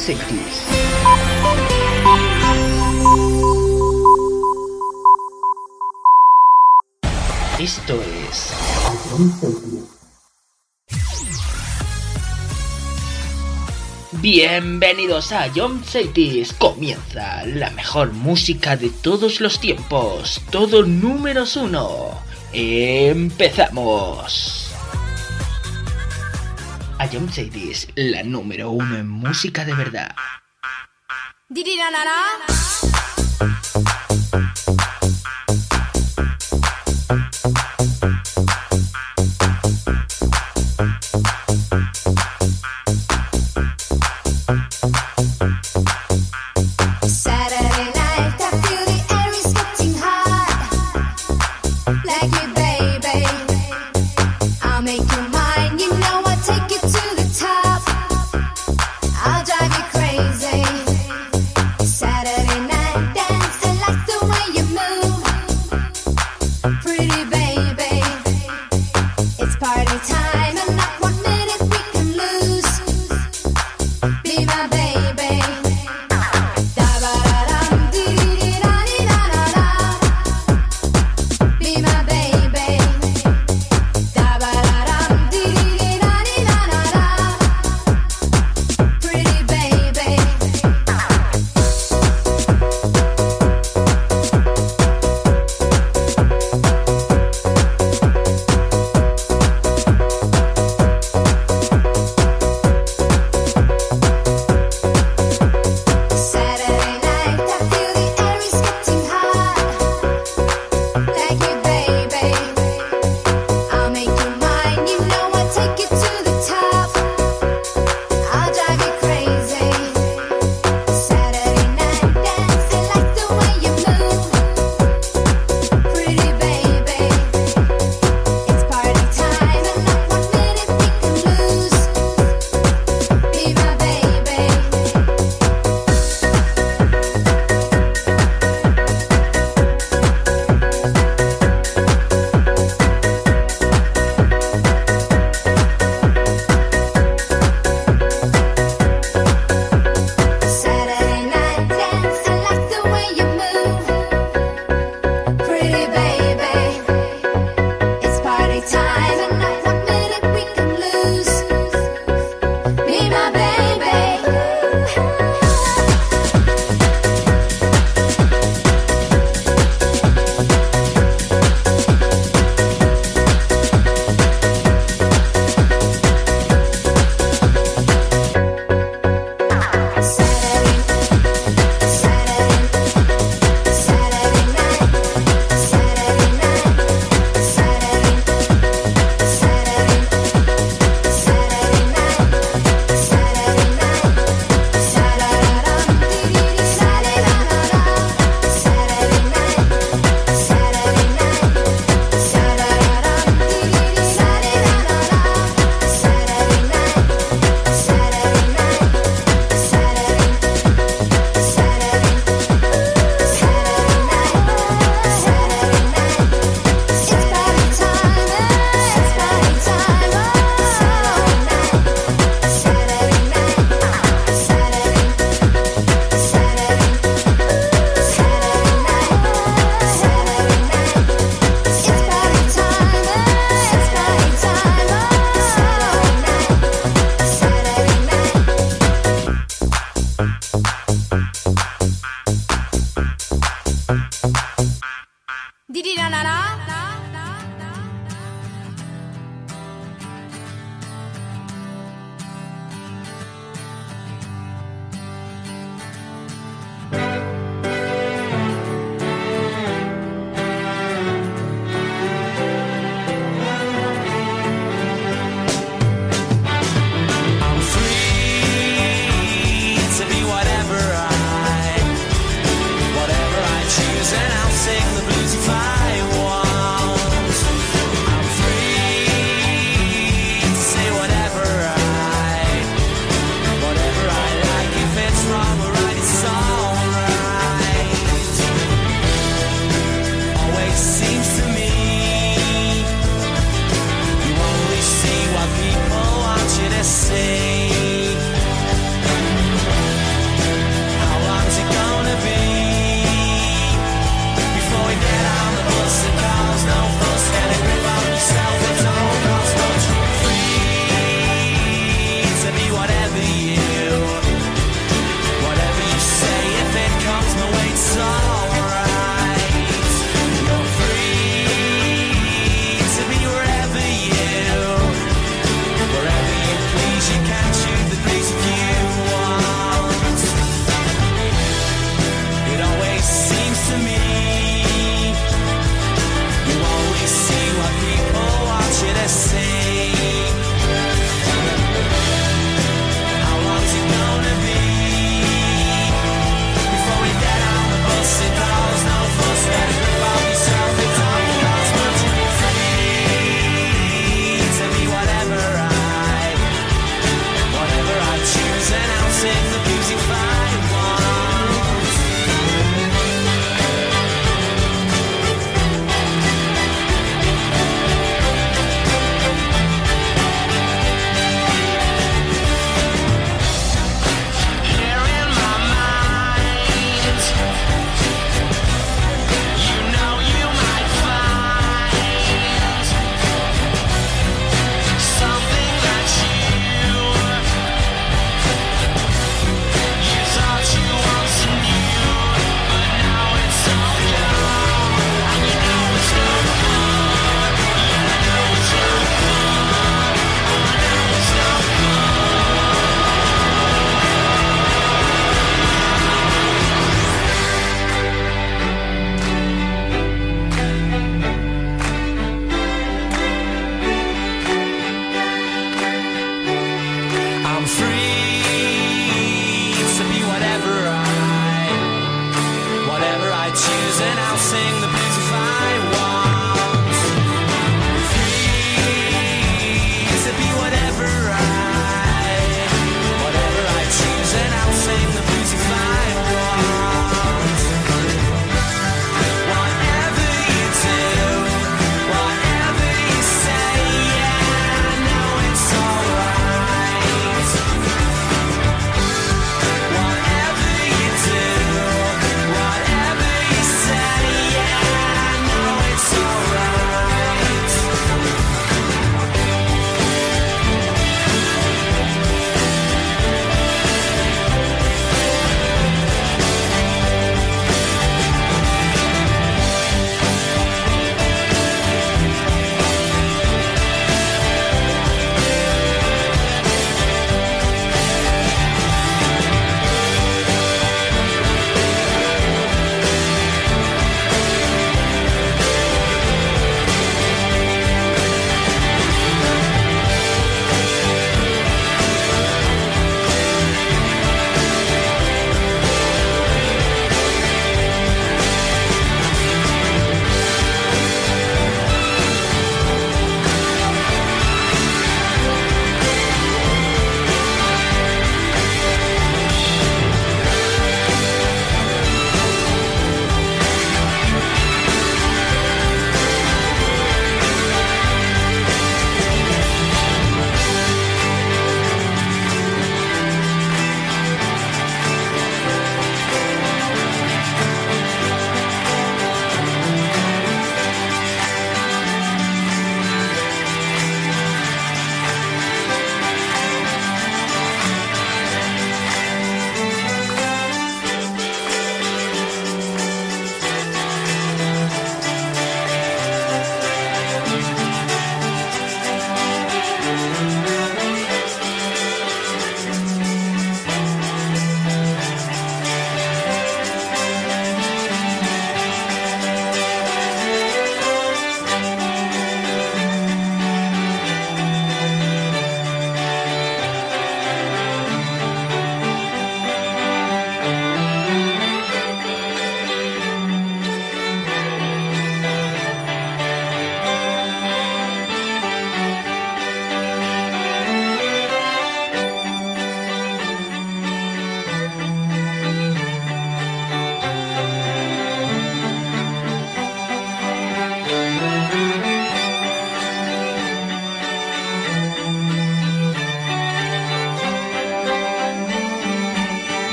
Cities. Esto es bienvenidos a Jump Cities. Comienza la mejor música de todos los tiempos. Todo números 1. Empezamos. A Jump Cities, la número 1 en música de verdad.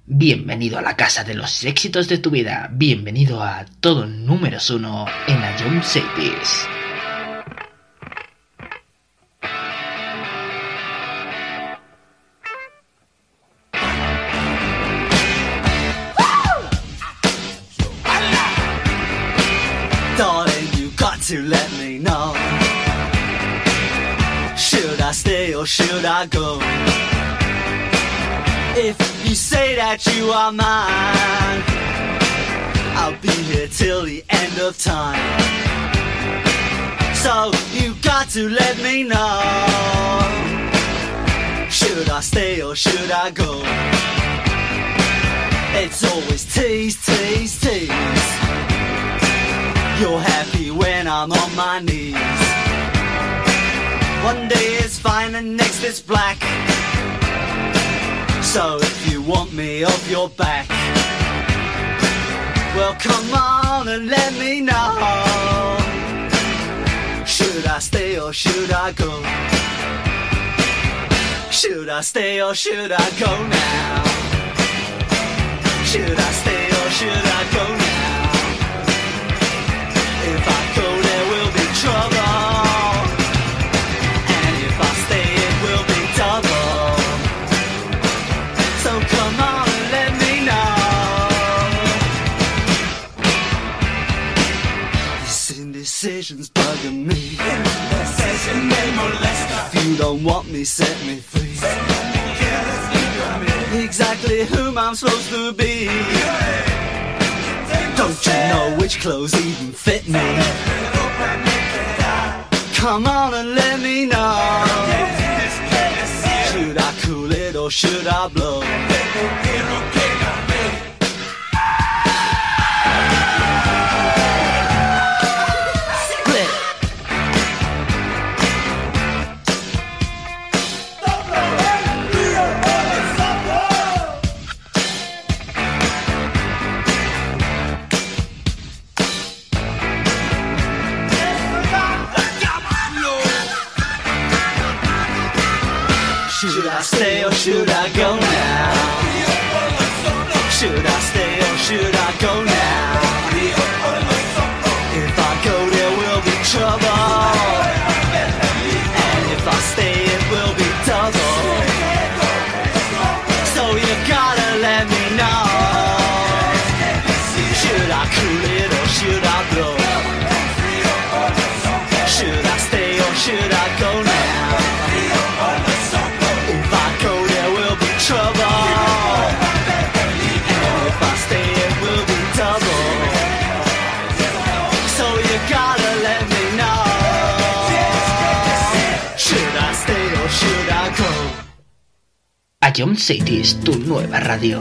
Bienvenido a la casa de los éxitos de tu vida. Bienvenido a todo números 1 en la Jump Cities. Darling, you got to let me know. Should I stay or should I go? If you say that you are mine, I'll be here till the end of time. So you got to let me know. Should I stay or should I go? It's always tease, tease, tease. You're happy when I'm on my knees. One day it's fine and next it's black. So if you want me off your back, well come on and let me know. Should I stay or should I go? Should I stay or should I go now? Should I stay or should I go now? If I go there will be trouble, and if I stay it will be double. So come on and let me know. This indecision's bugging me. If you don't want me, set me free. Exactly whom I'm supposed to be. Don't you know which clothes even fit me? Come on and let me know. Should I cool it or should I blow? Split. Should I stay or should I go now? Should I stay or should I go now? If I go there will be trouble, and if I stay it will be double. So you gotta let me know. Should I cool it or should I blow? Should I stay or should I go now? If I go there will be trouble, and if I stay it will be double. So you gotta let me know. Should I stay or should I go? A Jump Cities, tu nueva radio.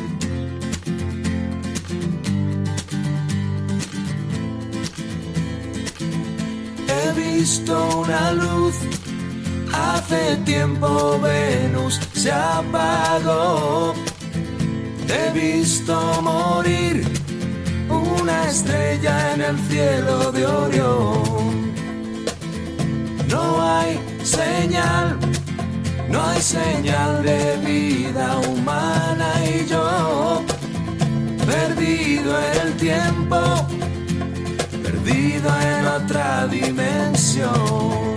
He visto una luz. Hace tiempo Venus se apagó. He visto morir una estrella en el cielo de Orión. No hay señal de vida humana y yo, perdido en el tiempo, perdido en otra dimensión.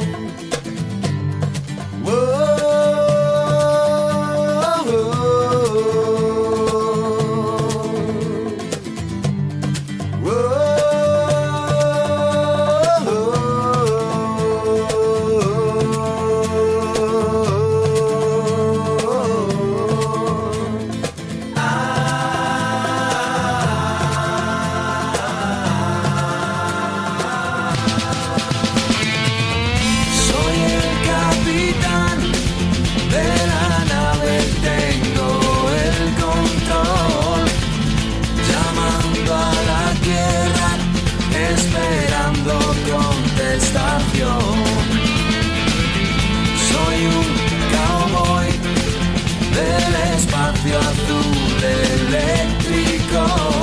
Azul eléctrico,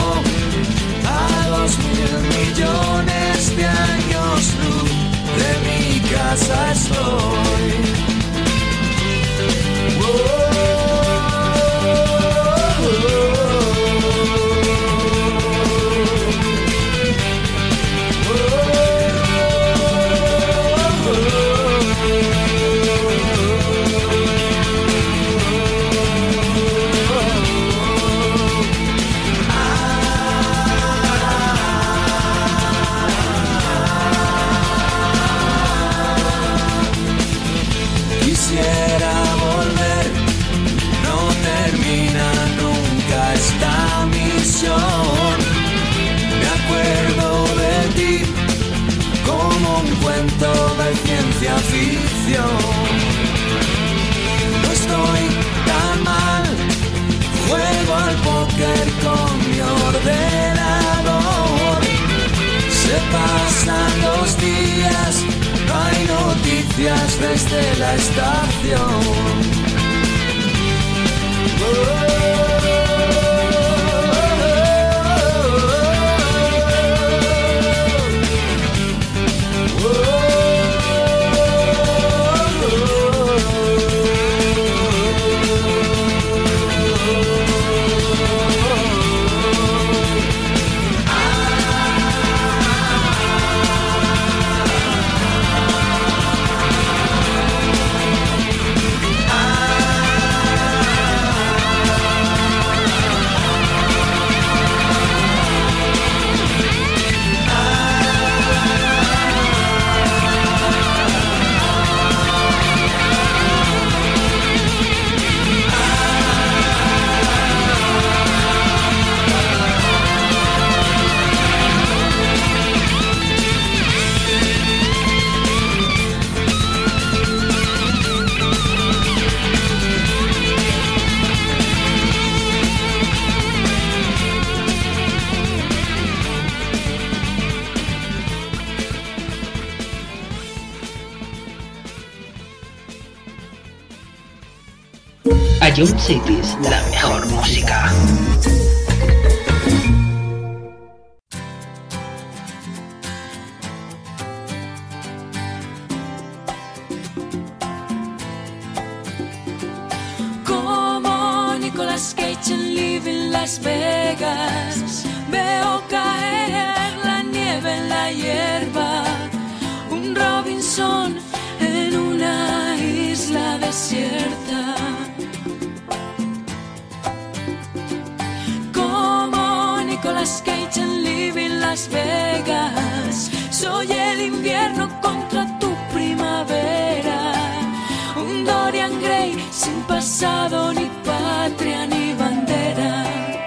a 2.000 millones de años luz de mi casa estoy. Oh, oh, oh. desde la estación. Ion Cities, la mejor música. Como Nicolas Cage en Living Las Vegas, veo caer la nieve en la hierba, un Robinson en una isla desierta. Nicolas Cage en Living Las Vegas, soy el invierno contra tu primavera, un Dorian Gray sin pasado, ni patria, ni bandera.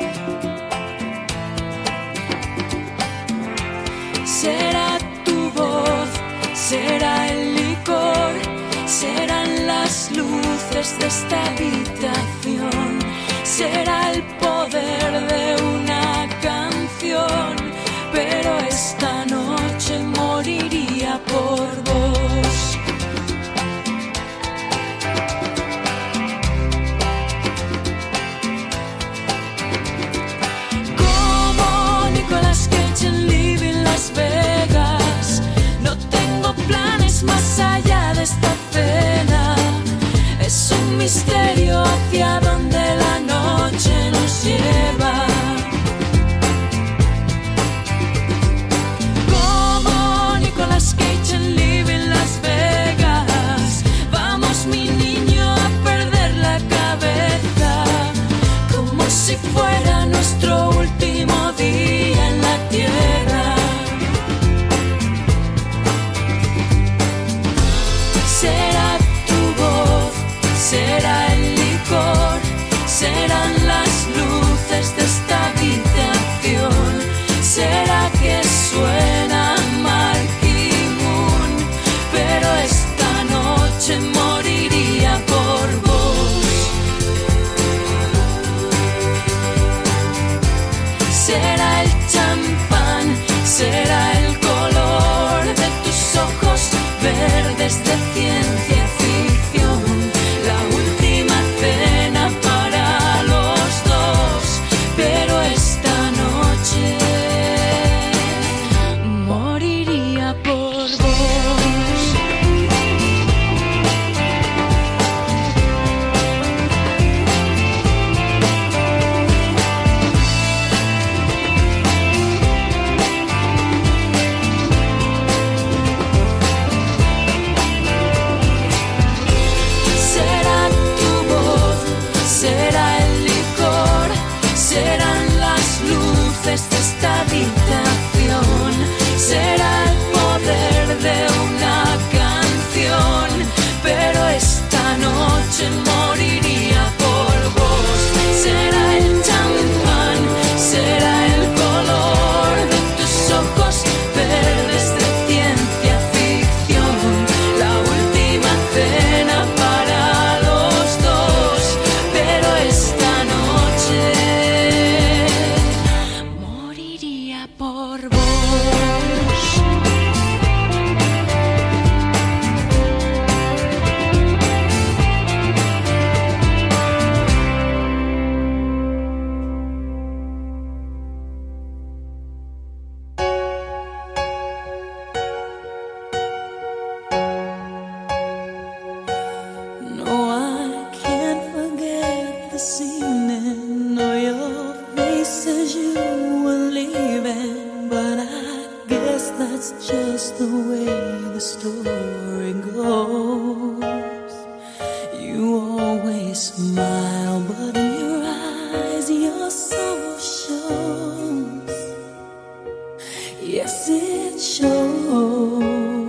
Será tu voz, será el licor, serán las luces de esta habitación, será el poder de una canción, pero esta noche moriría por vos. Como Nicolas Cage en Living Las Vegas, no tengo planes más allá de esta cena, es un misterio hacia donde la noche nos lleva. Como Nicolas Cage en Living Las Vegas, vamos mi niño a perder la cabeza, como si fuera nuestro último día en la tierra. Será tu voz, será el licor, serán las luces de esta habitación, será que suena Marquee Moon, pero esta noche moriría por vos. Será el champán, será el color de tus ojos verdes de ciencia ficción, la última cena para los dos, pero esta noche moriría por vos. Será tu voz, será el licor, serán las luces de esta habitación, será el poder de una canción, pero esta noche moriría por vos. Será el champán, será el color de tus ojos verdes de ciencia ficción, la última cena para los dos, pero esta noche moriría por but in your eyes your sorrow shows. Yes, it shows.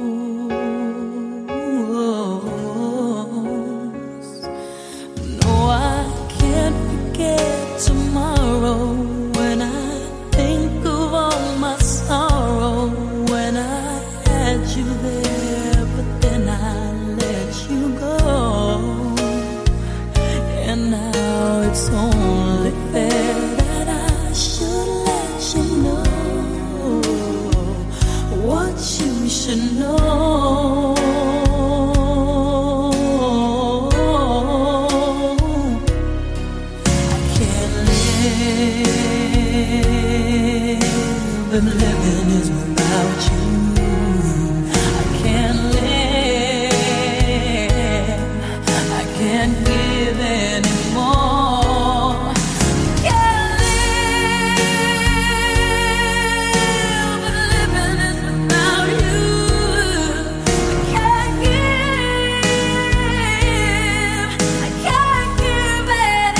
No, I can't forget tomorrow when I think of all my sorrow. When I had you there, but then I let you go. And now it's only fair that I should let you know what you should know. I can't live, and living is without you. I can't live, I can't give anymore. Can't live, but living is without you. I can't give, I can't give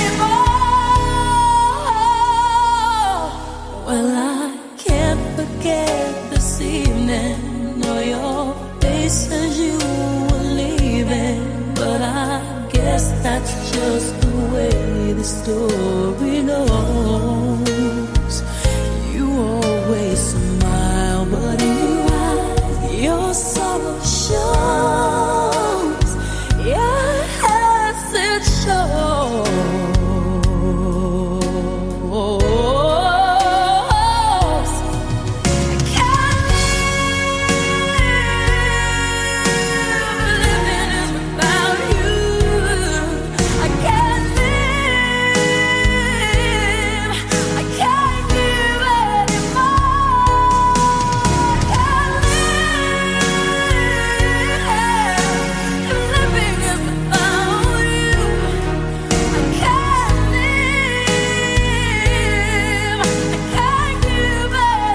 anymore. Well, I can't forget this evening or your face as you were leaving, but I guess that's just the way the story goes. You always smile, but in your eyes your sorrow shows. Yes, it shows. I can't live, living is without you. I can't live, I can't give anymore. I can't live, living is without you. I can't live, I can't give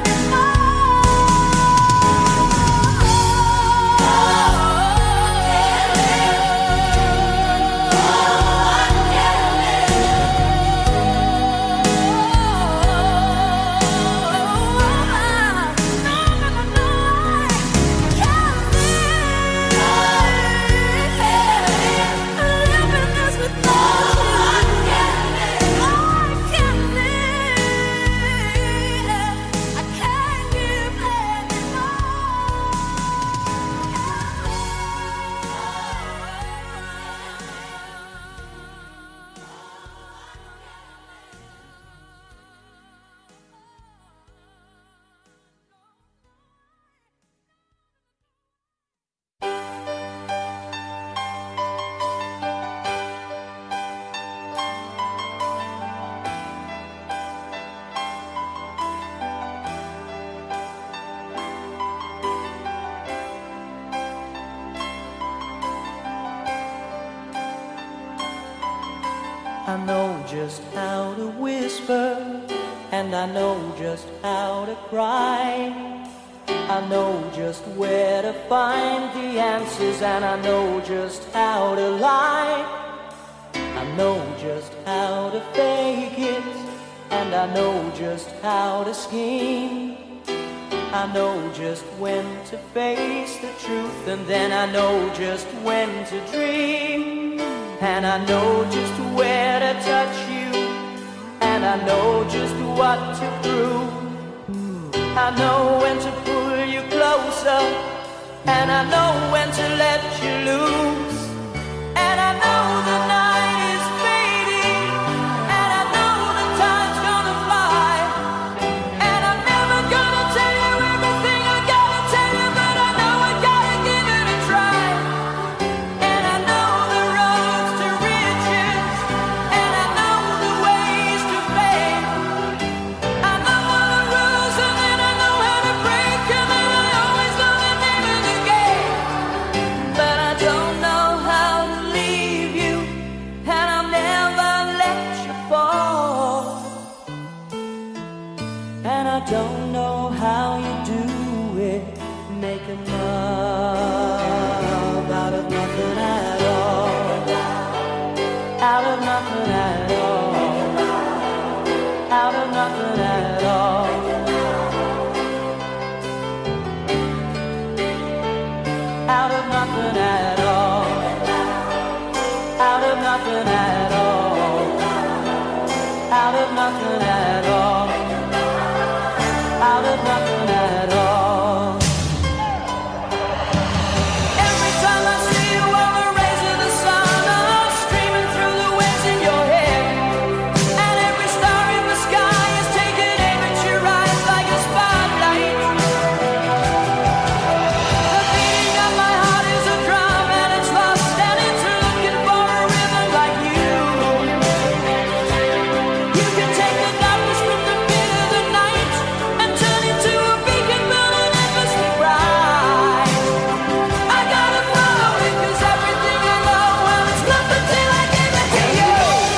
I know just how to whisper, and I know just how to cry. I know just where to find the answers, and I know just how to lie. I know just how to fake it, and I know just how to scheme. I know just when to face the truth, and then I know just when to dream. And I know just where to touch you, and I know just what to prove. I know when to pull you closer, and I know when to let you loose. And I know the night is fading, and I know the time's gonna fly. And I'm never gonna tell you everything I gotta tell you, but I know I gotta give it a try. And I know the roads to riches, and I know the ways to fame. I know all the rules, and then I know how to break, and then I always know the name of the game. But I don't know how to leave you, and I'll never let you fall. And I don't know how you do it, making love out of nothing at all. Out of nothing at all. out of nothing at all, out of nothing at all. Every time I see you on the rays of the sun are streaming through the waves in your head, and every star in the sky is taking aim at your eyes like a spotlight. The beating of my heart is a drum and it's lost and it's looking for a rhythm like you. You can take the darkness from the pit of the night and turn it to a beacon burning endlessly bright. I gotta follow it 'cause everything I know, well, it's nothing till I give it to you.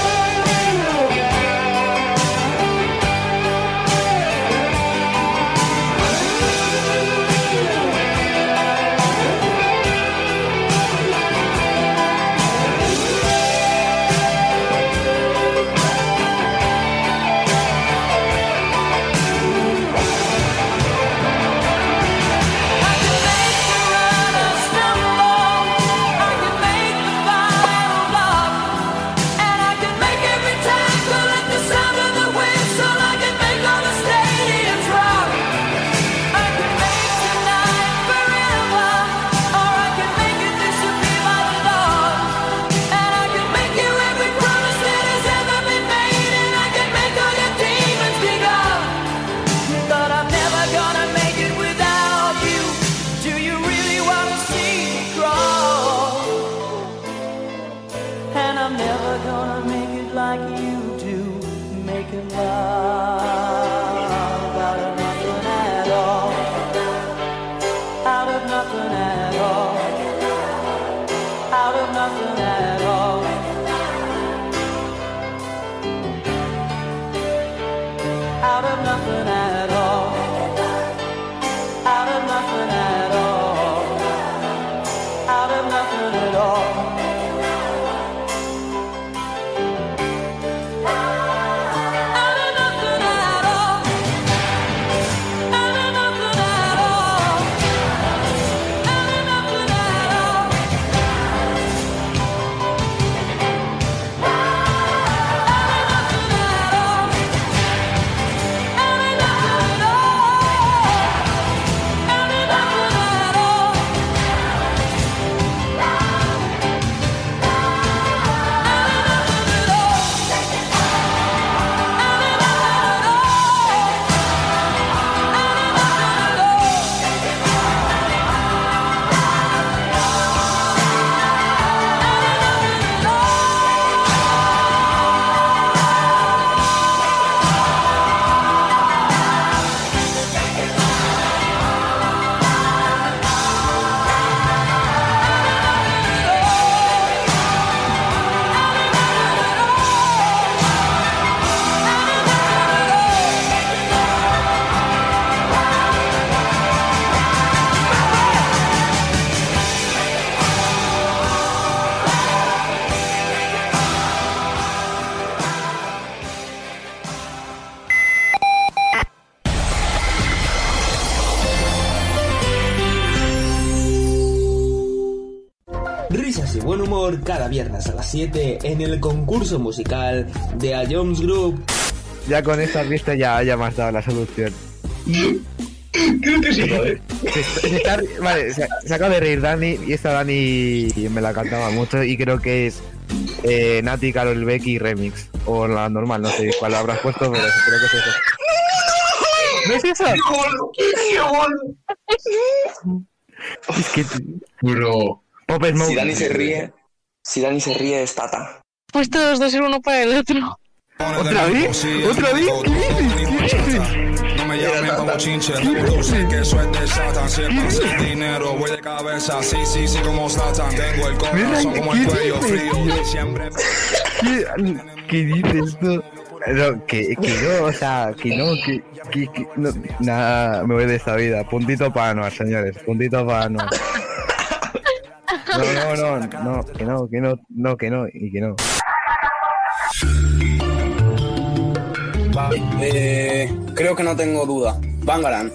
I can make the runner stumble, I can make the final block, and I can make every tackle at the sound of the whistle. I can make all the stadiums rock. I can make tonight forever, or I can make it disappear by the dawn. And I can make you every promise that has ever been made, and I can make all your demons be gone. But I'm never gonna make it without you. Do you really wanna see me crawl? And I'm never gonna make it like you do, making love out of nothing at all, out of nothing at all, out of nothing at all, out of nothing at all, out of nothing at all, out of nothing at all. Out of nothing at all, out of nothing at all, out of nothing at all, Risas y buen humor cada viernes a las 7 en el concurso musical de A Jones Group. Ya con esta pista ya me has dado la solución. Creo que sí, joder. Vale, se acaba de reír Dani y esta Dani me la cantaba mucho y creo que es Nati, Karol Becky remix. O la normal, no sé cuál habrás puesto, pero creo que es eso. ¿No es eso? ¡Qué gol! Es que... Bro. Pop Smoke. Si Dani se ríe es Tata. Pues todos dos ser uno para el otro. ¿Otra vez? ¿Otra vez? ¿Qué dices? No me llamen como chinche, tú sé que eso es de Satan. Si el pase el dinero, voy de cabeza, sí, como Satan. Tengo el corazón como el cuello frío, siempre. ¿Qué dices tú? No, que no, o sea, que no, nada, me voy de esta vida. Puntito para Anuar, señores, puntito para Anuar. No, que no, y que no. Vale, creo que no tengo duda. Bangaran.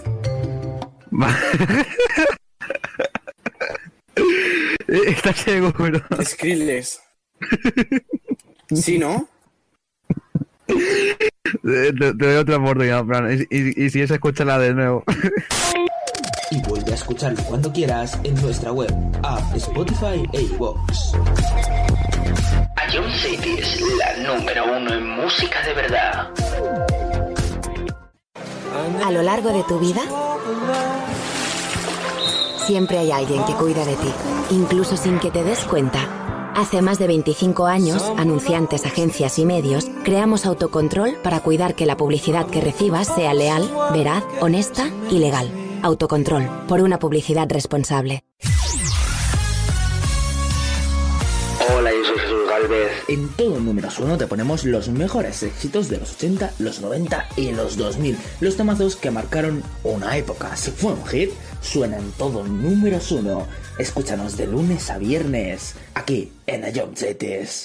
¿Estás seguro? Skrillex. ¿Sí, no? Te doy otra oportunidad, en plan, y si es, escúchala de nuevo. Y vuelve a escucharlo cuando quieras en nuestra web, app, Spotify e iVoox. Ion City es la número 1 en música de verdad. A lo largo de tu vida, siempre hay alguien que cuida de ti, incluso sin que te des cuenta. Hace más de 25 años, anunciantes, agencias y medios, creamos Autocontrol para cuidar que la publicidad que recibas sea leal, veraz, honesta y legal. Autocontrol, por una publicidad responsable. Hola, yo soy Jesús Galvez. En todo Números 1 te ponemos los mejores éxitos de los 80, los 90 y los 2000. Los temazos que marcaron una época. Si fue un hit, suena en todo Números 1. Escúchanos de lunes a viernes, aquí en Ion Cities.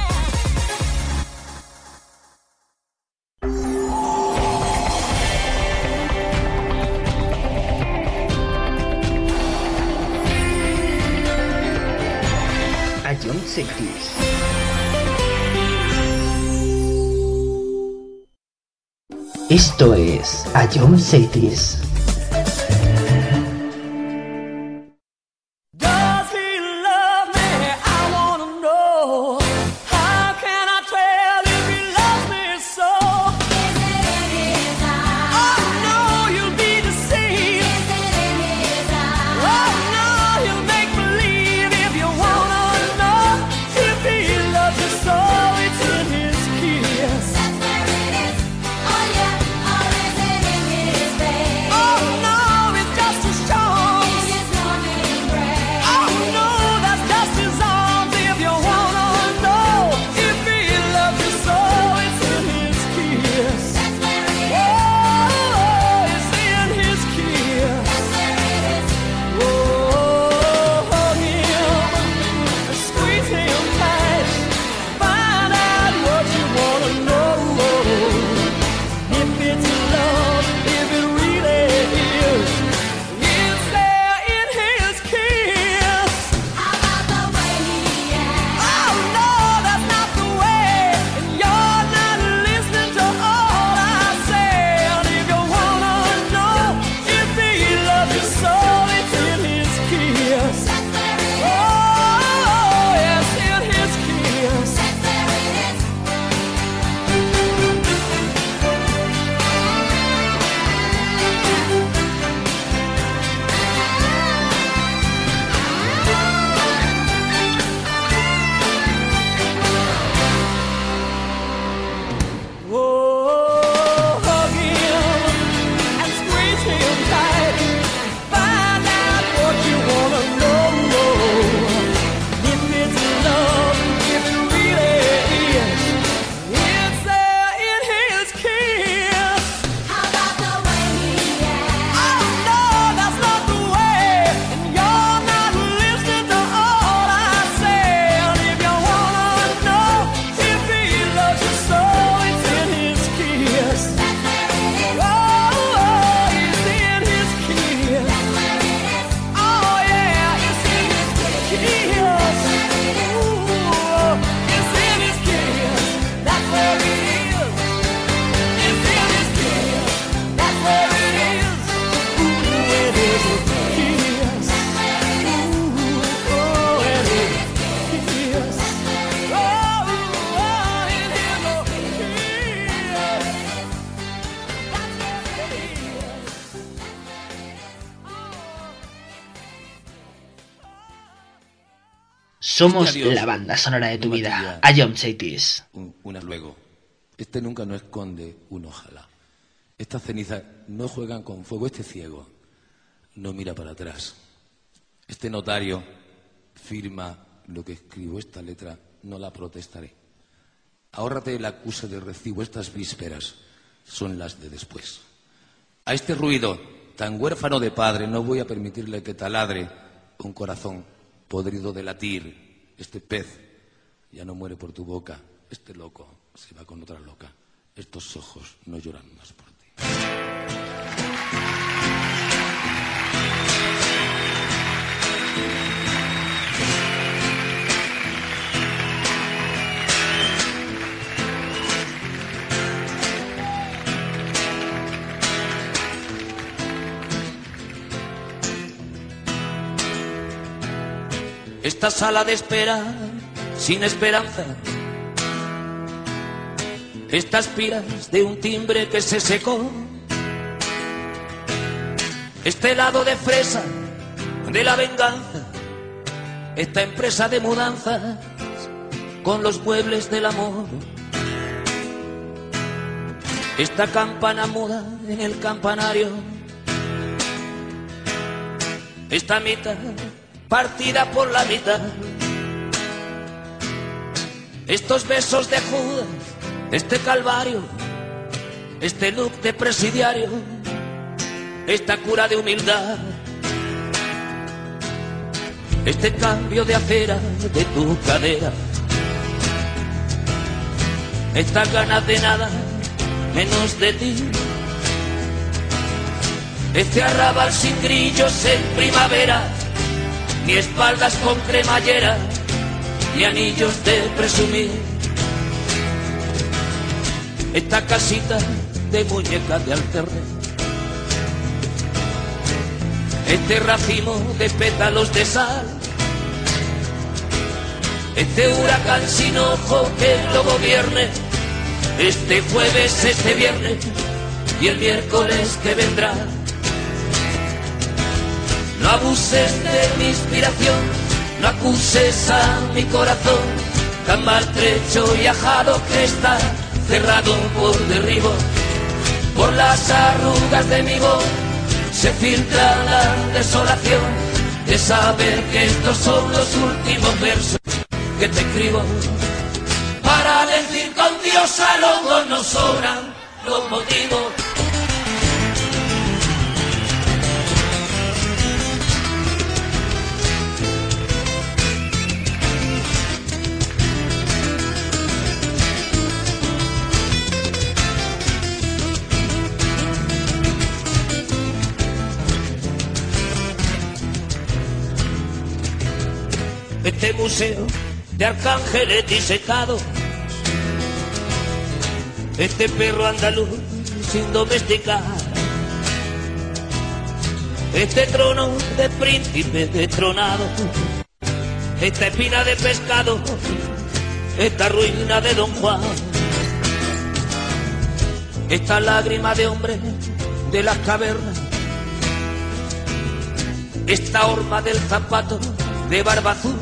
Ion Cities. Esto es Ion Cities. Somos la banda sonora de tu vida. Ion Cities. Una luego. Este nunca no esconde un ojalá. Estas cenizas no juegan con fuego. Este ciego no mira para atrás. Este notario firma lo que escribo. Esta letra no la protestaré. Ahórrate el acuse de recibo. Estas vísperas son las de después. A este ruido tan huérfano de padre no voy a permitirle que taladre un corazón podrido de latir. Este pez ya no muere por tu boca. Este loco se va con otra loca. Estos ojos no lloran más por ti. esta sala de espera sin esperanza, estas piras de un timbre que se secó, este helado de fresa de la venganza, esta empresa de mudanzas con los muebles del amor, esta campana muda en el campanario, esta mitad partida por la mitad, estos besos de Judas, este calvario, este look de presidiario, esta cura de humildad, este cambio de acera de tu cadera, estas ganas de nada menos de ti, este arrabal sin grillos en primavera, ni espaldas con cremallera, ni anillos de presumir, esta casita de muñecas de alterné, este racimo de pétalos de sal, este huracán sin ojo que lo gobierne, este jueves, este viernes y el miércoles que vendrá. No abuses de mi inspiración, no acuses a mi corazón, tan maltrecho y ajado que está cerrado por derribo. Por las arrugas de mi voz se filtra la desolación de saber que estos son los últimos versos que te escribo. Para decir con Dios a los dos nos sobran los motivos. Este museo de arcángeles disecados, este perro andaluz sin domesticar, este trono de príncipe destronado, esta espina de pescado, esta ruina de Don Juan, esta lágrima de hombre de las cavernas, esta horma del zapato de barba azul,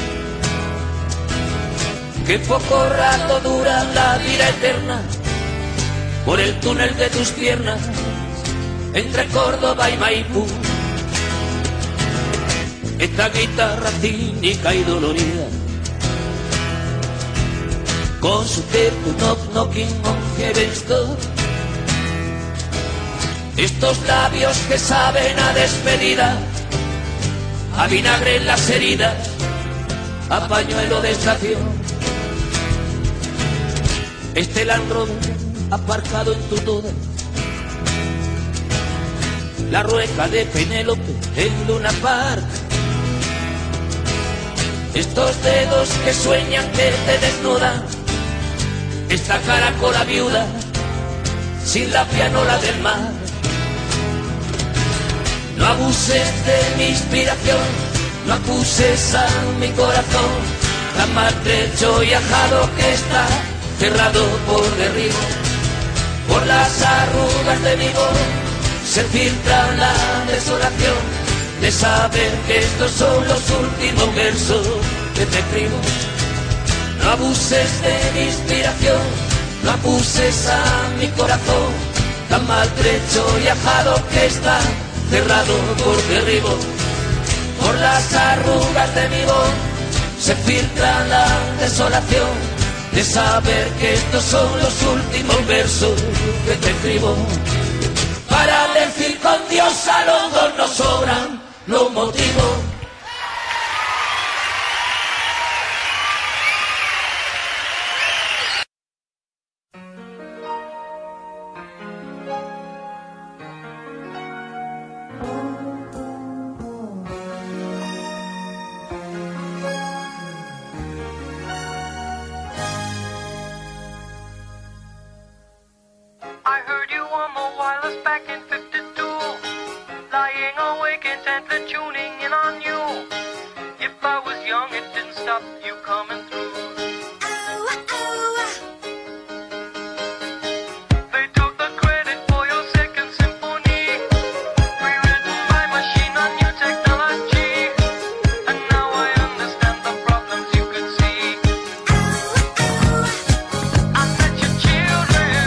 que poco rato dura la vida eterna, por el túnel de tus piernas, entre Córdoba y Maipú. Esta guitarra cínica y dolorida, con su tempo knock knocking on heaven's door. Estos labios que saben a despedida, a vinagre en las heridas, a pañuelo de estación. Este Land Rover aparcado en tu toda, la rueca de Penélope en Luna Park, estos dedos que sueñan que te desnudan, esta caracola viuda sin la pianola del mar. No abuses de mi inspiración, no acuses a mi corazón, tan maltrecho y ajado que está cerrado por derribo. Por las arrugas de mi voz se filtra la desolación de saber que estos son los últimos versos que te escribo. No abuses de mi inspiración, no acuses a mi corazón, tan maltrecho y ajado que está cerrado por derribo. Por las arrugas de mi voz se filtra la desolación de saber que estos son los últimos versos que te escribo. Para decir con Dios a los dos nos sobran los motivos. I heard you on the wireless back in 52, lying awake intently tuning in on you. If I was young stop you coming through. They took the credit for your second symphony, rewritten by machine on new technology. And now I understand the problems you could see. I met your children.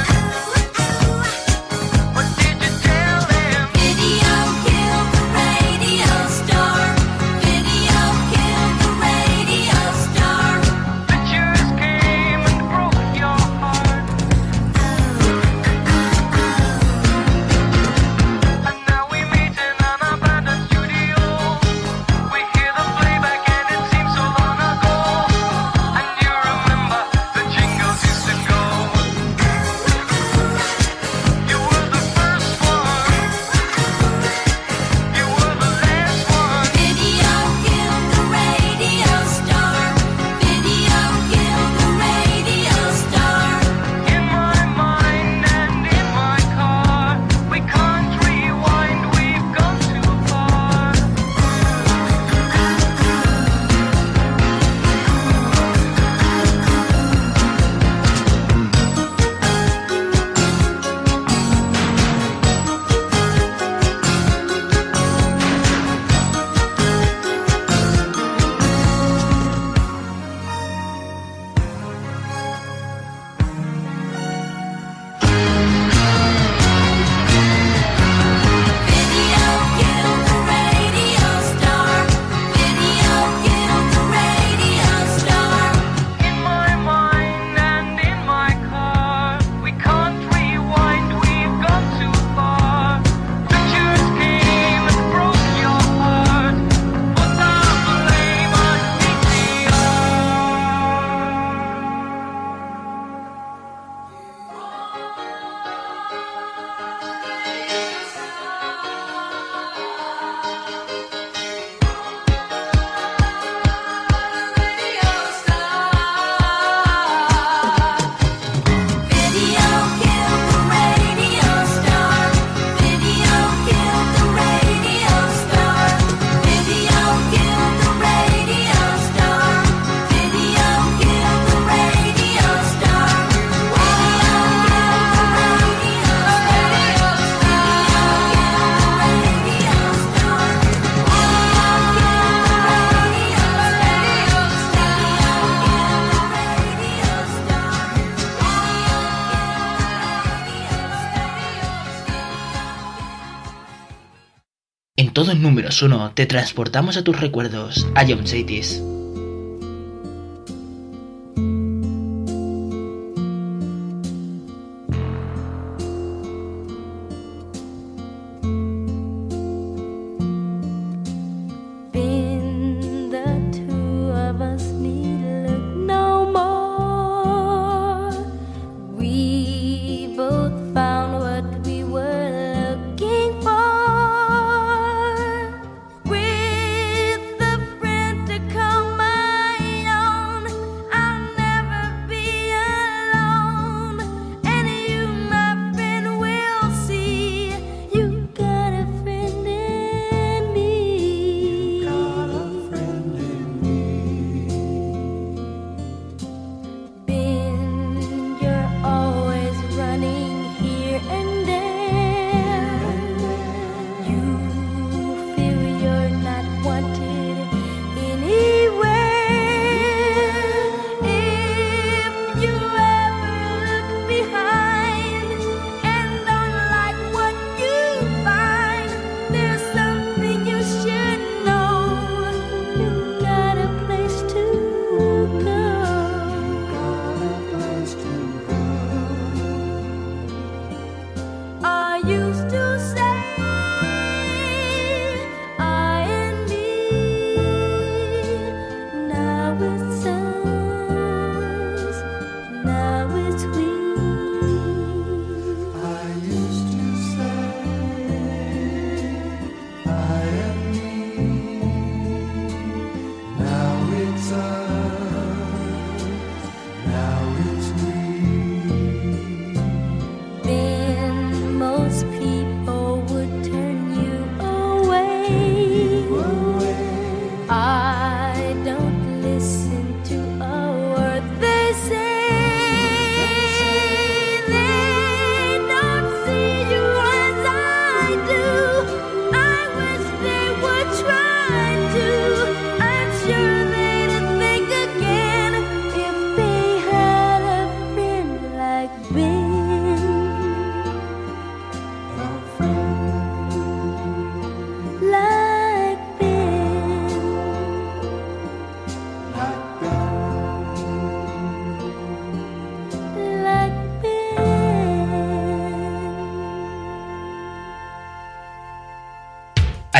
What did you tell them? Video killed the radio star. Video killed the radio star. Pictures came and broke your heart. And now we meet in an abandoned studio. We hear the playback and it seems so long ago. And you remember the jingles used to go. You were the first one. You were the last one. Video killed the radio star. Video killed the radio star. In my mind and in my car, we can't rewind, we've gone too far. Video killed the radio star. Video killed the radio star. In my mind and in my car, we can't rewind, we've gone too far. Pictures came and broke your heart. Put the blame on DTR. Video killed the radio star. Video killed the radio star. Video killed the radio star. Video killed the radio star. En todo Números 1 te transportamos a tus recuerdos, a John Cities. Been the two of us need look no more. We both found what we were looking for. With a friend to come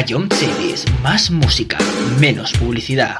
Ion Cities, más música, menos publicidad.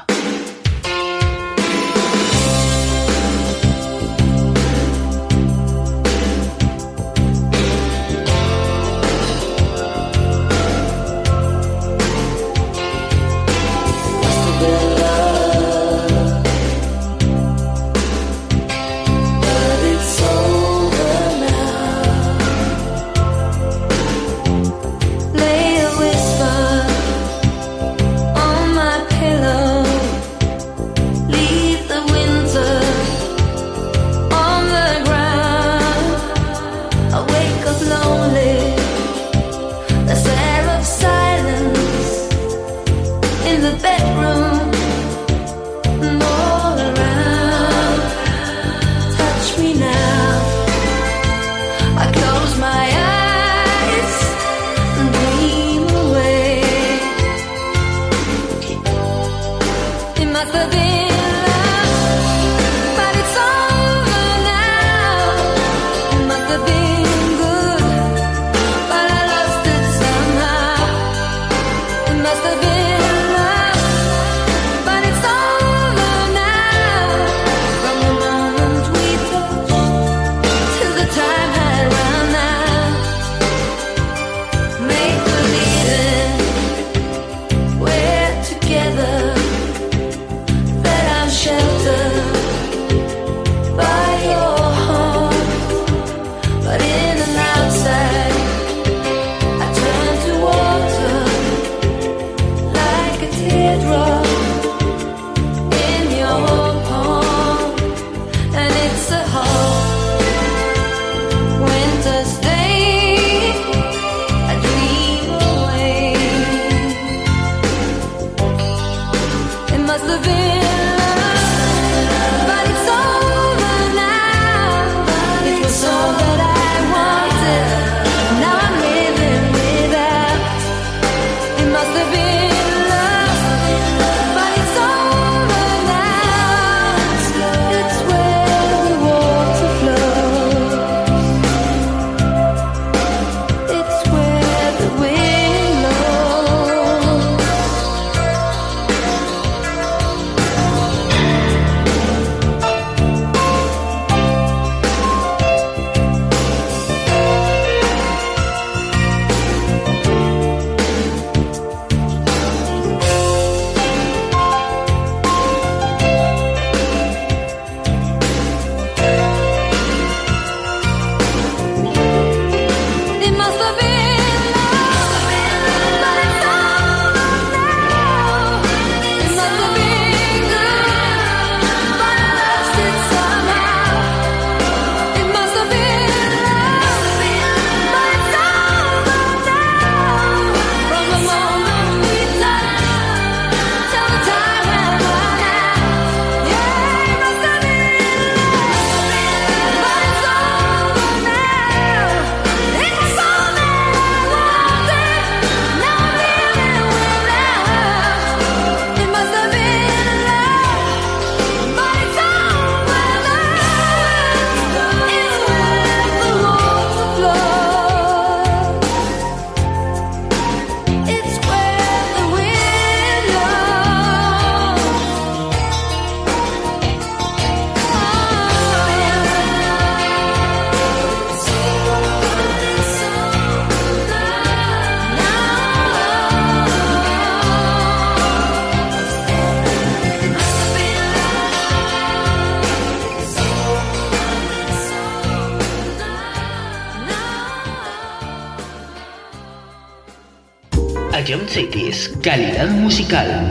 Ion Cities, calidad musical.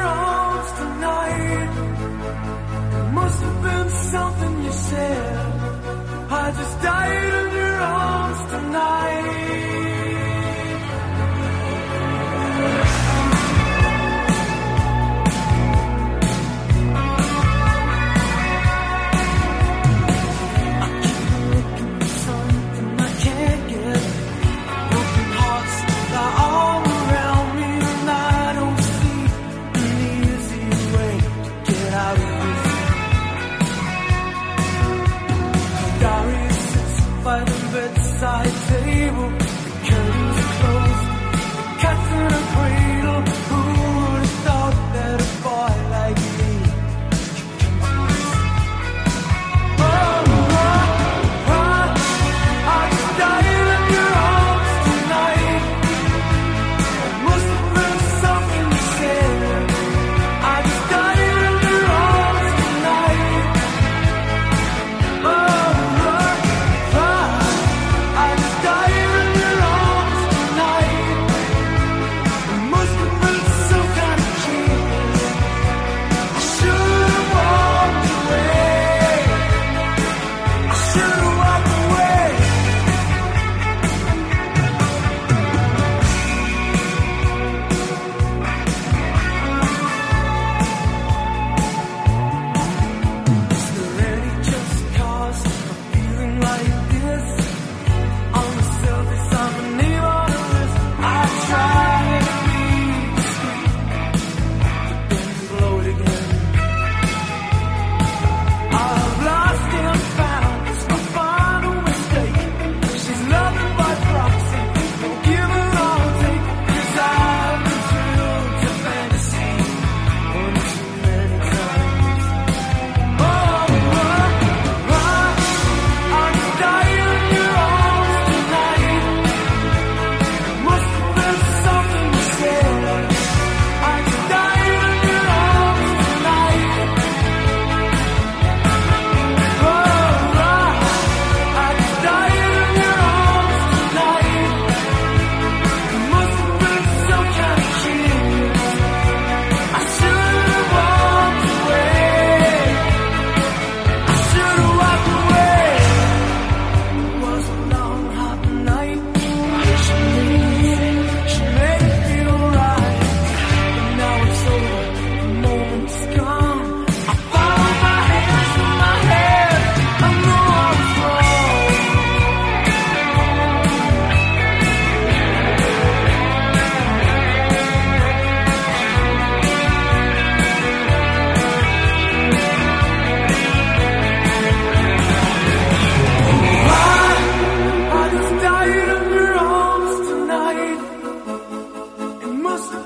Something you said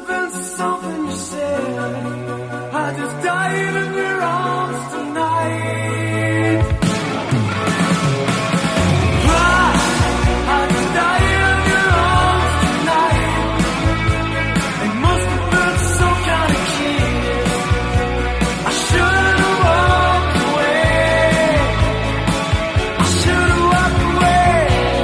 been something you said. I just died in your arms tonight. I just died in your arms tonight. It must have been some kind of kiss. I should have walked away. I should have walked away.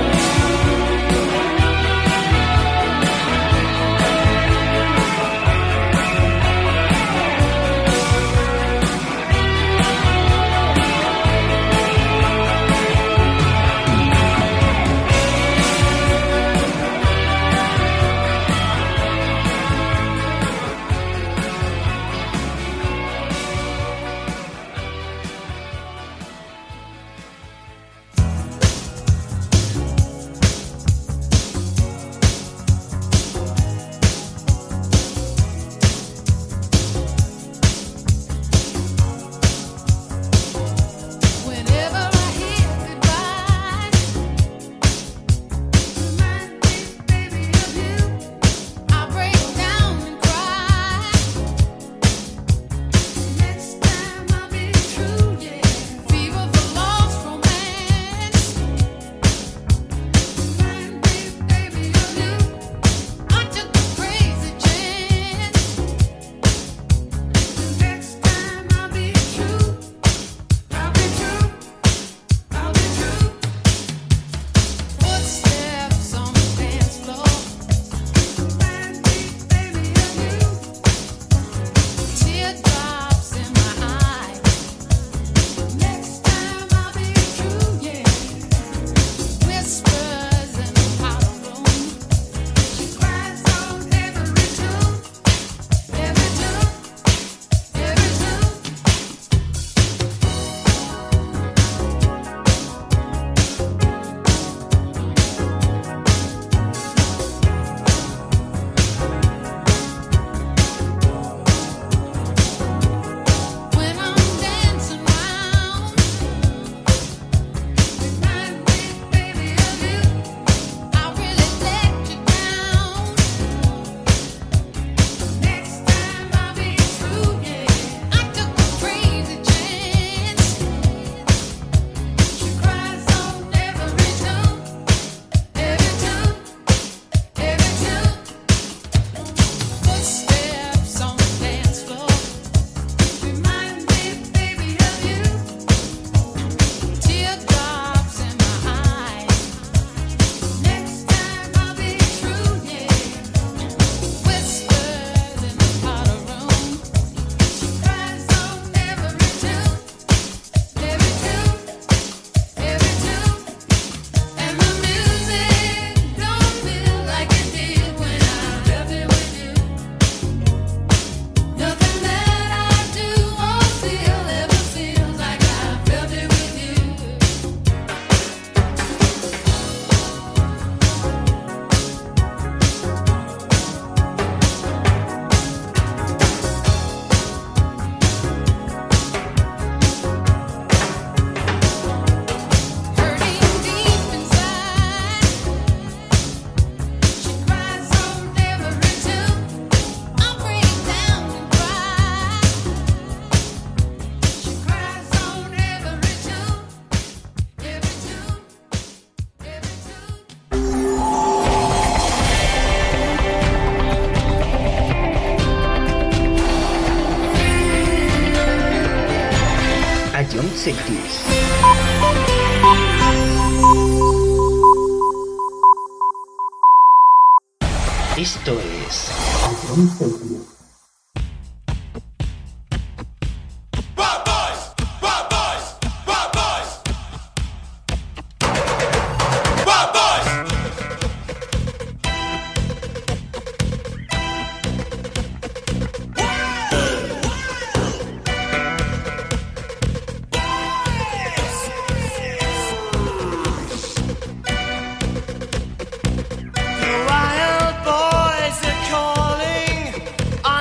Ion 60s. Esto es Ion 60s. Wild boys are calling.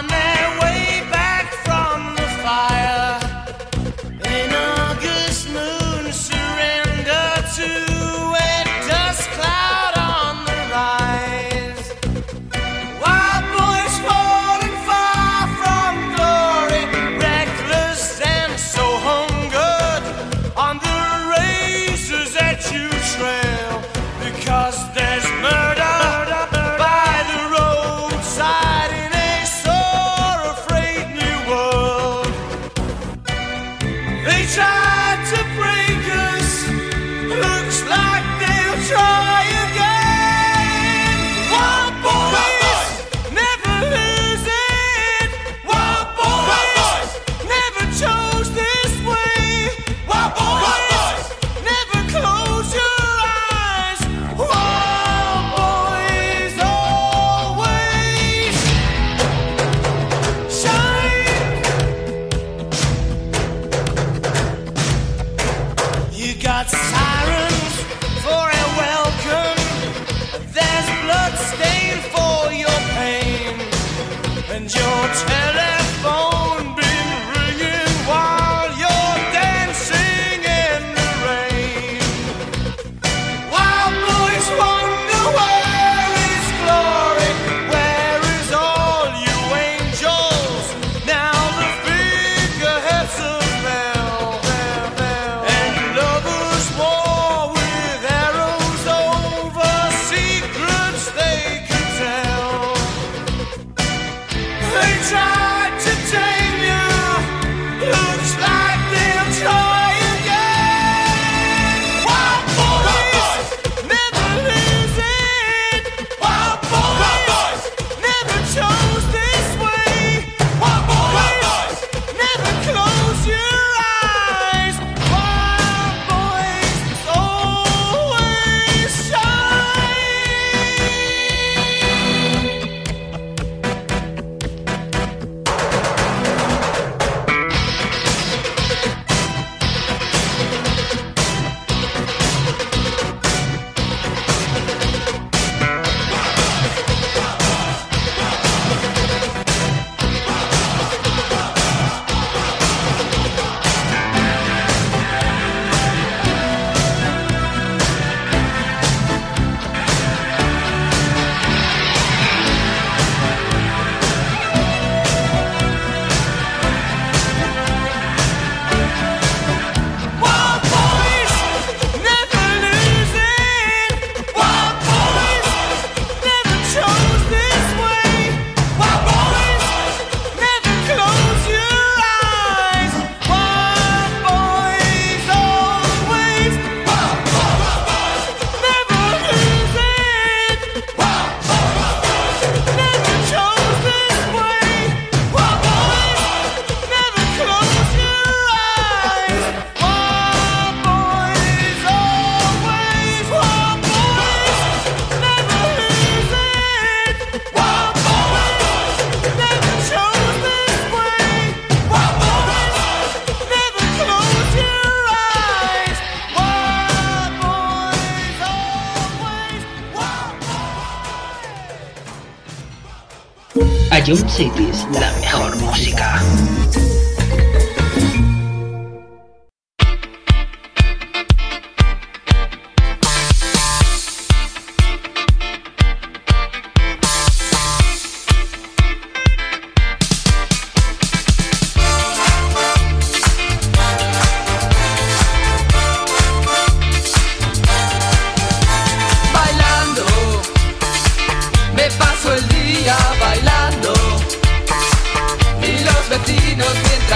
and your telephone been ringing while you're dancing in the rain. Wild boys wonder where is glory, where is all you angels? Now the figureheads of hell, and lovers war with arrows over secrets they can tell. They tried to tame you, looks like they'll try again. Wild boys never lose it. Wild boys never chose this way. Wild boys never close your eyes. Wild boys always shine. Wild boys never lose it. Wild boys never chose this way. Wild boys never close your eyes. Wild boys always. Wild boys never lose it. Wild boys never chose this way. Wild boys never close your eyes. Wild boys always. Wild boys never lose it. Wild boys never chose this way. Wild boys never close your eyes. Wild boys always. Ion Cities, la mejor música. Bailando, me paso el día bailando y los vecinos mientras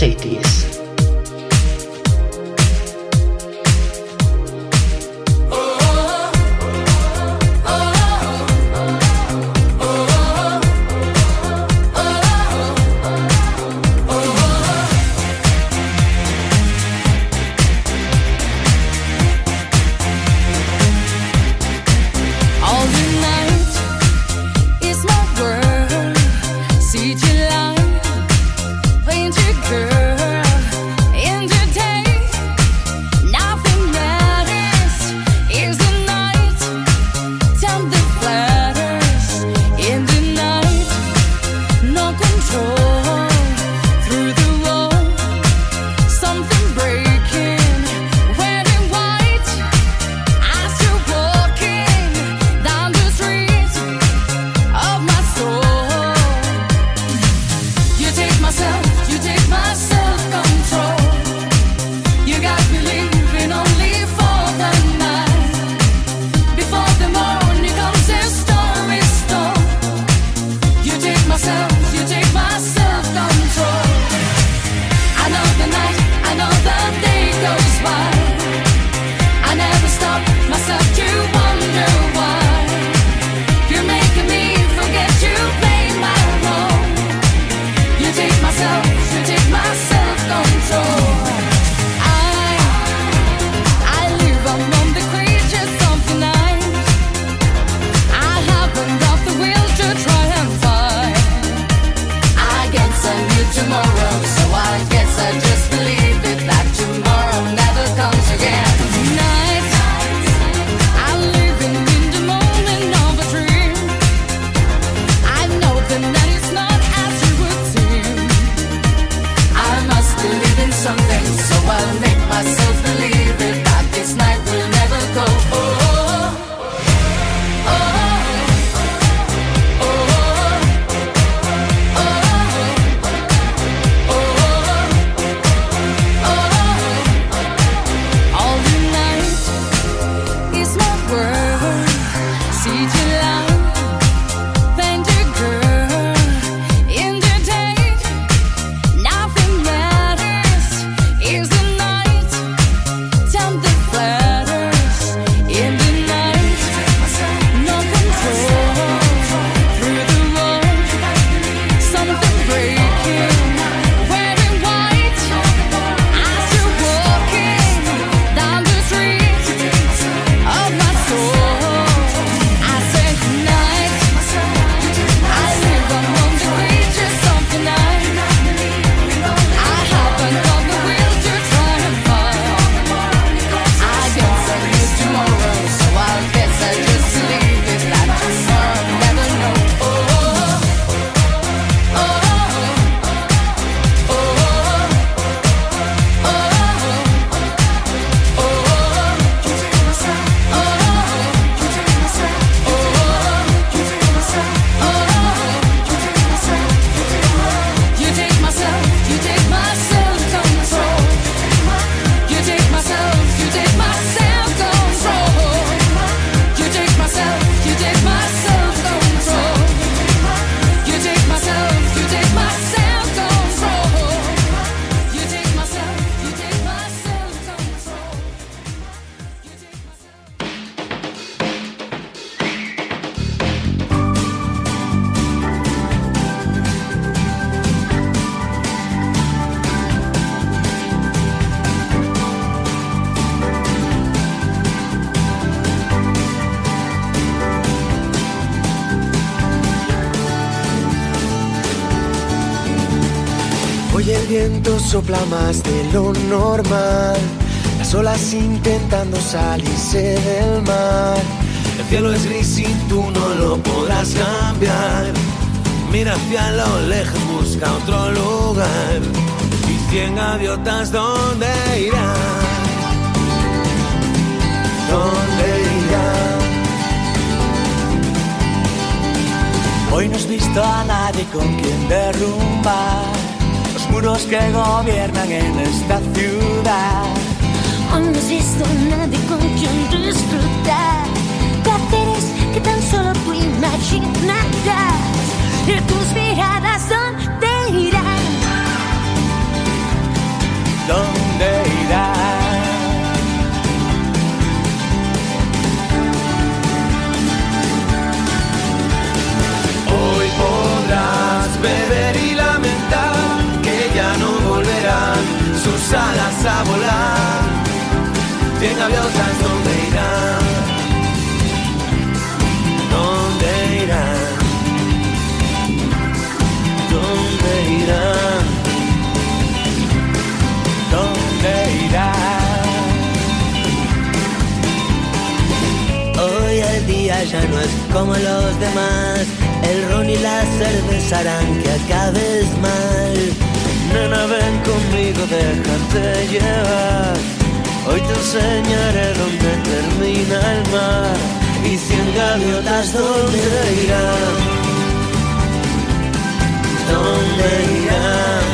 los 80s. Hoy el viento sopla más de lo normal, las olas intentando salirse del mar. El cielo es gris y tú no lo podrás cambiar. Mira hacia lo lejos, busca otro lugar. Y 100 gaviotas, ¿dónde irán? ¿Dónde irán? Hoy no has visto a nadie con quien derrumbar los muros que gobiernan en esta ciudad. Hoy no has visto a nadie con quien disfrutar placeres que tan solo tú imaginarás. Y tus miradas, ¿dónde irán? 100 gaviotas, ¿dónde irán? ¿Dónde irán? ¿Dónde irán? ¿Dónde irán? Hoy el día ya no es como los demás. El ron y la cerveza harán que acabes mal. Nena, ven conmigo, déjate llevar. Hoy te enseñaré dónde termina el mar. Y 100 gaviotas, ¿dónde irán? ¿Dónde irán?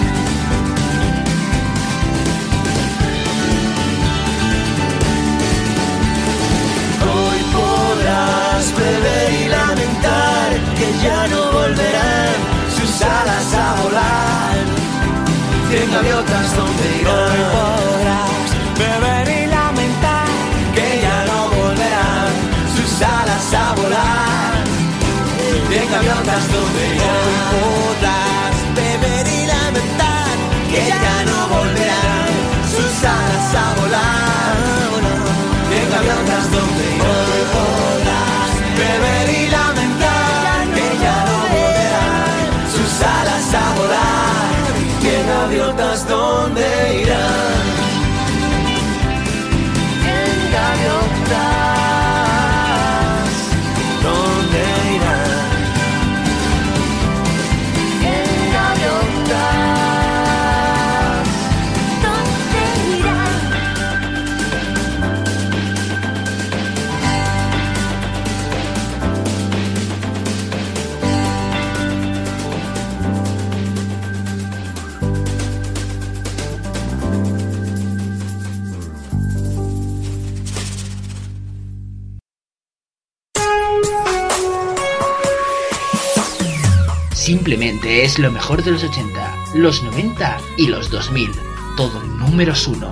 Hoy podrás beber y lamentar que ya no volverán sus alas a volar. 100 gaviotas, ¿dónde irán? Hoy podrás beber y lamentar que ya no volverán sus alas a volar. 100 gaviotas, ¿dónde irán? Hoy podrás beber y lamentar que ya no volverán sus alas a volar. 100 gaviotas, ¿dónde irán? Hoy podrás beber y lamentar que ya no volverán sus alas a volar. 100 gaviotas, ¿dónde irán? 100 gaviotas, ¿dónde irán? 100 gaviotas, ¿dónde irán? Simplemente es lo mejor de los 80, los 90 y los 2000. Todo números 1.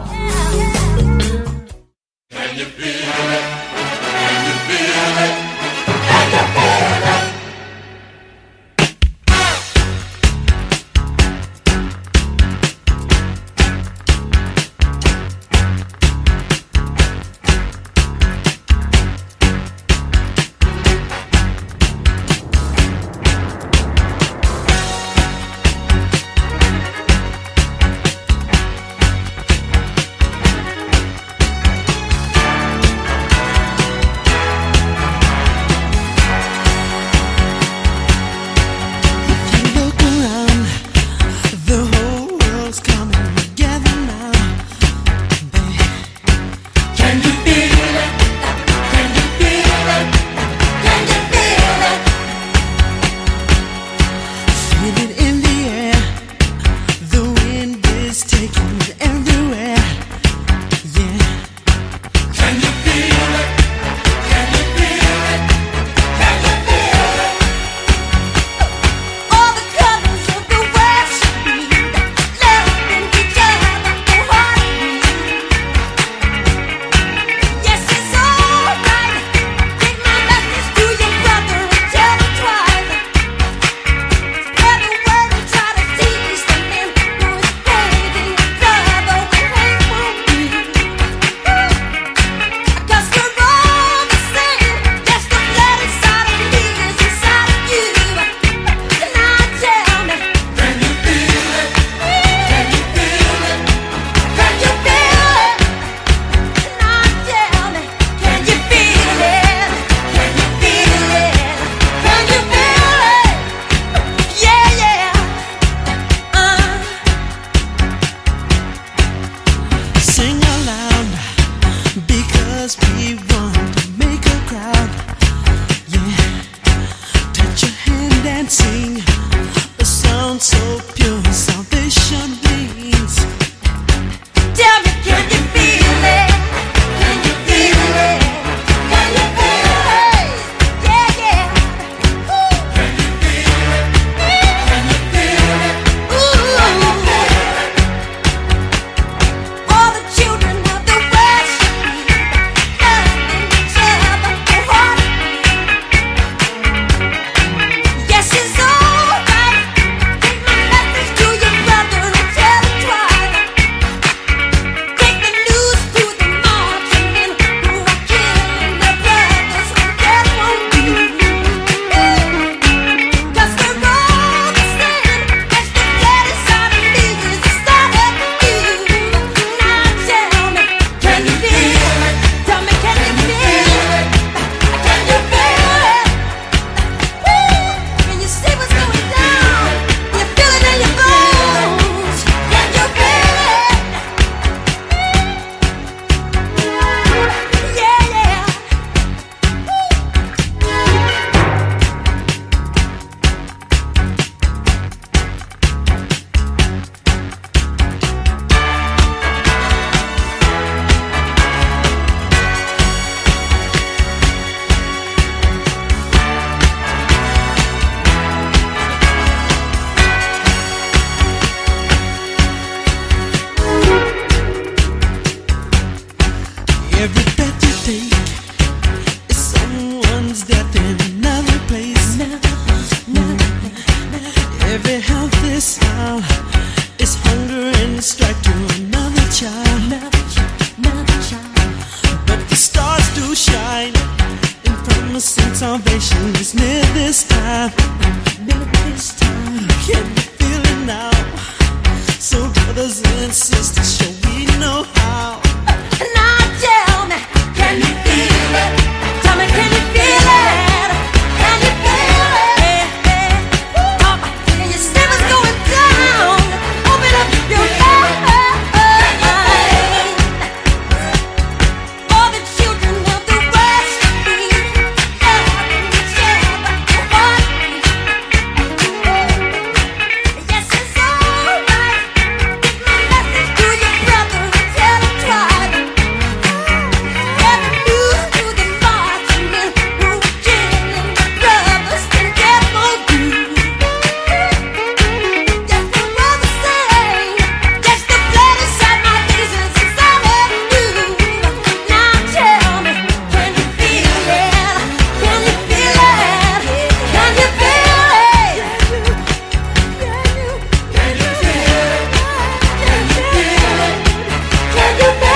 Every breath you take is someone's death in another place. Every healthy smile is hunger and strife to another child. But the stars do shine in promise and salvation is near this time. Can you feel it now? So brothers and sisters, shall we know how? Now tell me, can you feel it? Tell me, can you feel it? Can you feel it? Can you see what's going down? Open up your mind. All the children of the West yes, it's alright. Get my message to your brother and tell him try. Get the news to the marching men who killing the brothers and get more good. Yes, the brother say, yes, the blood inside my veins is all I do. Now tell me, can you feel it? Can you feel it? Can you feel it? Can you feel it? Can you feel it? Can you feel it?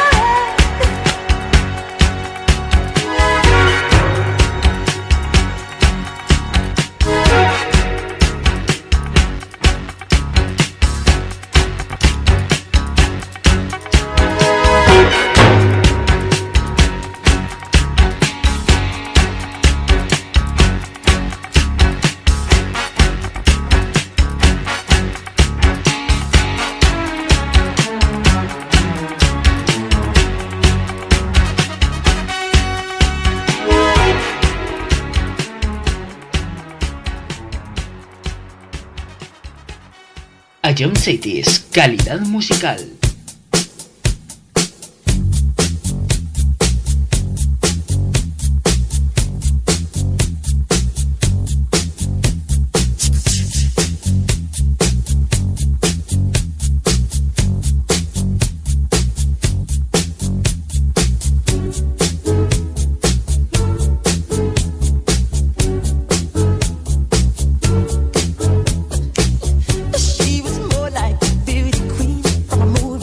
Ion Cities, calidad musical. She was more like a beauty queen from a movie.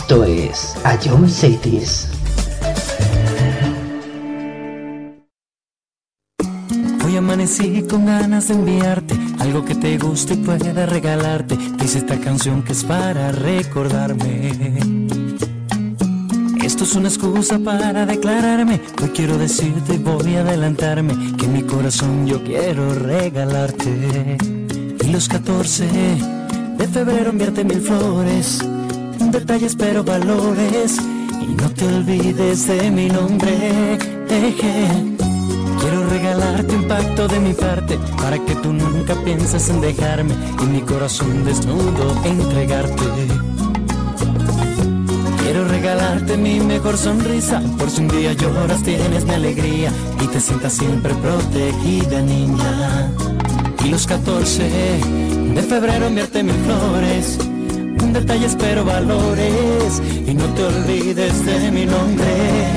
Esto es A Young Cities. Hoy amanecí con ganas de enviarte algo que te guste y pueda regalarte. Dice esta canción que es para recordarme. Esto es una excusa para declararme. Hoy quiero decirte y voy a adelantarme que en mi corazón yo quiero regalarte. Y los 14 de febrero enviarte 1000 flores, detalles pero valores, y no te olvides de mi nombre. Quiero regalarte un pacto de mi parte para que tú nunca pienses en dejarme y mi corazón desnudo entregarte. Quiero regalarte mi mejor sonrisa, por si un día lloras tienes mi alegría y te sientas siempre protegida, niña. Y los 14 de febrero enviarte 1000 flores, detalles pero valores, y no te olvides de mi nombre.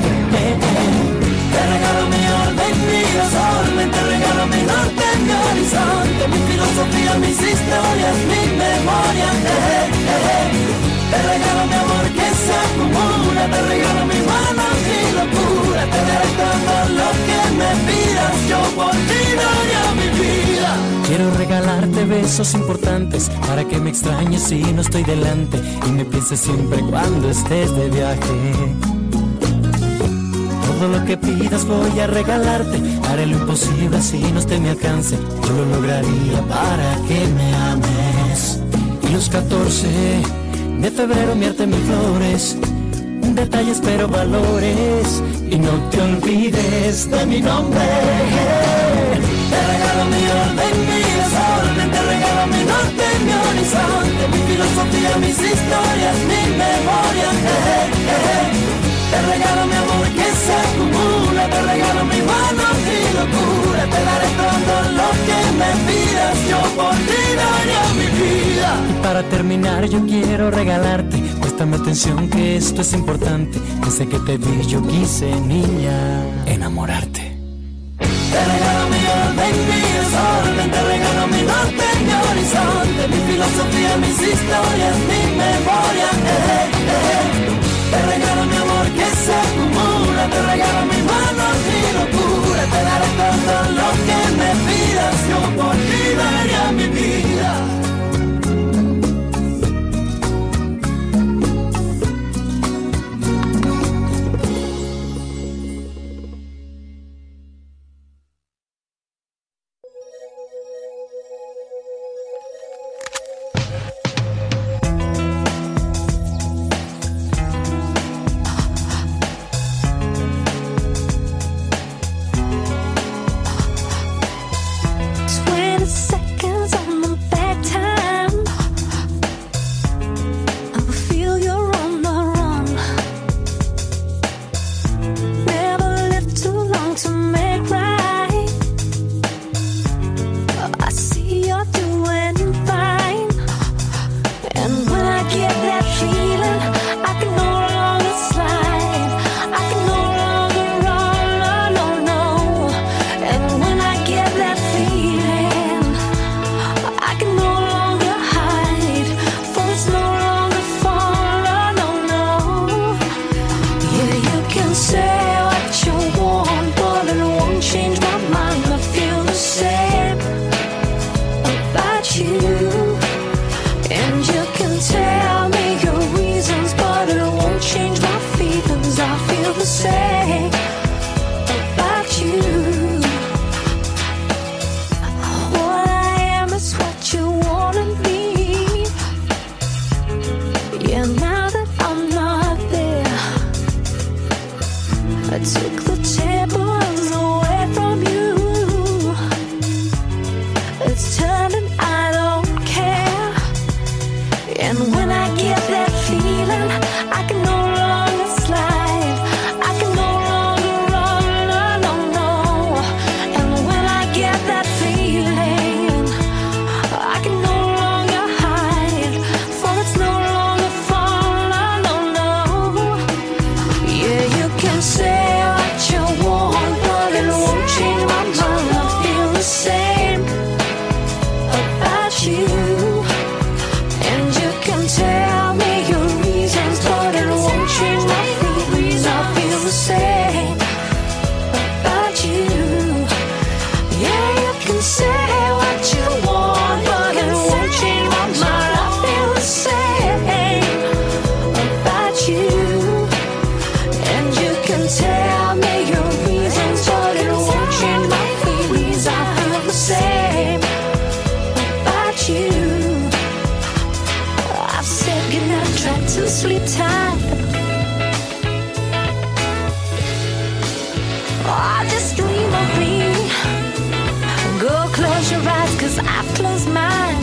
Te regalo mi orden, mi sol, te regalo mi norte, mi horizonte, mi filosofía, mis historias, mi memoria. Te regalo mi amor que se acumula, te regalo mi mano, mi locura, te daré todo lo que me pidas, yo por ti daría mi vida. Quiero regalarte besos importantes para que me extrañes si no estoy delante y me pienses siempre cuando estés de viaje. Todo lo que pidas voy a regalarte, haré lo imposible si no esté a mi alcance, yo lo lograría para que me ames. Y los 14 de febrero enviarte 1000 flores, detalles pero valores, y no te olvides de mi nombre. Te regalo mi orden, mi desorden, te regalo mi norte, mi horizonte, mi filosofía, mis historias, mi memoria. Te regalo mi amor que se acumula, te regalo mi mano, mi locura, te daré todo lo que me pidas, yo por ti daría mi vida. Y para terminar yo quiero regalarte, préstame atención que esto es importante, desde que te vi yo quise, niña, enamorarte. Te regalo mi orden, mi desorden, te regalo mi norte, mi horizonte, mi filosofía, mis historias, mi memoria. Te regalo mi amor que se acumula, te regalo mi mano, mi locura, te daré todo lo que me pidas, yo por ti daría mi vida. Say what you want, but it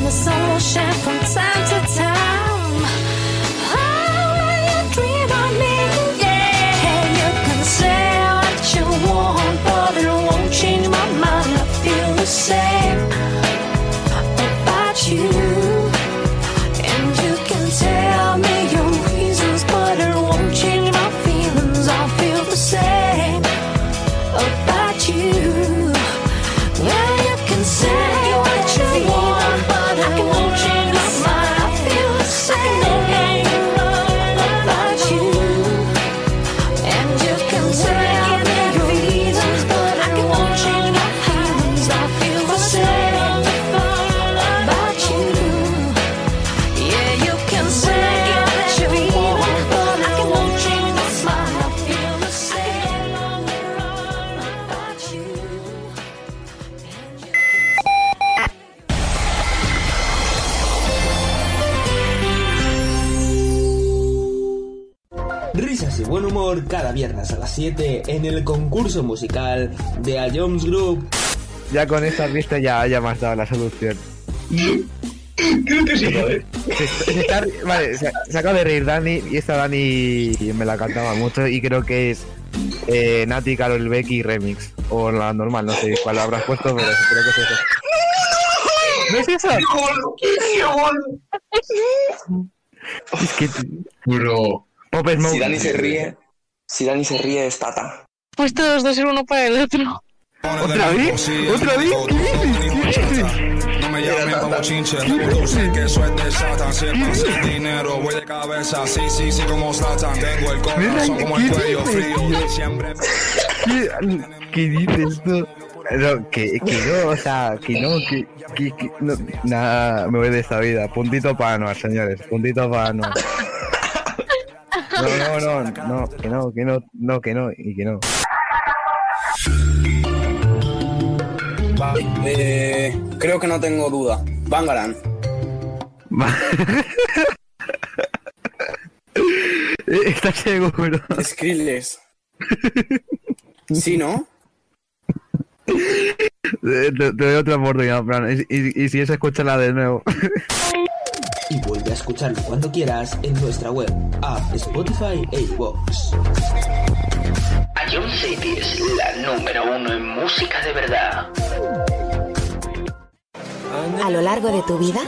the sun will shine from time to time. Oh, when you dream of me, yeah. You can say what you want, but it won't change my mind. I feel the same about you. And you can tell me your reasons, but it won't change my feelings. I feel the same about you. Well, you can say what you want, but I won't change my mind. I feel the same about you. And you can tell me your reasons, but I won't change my feelings. I feel the same about you. Yeah, you can say what you want, but I won't change my mind. I feel the same about you. Risas y buen humor cada viernes a las 7 en el concurso musical de A Jones Group. Ya con esta pista ya me has dado la solución. Creo que sí, ¿vale? Vale, se acaba de reír Dani, y esta Dani me la cantaba mucho y creo que es Nati, Karol Becky Remix. O la normal, no sé cuál habrás puesto, pero creo que es eso. ¿No es eso? Es que... Bro. Pop Smoke. Si Dani se ríe es Tata. Pues todos dos ser uno para el otro. ¿Otra vez? ¿Otra vez? ¿Qué dices? No me llamen como chinche, tú sé que eso es de Satan. Si es más el dinero, voy de cabeza, sí, como Zlatan. Tengo el corazón como el cuello frío, siempre. ¿Qué dices tú? No, que no, o sea, que no, no, nada, me voy de esta vida. Puntito para Anuar, señores, puntito para Anuar. No, que no, y que no. Vale, creo que no tengo duda. Bangarang. ¿Estás seguro? Skrillex. ¿Sí, no? Te doy otra oportunidad, Fran. Y si es, escúchala de nuevo. Y vuelve a escucharlo cuando quieras en nuestra web, app, Spotify e iVoox. A John City es la número 1 en música de verdad. A lo largo de tu vida,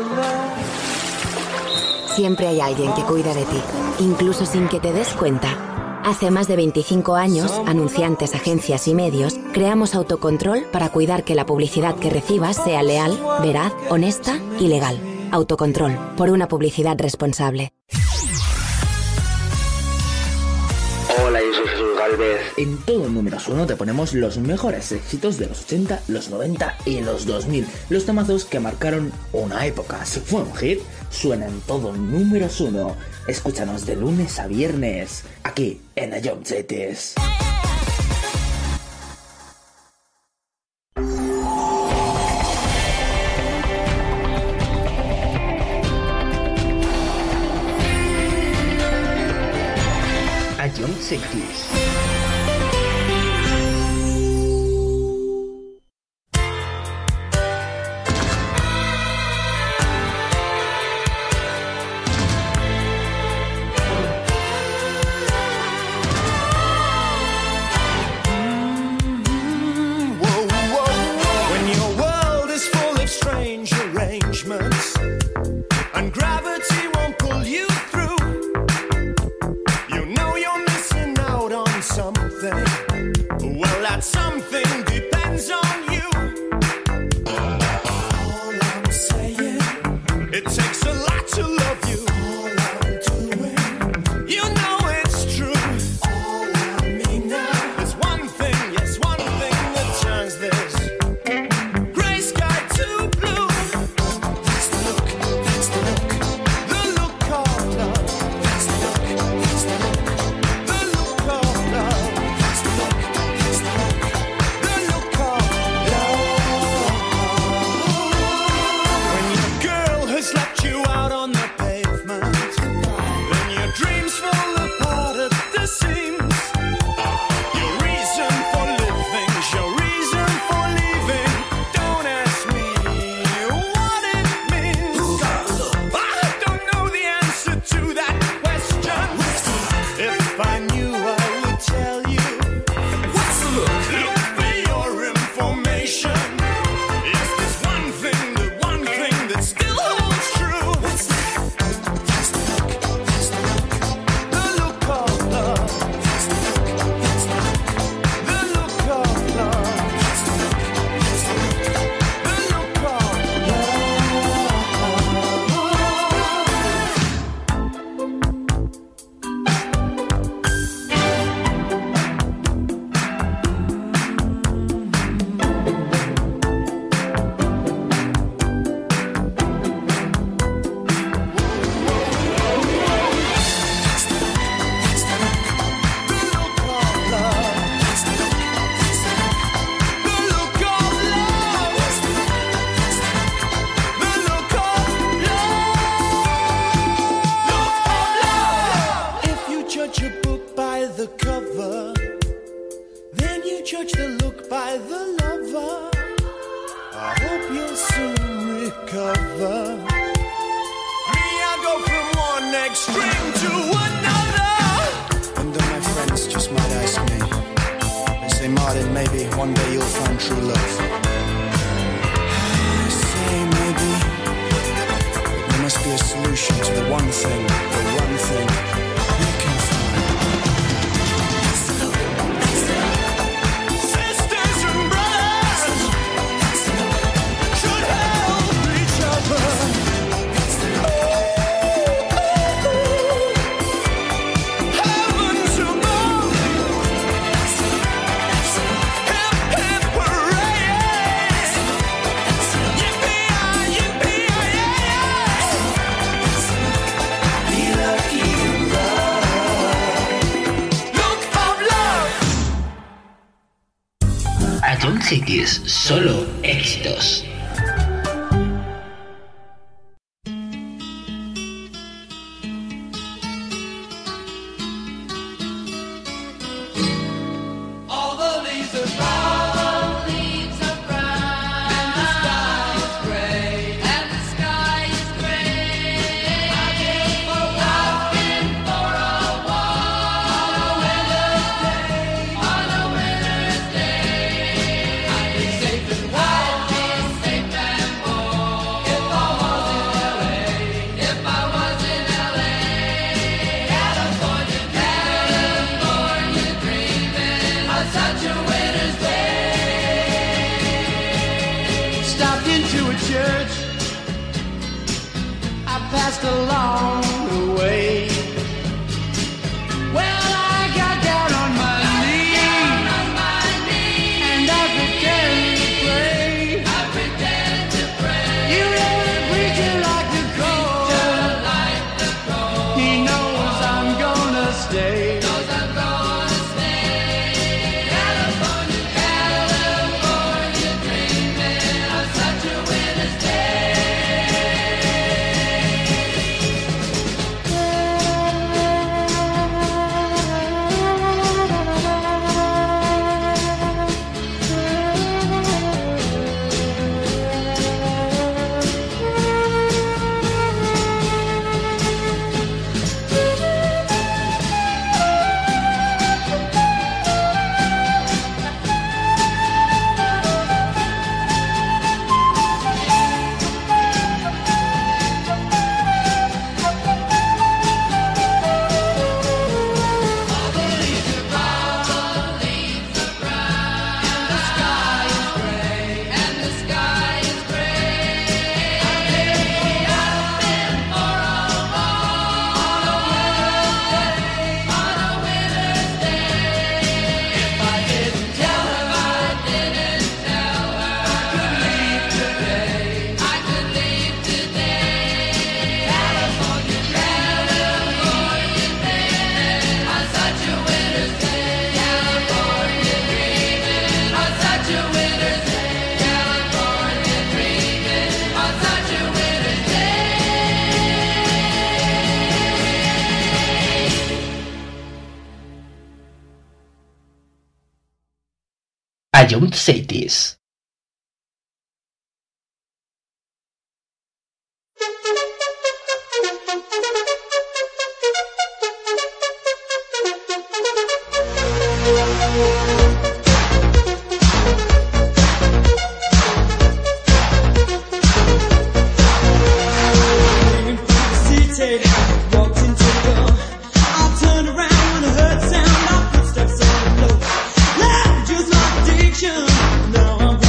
siempre hay alguien que cuida de ti, incluso sin que te des cuenta. Hace más de 25 años, anunciantes, agencias y medios, creamos Autocontrol para cuidar que la publicidad que recibas sea leal, veraz, honesta y legal. Autocontrol, por una publicidad responsable. Hola, yo soy Jesús Galvez. En todo Números 1 te ponemos los mejores éxitos de los 80, los 90 y los 2000. Los temazos que marcaron una época. Si fue un hit, suena en todo Números 1. Escúchanos de lunes a viernes, aquí en A Job Cities. A Job Cities. judge the look by the lover. I hope you'll soon recover. Me, I go from one extreme to another. And then my friends just might ask me, they say, Martin, maybe one day you'll find true love. I say maybe, but there must be a solution to the one thing we can find. Ion Cities, solo éxitos. Ion Cities. Now I'm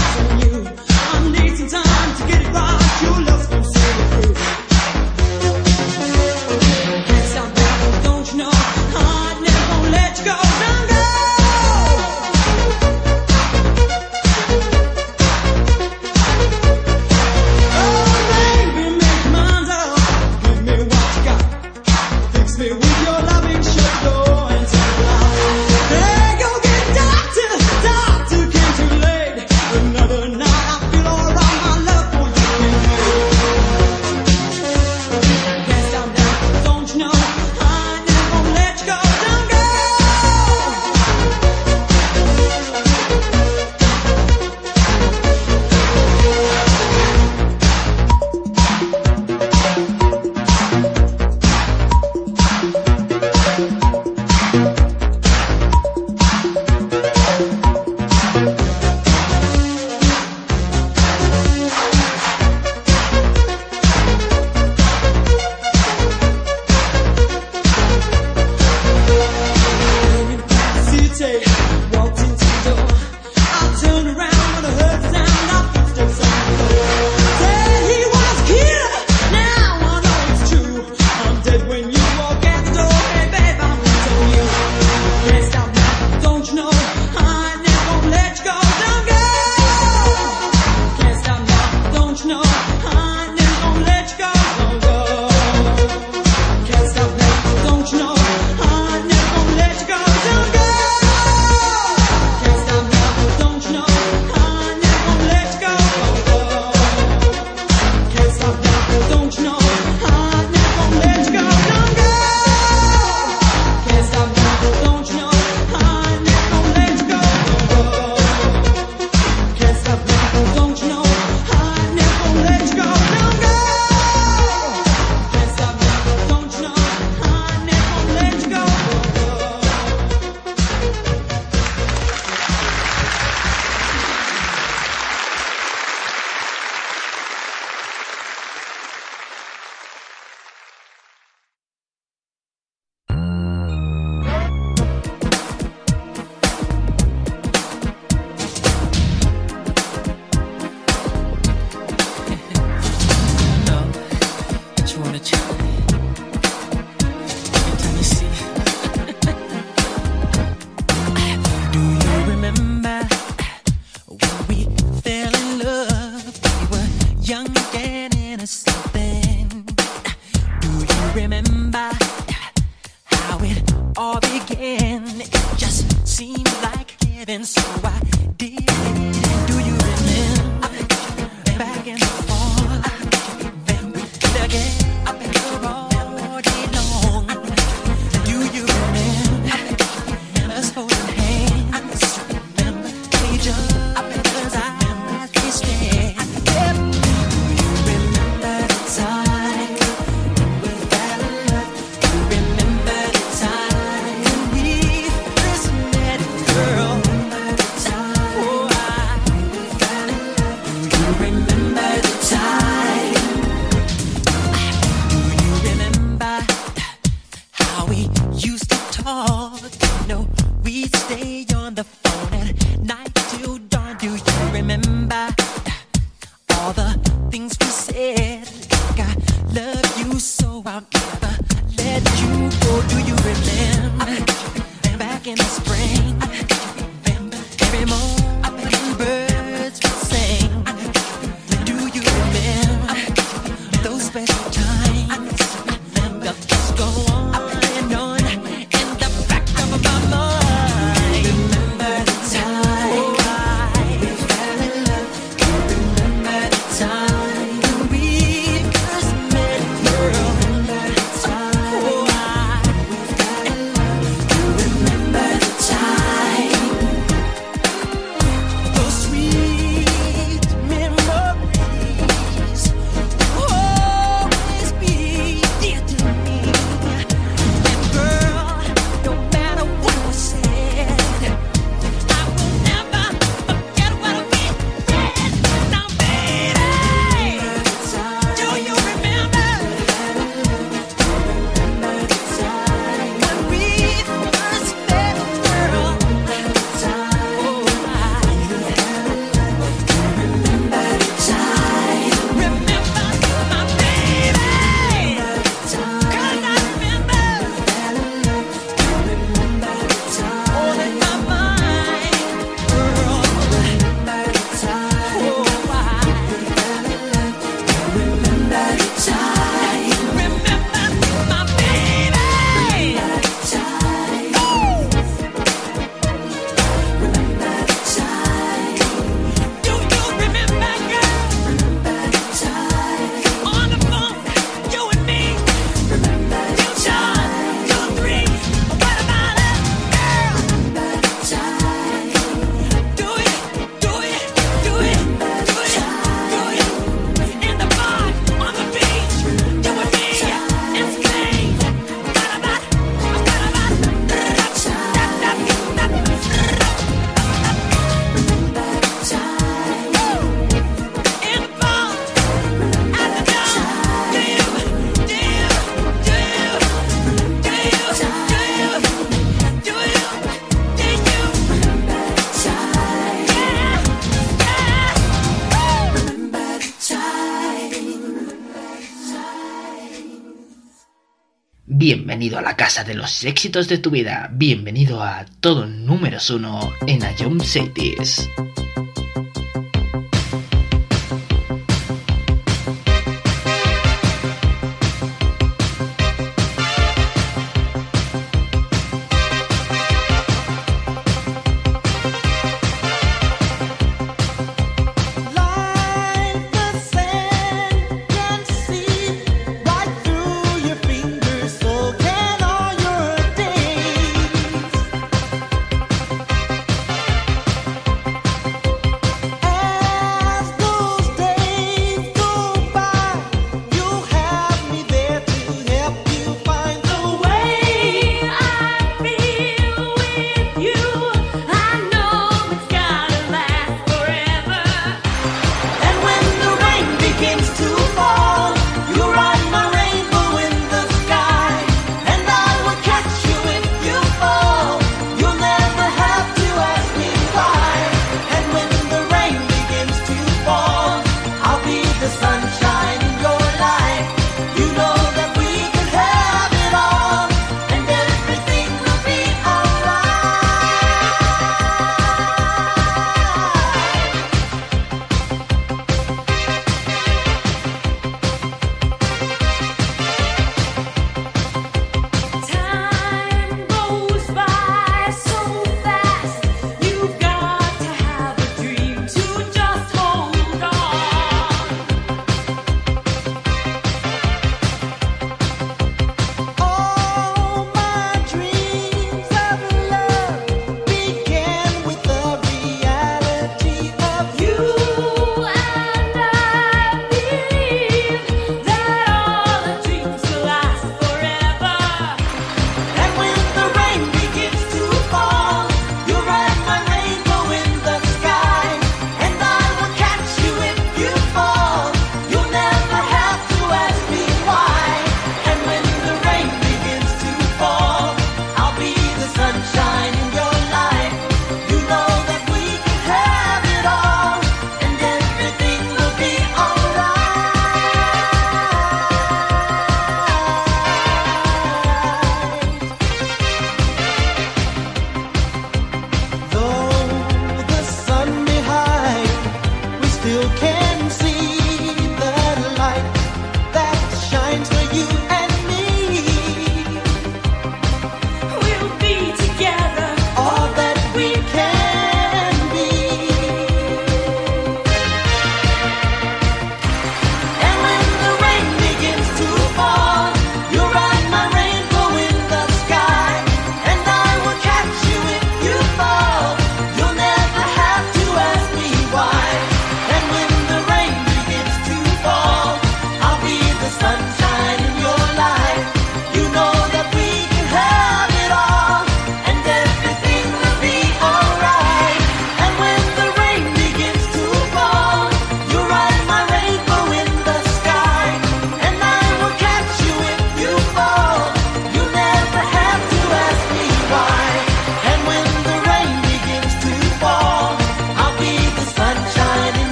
Bienvenido a la casa de los éxitos de tu vida. Bienvenido a todo números 1 en Ion Cities.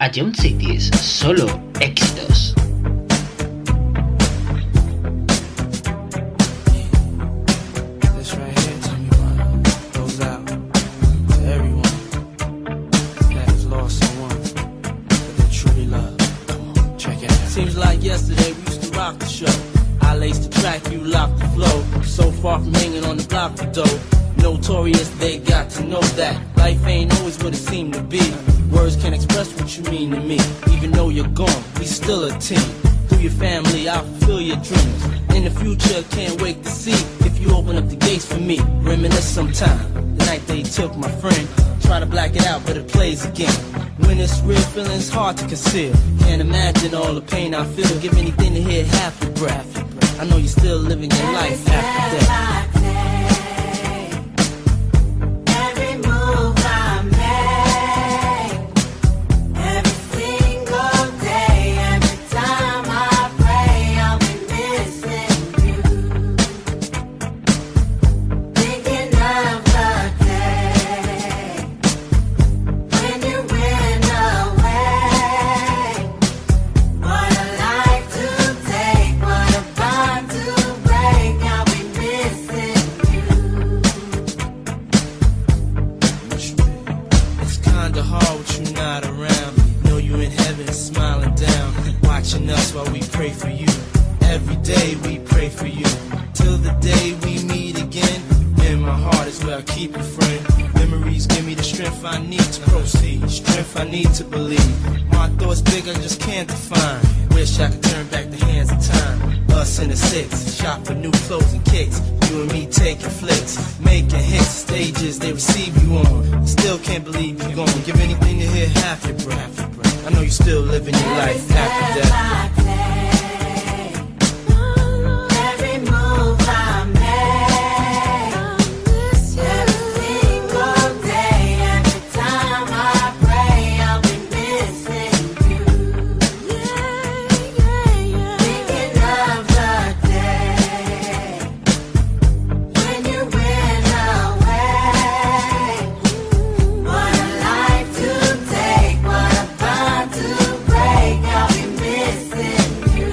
A John Cities, solo éxitos. Seems like yesterday we used to rock the show. I laced the track, you locked the flow. So far from hanging on the block for dough. Notorious, they got to know that life ain't always what it seemed to be. Words can't express what you mean to me. Even though you're gone, we still a team. Through your family, I'll fulfill your dreams. In the future, can't wait to see if you open up the gates for me. Reminisce sometime, the night they took my friend. Try to black it out, but it plays again. When it's real, feeling's hard to conceal. Can't imagine all the pain I feel. Give anything to hear half your breath. I know you're still living your life after death. Us while we pray for you. Every day we pray for you. Till the day we meet again. In my heart is where I keep you, friend. Memories give me the strength I need to proceed. Strength I need to believe. My thoughts big, I just can't define. Wish I could turn back the hands of time. Us in the six, shop for new clothes and kicks. You and me taking flicks, making hits, stages they receive you on. Still can't believe you're gone. Give anything to hear half your breath. I know you're still living your life after death. Take what a bond to break, I'll be missing you.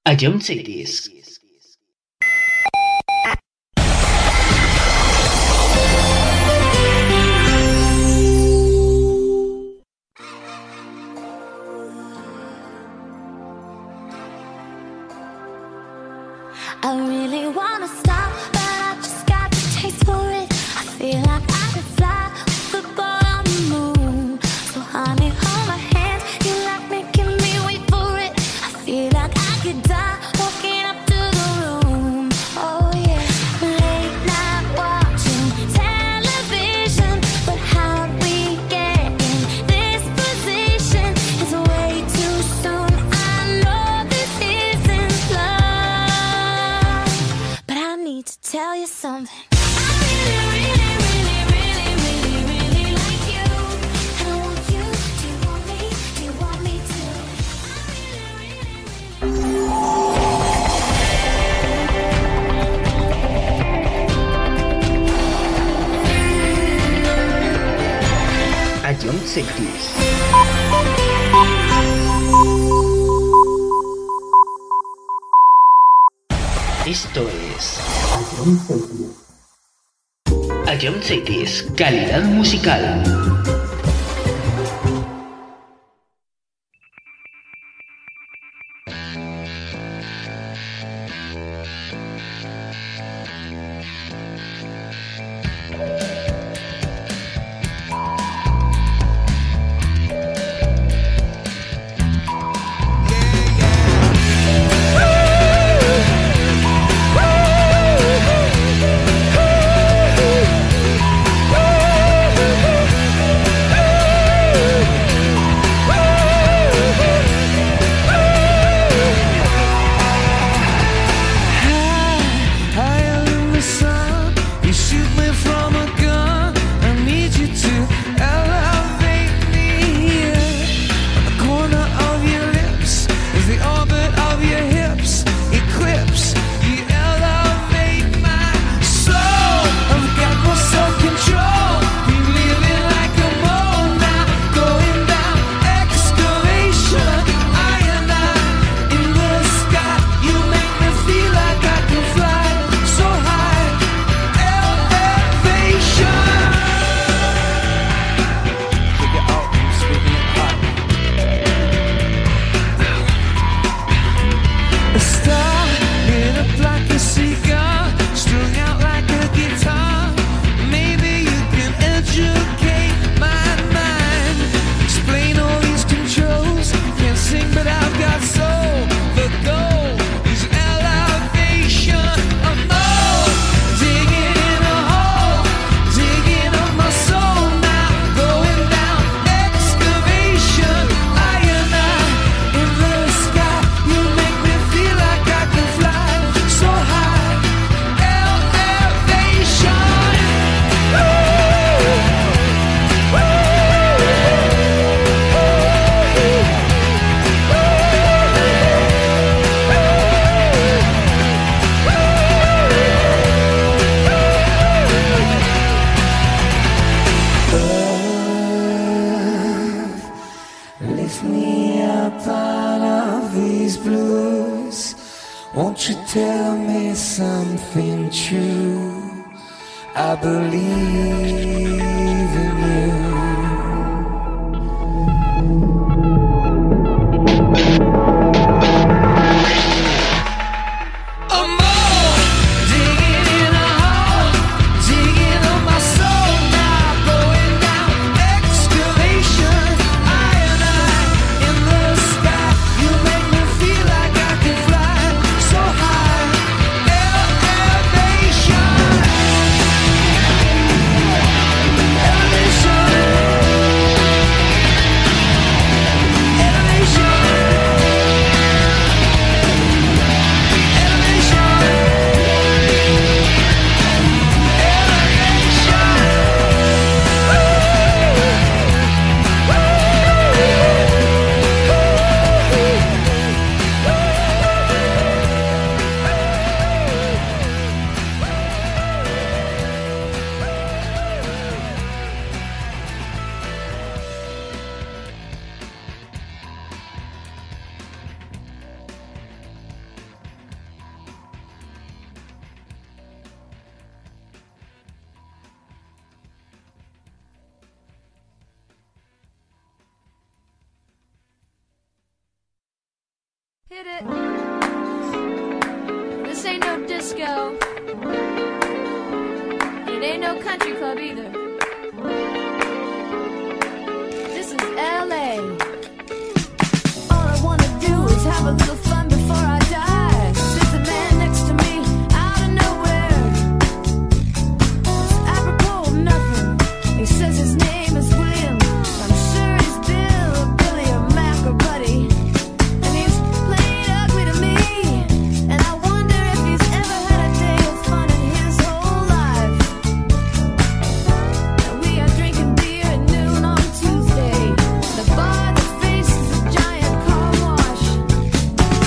A John Cities. I really wanna stop, but I just got the taste for it. I feel like I could fly with the ball on the moon. So honey, hold my hand, you like making me wait for it. I feel like I could die walking up to the room. Oh yeah, late night watching television, but how'd we get in this position? It's way too soon, I know this isn't love, but I need to tell you something. A John Cities. Esto es A John Cities, calidad musical. Won't you tell me something true? I believe in you. Elevation. get it. This ain't no disco. It ain't no country club either. This is LA. All I wanna do is have a little fun before I die. Sits a man next to me out of nowhere. It's apropos of nothing. He says his name is William. I'm sure he's Bill or Billy or Mac or Buddy. And he's played ugly to me. And I wonder if he's ever had a day of fun in his whole life. And we are drinking beer at noon on Tuesday. The bar that faces a giant car wash.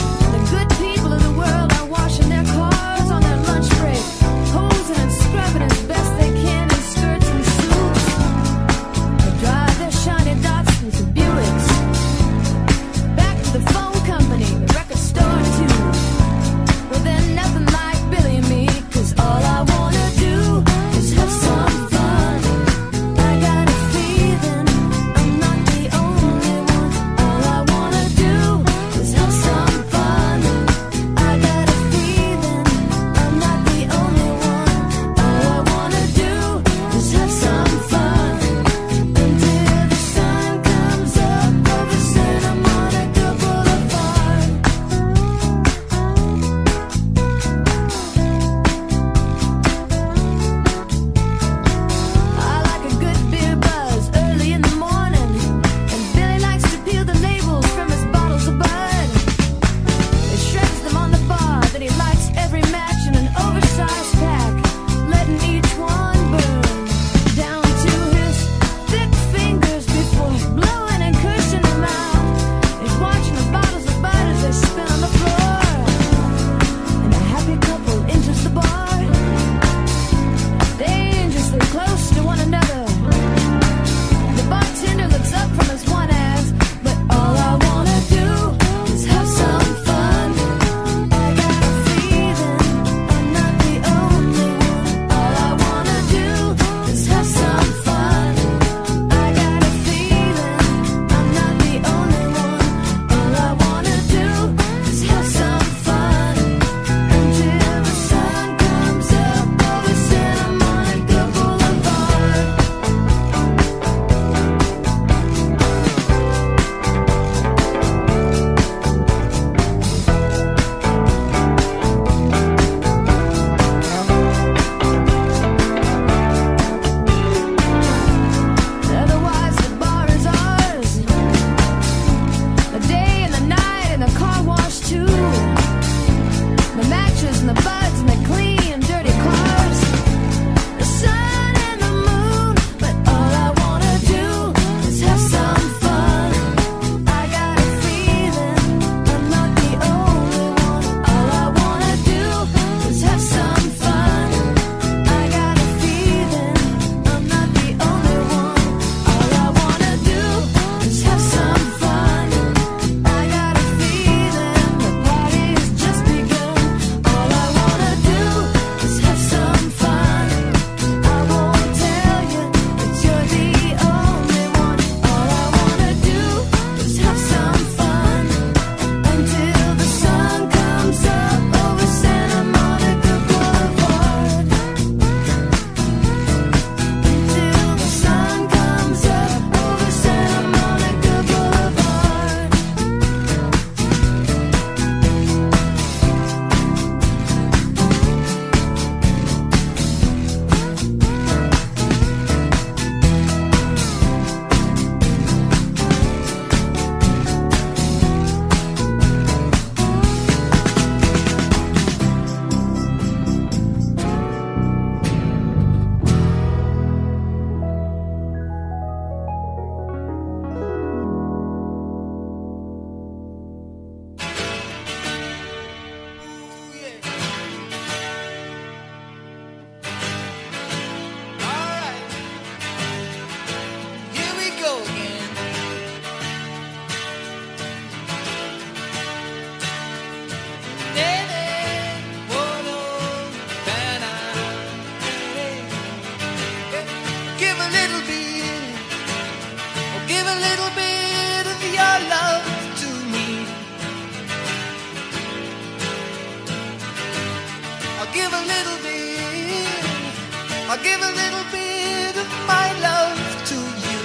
I'll give a little bit of my love to you.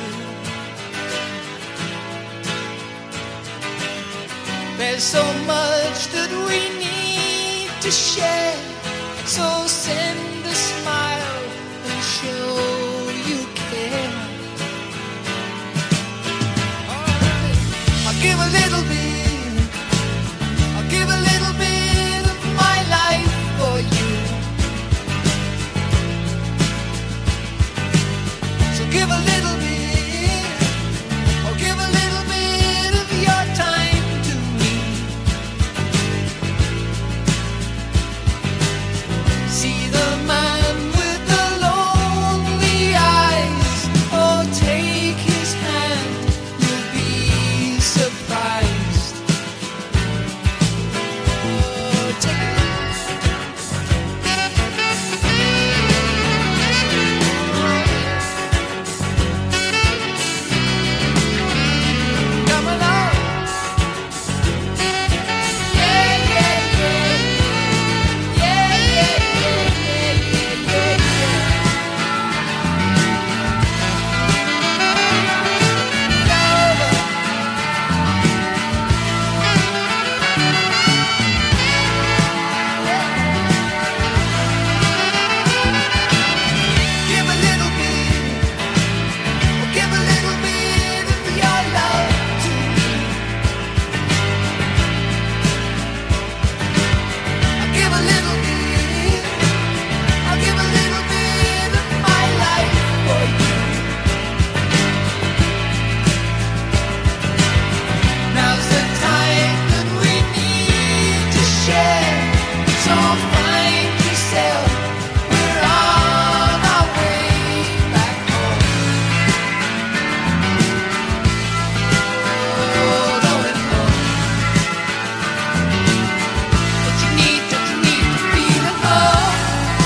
There's so much that we need to share, so send a smile and show you care. I'll give a little bit, I'll give a little bit of my life for you. So give a little bit, or give a little bit of your time to me. See the man with the lonely eyes, oh take his hand, you'll be surprised. Oh, take come along. Yeah, yeah, yeah. Yeah, yeah, yeah, yeah, yeah, give a little bit, or give a little bit of your love to me. I'll give a little bit, I'll give a little bit of my life for you. Now's the time that we need to share, so find yourself, we're on our way back home. Oh, going home. Don't you need to feel alone?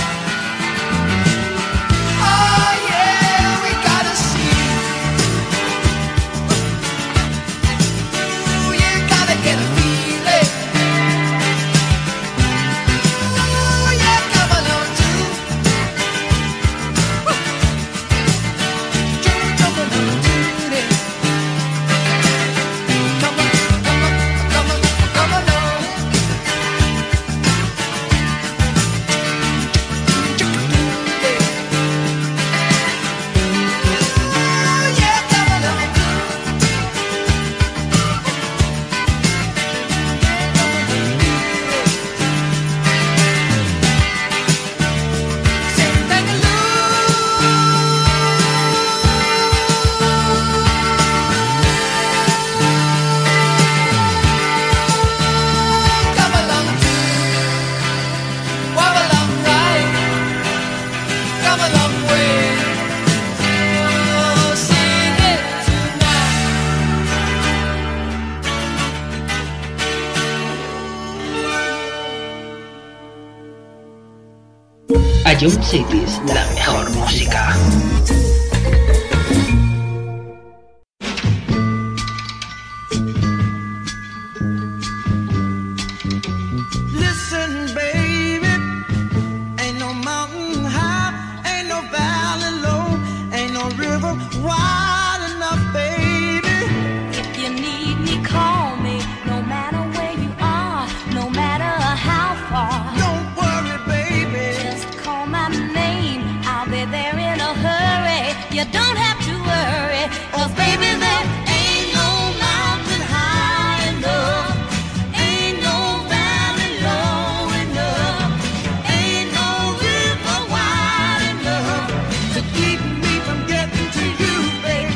Oh yeah, we gotta see. Ooh, you gotta get a feeling. Ooh, yeah, come along too. Come along too. Come on, come on, come on, come along. Ooh, yeah, come along too. Sing come along too. Walk along right. Come a long way. Oh, sing it tonight. Ion Cities, la mejor música. Listen, baby, ain't no mountain high, ain't no valley low, ain't no river wide enough, baby. If you need me, call me. No matter where you are, no matter how far. Don't worry, baby. Just call my name. I'll be there in a hurry. You don't have to worry. 'Cause baby, there ain't no mountain high enough. Ain't no valley low enough. Ain't no river wide enough To keep me from getting to you, baby.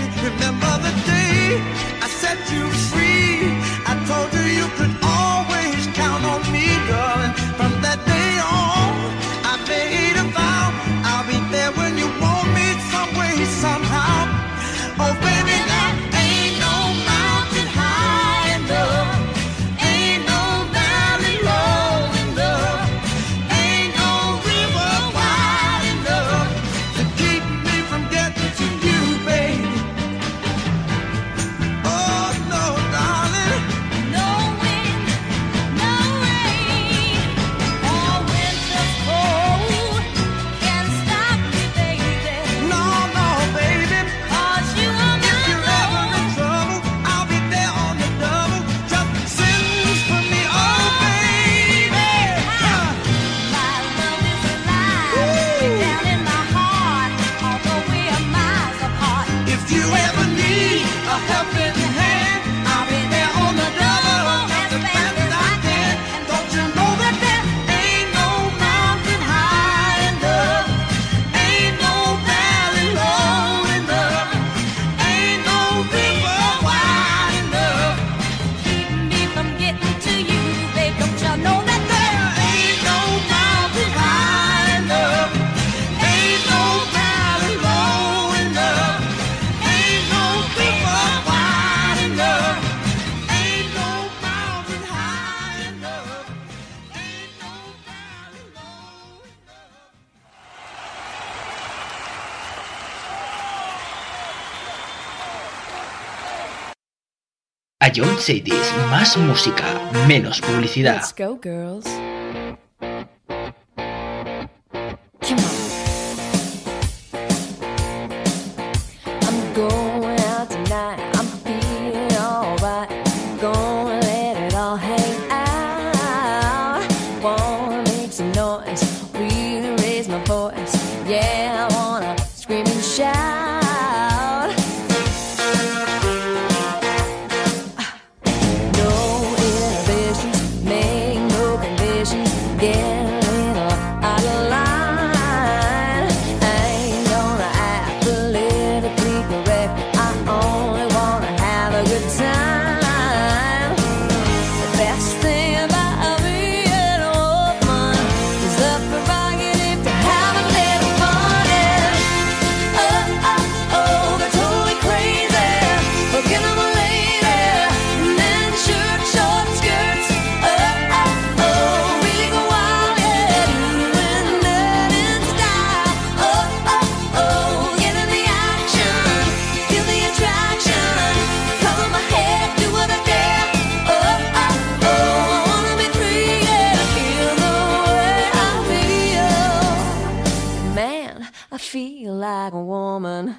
Ion Cities, más música, menos publicidad. Let's go, girls. Come on. I'm going out tonight. I'm feeling alright. Gonna let it all hang out. Wanna make some noise, really raise my voice. Yeah, I wanna scream and shout. Like a woman.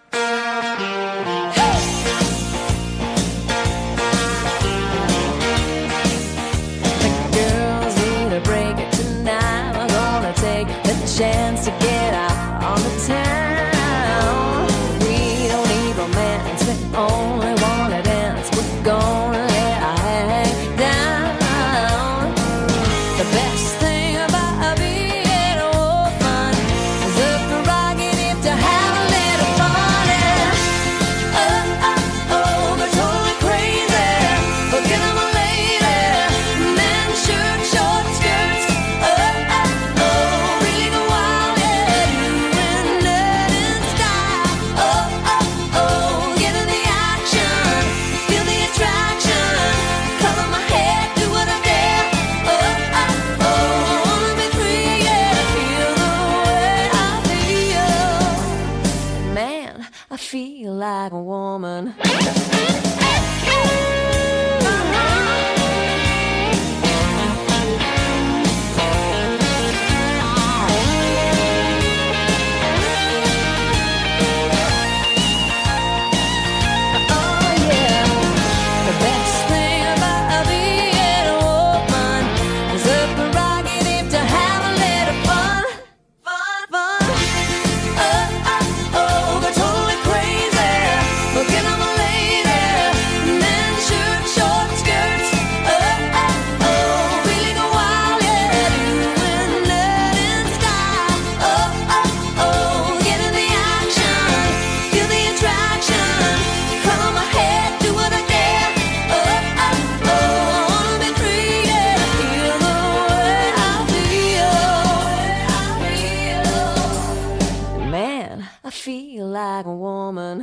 The girls need a break tonight. We're gonna take the chance to get out on the town. We don't need romance, we only wanna dance. We're gonna let our hang down. The best thing about being a woman is the prerogative to have a little fun. Oh, oh, oh, they're totally crazy. Forget I'm a lady. Men, shirt, short skirts. Oh, oh, oh, really go wild, yeah. Doing it in style. Oh, oh, oh, get in the action. Feel the attraction. Cover my head, do what I dare. Oh, oh, oh, I wanna be free, yeah. Feel the way I feel. Man, I feel like a woman. Oh yeah, the best thing about being a woman is the prerogative to have a little fun, fun, fun. Oh, oh, oh, they're totally crazy. Forget I'm a lady. Men, shirt, short skirts. Oh, oh, oh, really go wild, yeah. Doing it in style. Oh, oh, oh, get in the action. Feel the attraction. Cover my head, do what I dare. Oh, oh, oh, I wanna be free, yeah. Feel the way I feel. Man, I feel like a woman.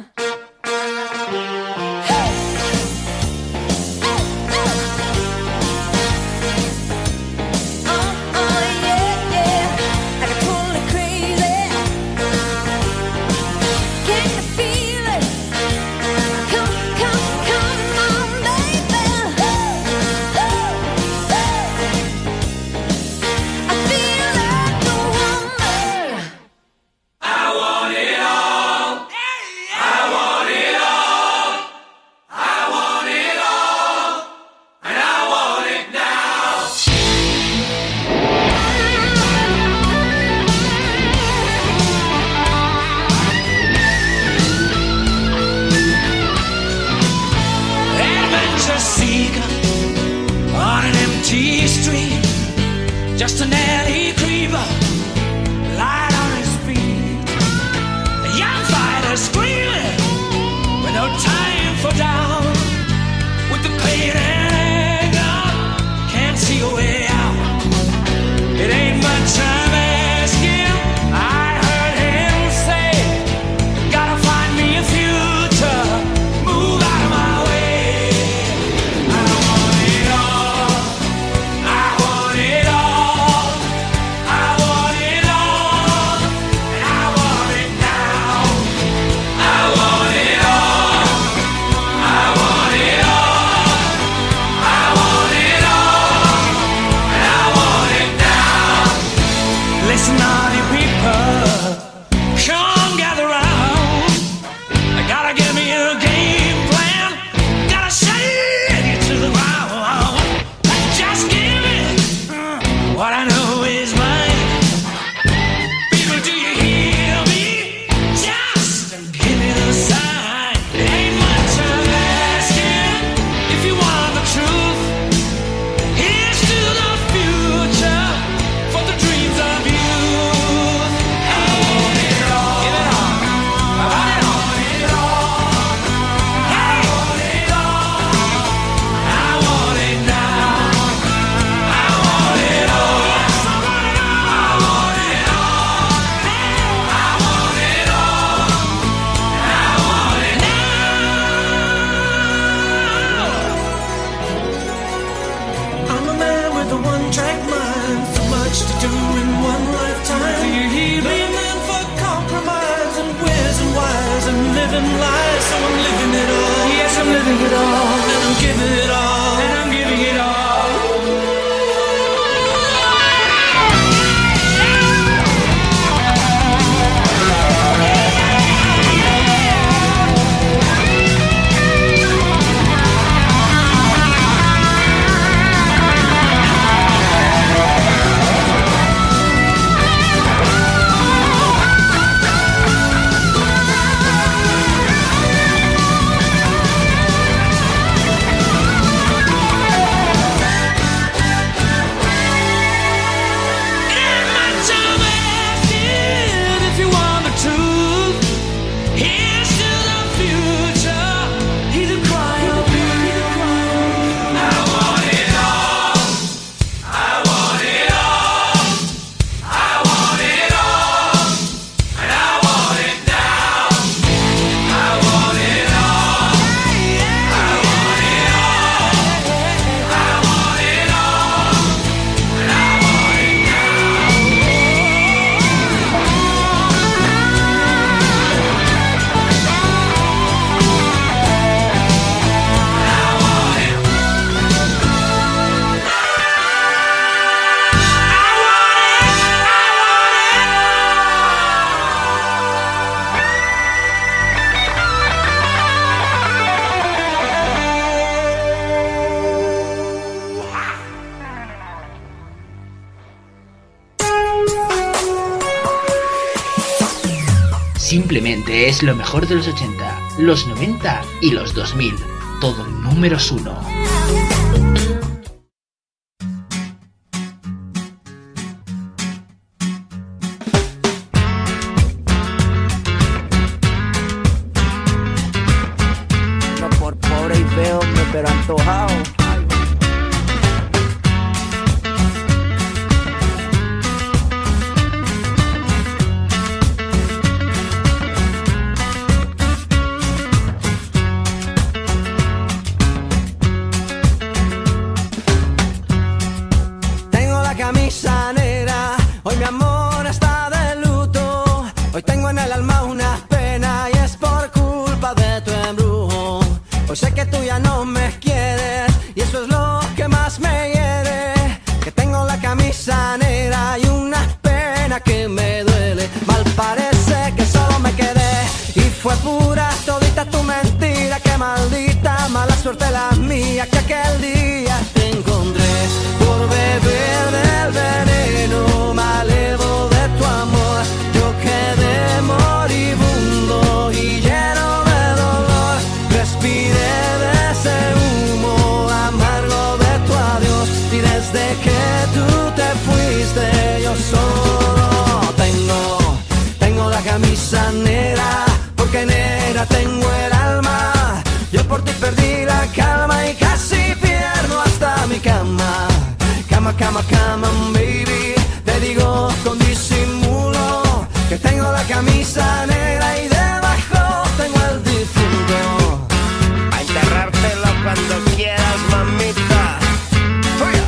Simplemente es lo mejor de los 80, los 90 y los 2000. Todo números 1. No por pobre y feo, pero antojado. Camisa negra, hoy mi amor está de luto. Hoy tengo en el alma una pena y es por culpa de tu embrujo. Hoy sé que tú ya no me quieres y eso es lo que más me hiere. Que tengo la camisa negra y una pena que me duele. Mal parece que solo me quedé y fue pura todita tu mentira. Que maldita mala suerte la mía que aquel día te encontré por beber del veneno malevo de tu amor. Yo quedé moribundo y lleno de dolor. Respiré de ese humo amargo de tu adiós y desde que tú te fuiste yo solo tengo la camisa negra, porque negra tengo el alma. Yo por ti perdí la calma y casi pierdo hasta mi cama. Cama, cama, cama, baby. Te digo con disimulo que tengo la camisa negra y debajo tengo el difunto. A enterrártelo cuando quieras, mamita. ¡Fuera!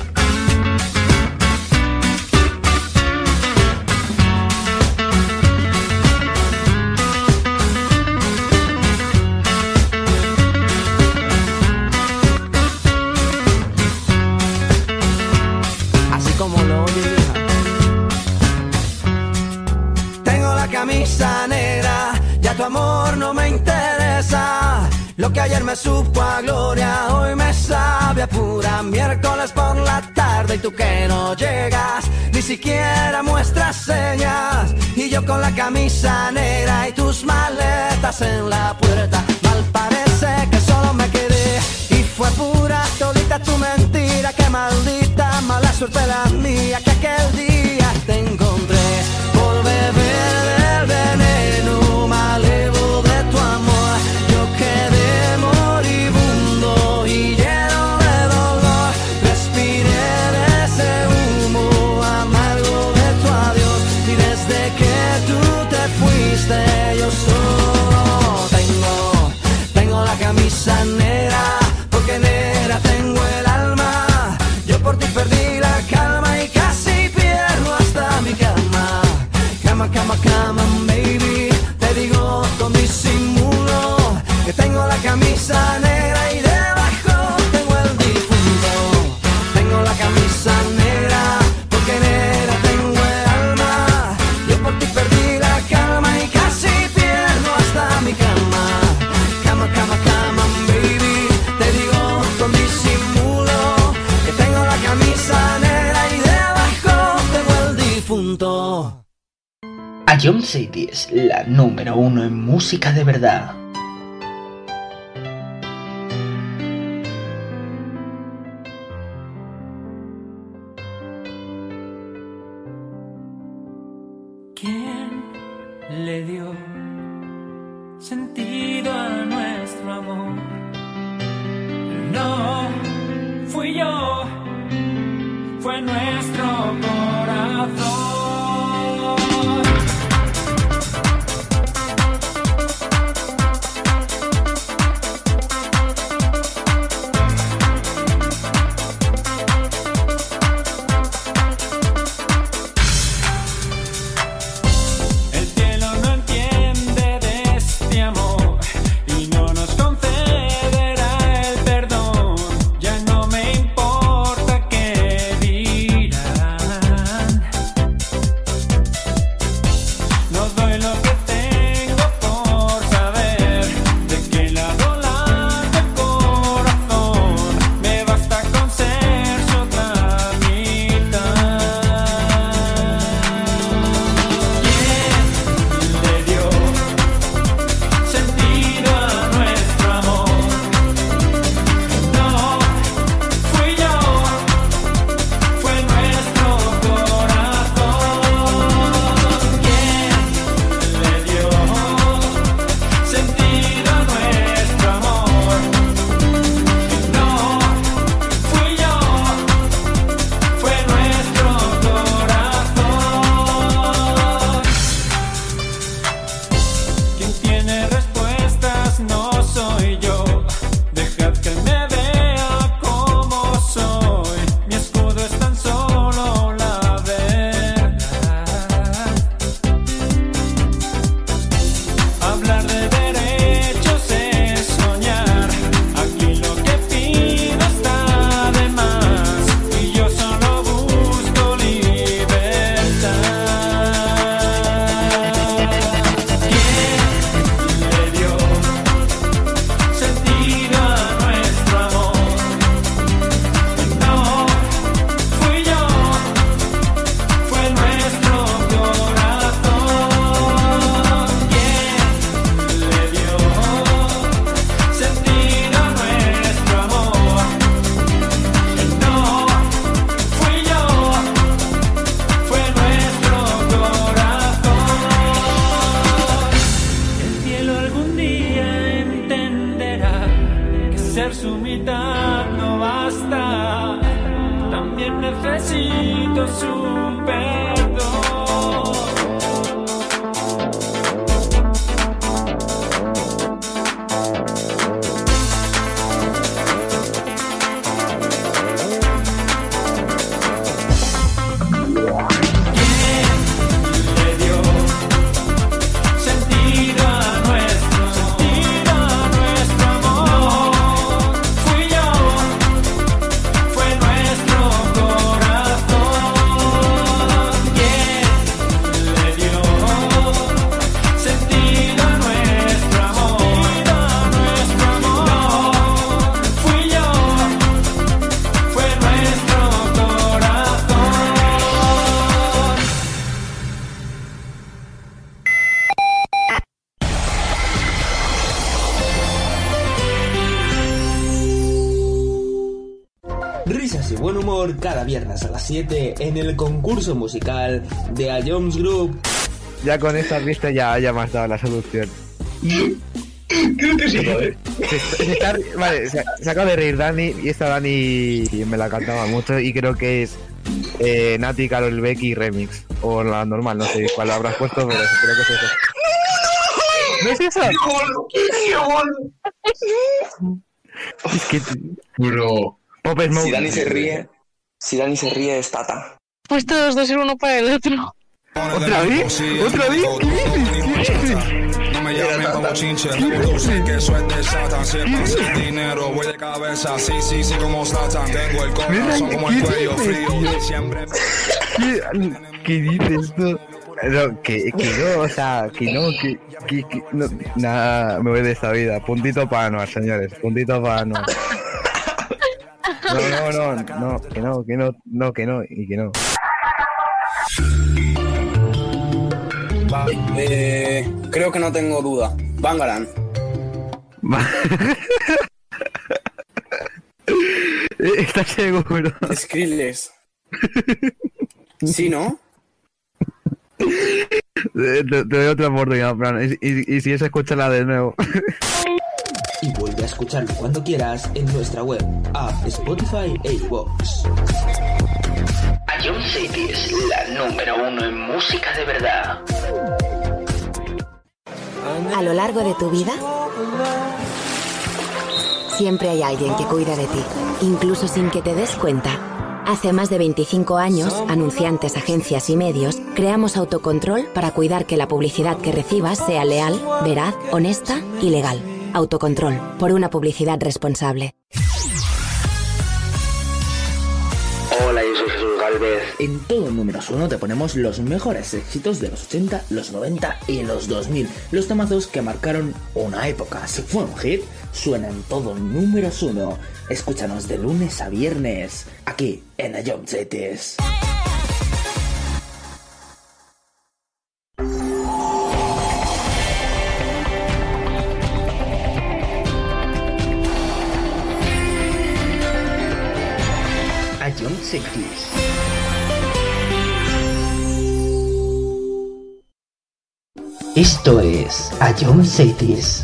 Como lo oye, tengo la camisa negra, ya tu amor no me interesa. Lo que ayer me supo a gloria, hoy me sabe a pura miércoles por la tarde. Y tú que no llegas, ni siquiera muestras señas. Y yo con la camisa negra y tus maletas en la puerta. Mal parece que solo me quedé y fue pura todita tu mentira. Que maldita mala suerte la mía que aquel día te encontré por beber del veneno malevo de tu amor. Yo quedé moribundo y lleno de dolor. Respiré de ese humo amargo de tu adiós y desde que tú te fuiste yo solo tengo la camisa negra, porque negra tengo el alma. Yo por ti perdí la calma y casi pierdo hasta mi cama. Cama, cama, cama, baby. Te digo con disimulo que tengo la camisa negra y debajo tengo el difunto. Tengo la camisa negra, porque negra tengo el alma. Yo por ti perdí la calma y casi pierdo hasta mi cama. Cama, cama, cama, baby. Te digo con disimulo que tengo la camisa negra y debajo tengo el difunto. A John City es la número 1 en música de verdad. ¿Quién le dio sentido a nuestro amor? No fui yo, fue nuestro corazón. El cielo no entiende de este amor y no nos concederá el perdón. Ya no me importa qué dirán. buen humor cada viernes a las 7 en el concurso musical de A Jones Group. Ya con esta pista ya me has dado la solución. Creo que sí, ¿no? Vale, se acaba de reír Dani, y esta Dani me la cantaba mucho y creo que es Nati, Karol Becky remix. O la normal, no sé cuál habrás puesto, pero creo que es eso. ¿No es eso? ¡Qué gol! Es que... Bro. Pop Smoke. Si Dani se ríe es Tata. Pues todos dos ser uno para el otro. ¿Otra vez? ¿Otra vez? ¿Qué dices? No me llamen como chinche, yo sé que eso es de Satan. Si es para el dinero, voy de cabeza, sí, como Satan. Tengo el corazón como el cuello frío, siempre... ¿Qué dices tú? No, que no, o sea, que no, no, nada, me voy de esta vida. Puntito para Anuar, señores, puntito para Anuar. No, que no, y que no. Creo que no tengo duda. Bangaran. ¿Estás seguro? Skrillex. ¿Sí, no? Te doy otra oportunidad, Fran. Y si es, escúchala de nuevo. Y vuelve a escucharlo cuando quieras en nuestra web, app, Spotify e iVoox. A John City es la número 1 en música de verdad. A lo largo de tu vida, siempre hay alguien que cuida de ti, incluso sin que te des cuenta. Hace más de 25 años, anunciantes, agencias y medios, creamos Autocontrol para cuidar que la publicidad que recibas sea leal, veraz, honesta y legal. Autocontrol, por una publicidad responsable. Hola, yo soy Jesús Galvez. En todo Números 1 te ponemos los mejores éxitos de los 80, los 90 y los 2000. Los temazos que marcaron una época. Si fue un hit, suena en todo Números 1. Escúchanos de lunes a viernes, aquí en A John Cities. A John Cities. Esto es A John Cities.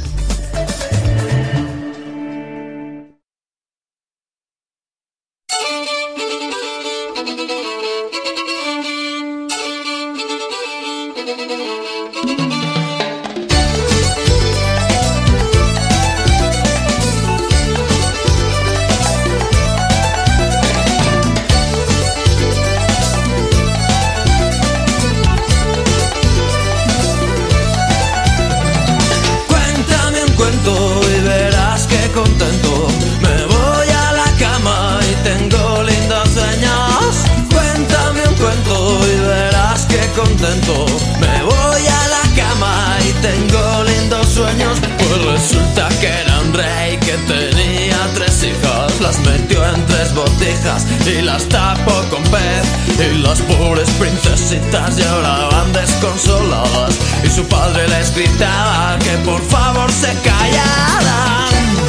Me voy a la cama y tengo lindos sueños. Pues resulta que era un rey que tenía 3 hijas. Las metió en 3 botijas y las tapó con pez. Y las pobres princesitas lloraban desconsoladas. Y su padre les gritaba que por favor se callaran.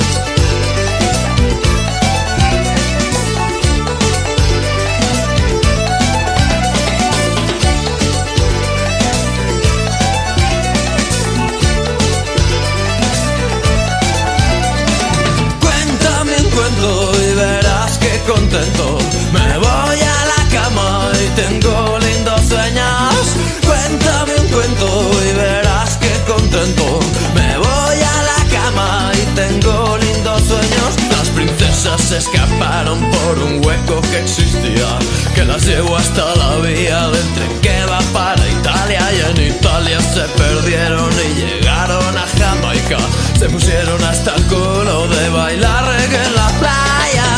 Y verás que contento. Me voy a la cama y tengo lindos sueños. Cuéntame un cuento y verás que contento. Me voy a la cama y tengo lindos sueños. Las princesas se escaparon por un hueco que existía, que las llevó hasta la vía del tren que va para Italia. Y en Italia se perdieron y llegaron a Jamaica. Se pusieron hasta el culo de bailar reggae en la playa.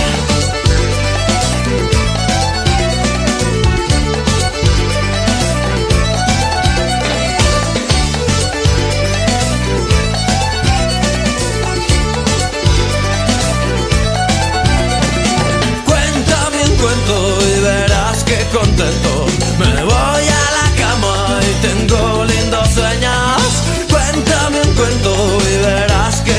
Cuéntame un cuento y verás que contento. Me voy a la cama y tengo lindos sueños. Cuéntame un cuento y verás que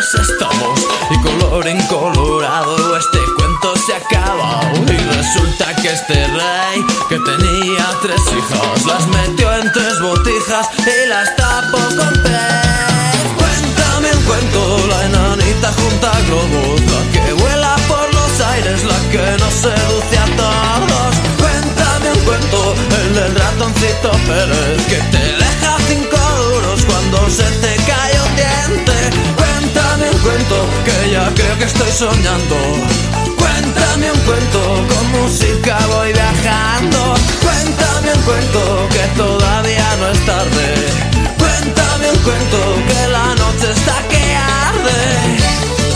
felices estamos y colorín colorado este cuento se acaba. Y resulta que este rey que tenía 3 hijas las metió en 3 botijas y las tapó con pez. Cuéntame un cuento, la enanita junta globos, la que vuela por los aires, la que nos seduce a todos. Cuéntame un cuento, el del ratoncito Pérez, que te deja 5 duros cuando se te cae un diente. Cuéntame un cuento, que ya creo que estoy soñando. Cuéntame un cuento, con música voy viajando. Cuéntame un cuento, que todavía no es tarde. Cuéntame un cuento, que la noche está que arde.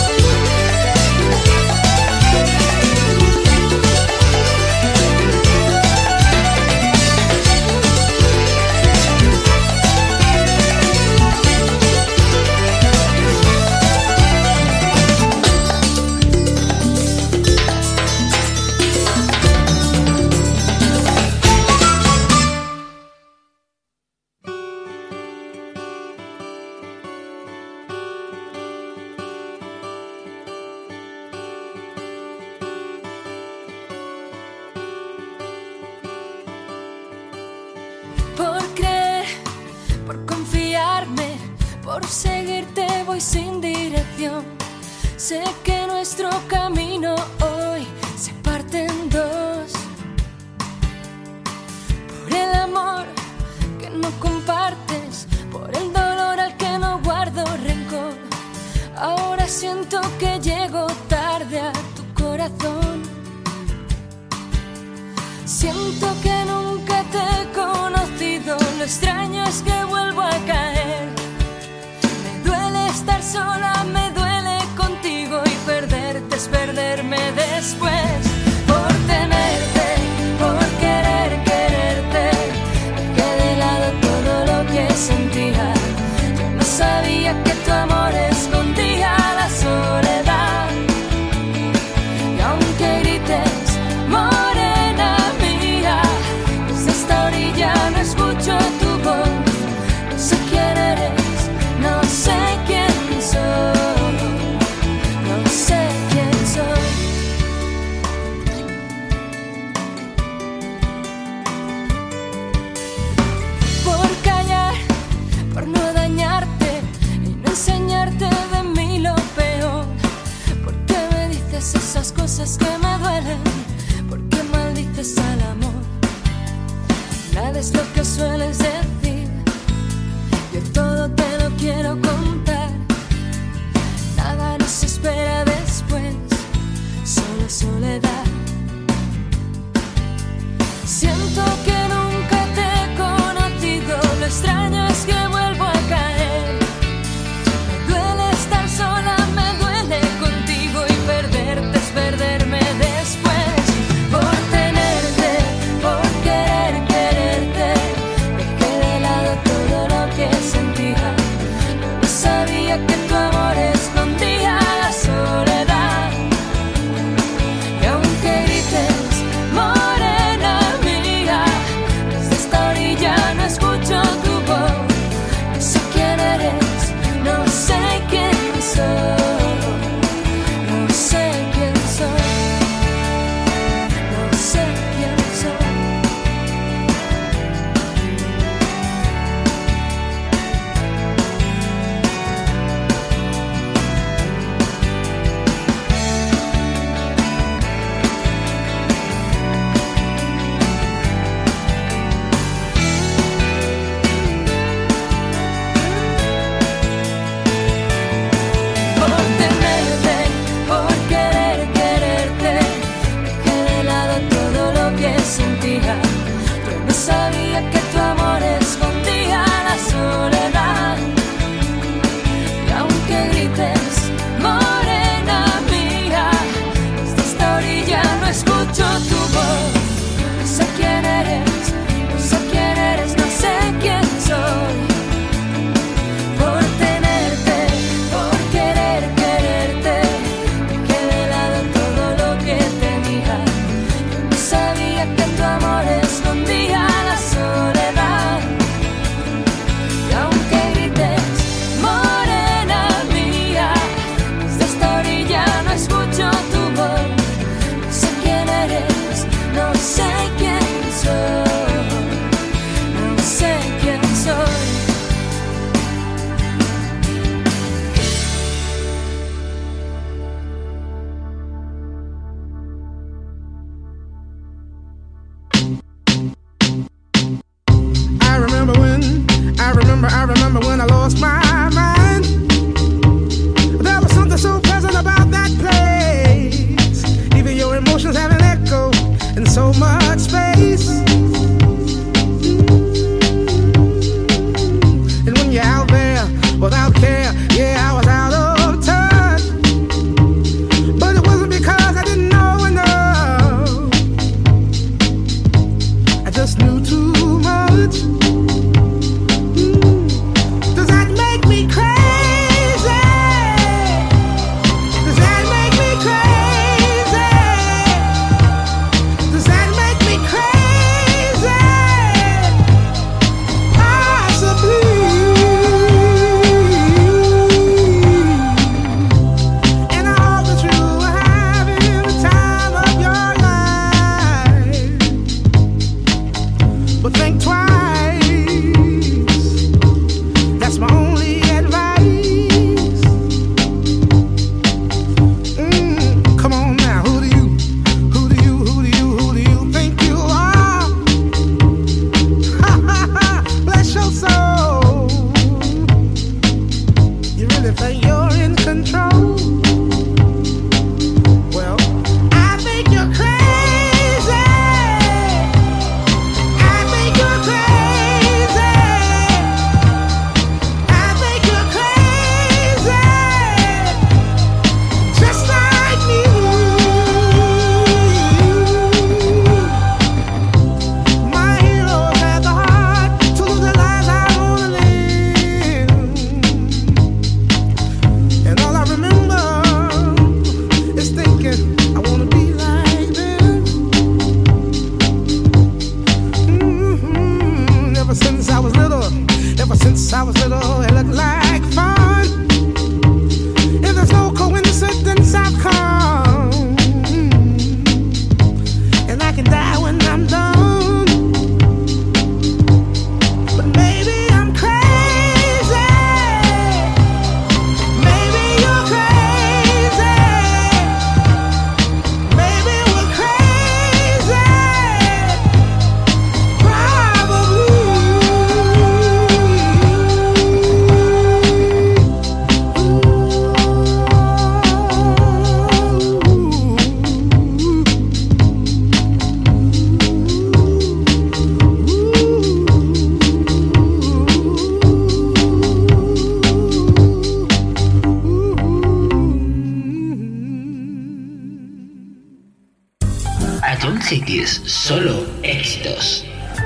Por creer, por confiarme, por seguirte voy sin dirección. Sé que nuestro camino hoy se parte en 2. Por el amor que no compartes, por el dolor al que no guardo rencor. Ahora siento que llego tarde a tu corazón. Siento que nunca te he conocido, lo extraño es que vuelvo a caer. Me duele estar sola, me duele contigo y perderte es perderme después. Por tenerte, por querer quererte, dejé de lado todo lo que sentía. Yo no sabía que tu amor escondía la soledad. Y aunque grites, morena mía, desde esta orilla no escucho tu voz. No sé quién eres, no sé quién soy. Cities, solo éxitos.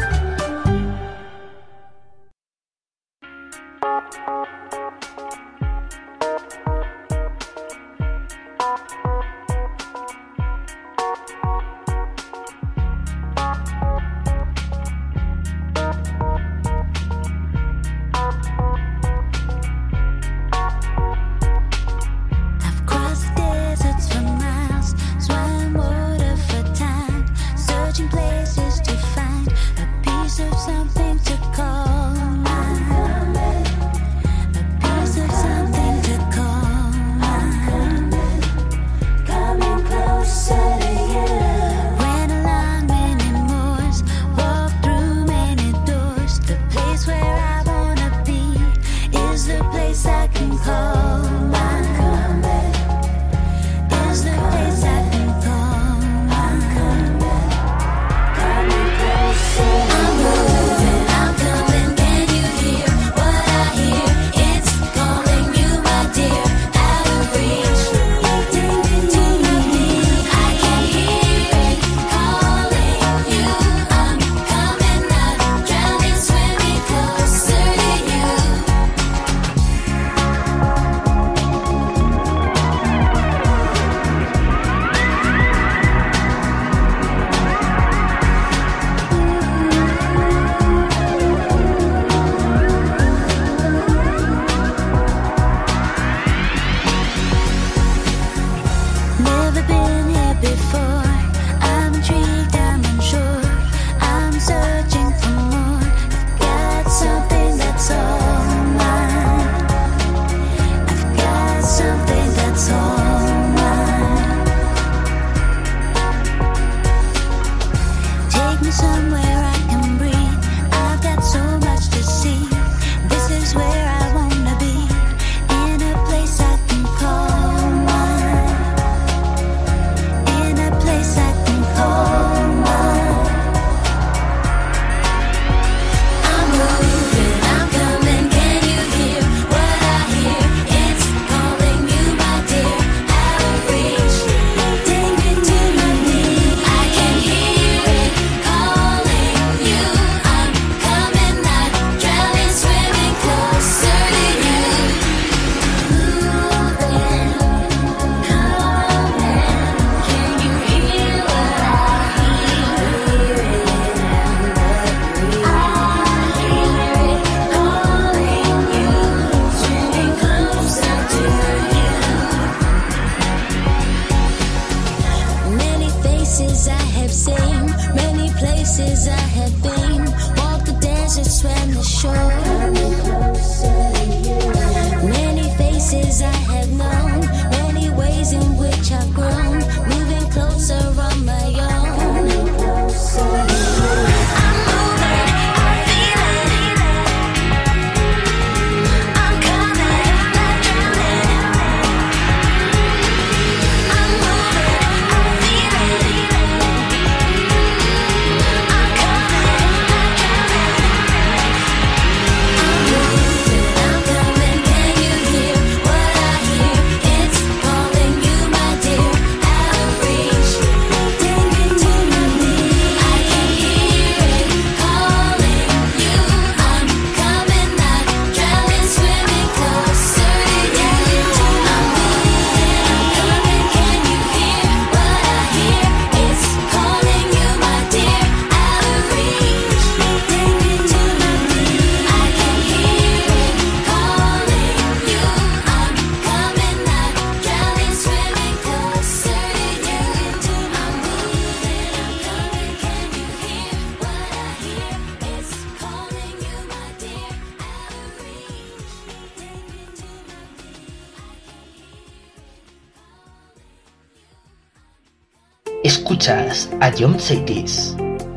Escuchas a John Cities.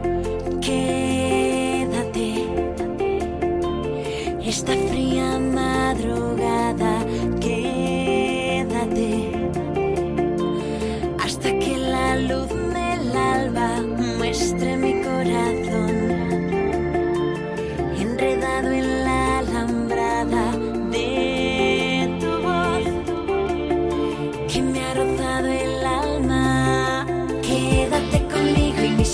Quédate esta fría madrugada, quédate hasta que la luz del alba muestre mi corazón enredado en la alambrada de tu voz que me ha rozado el alma. Quédate conmigo y mi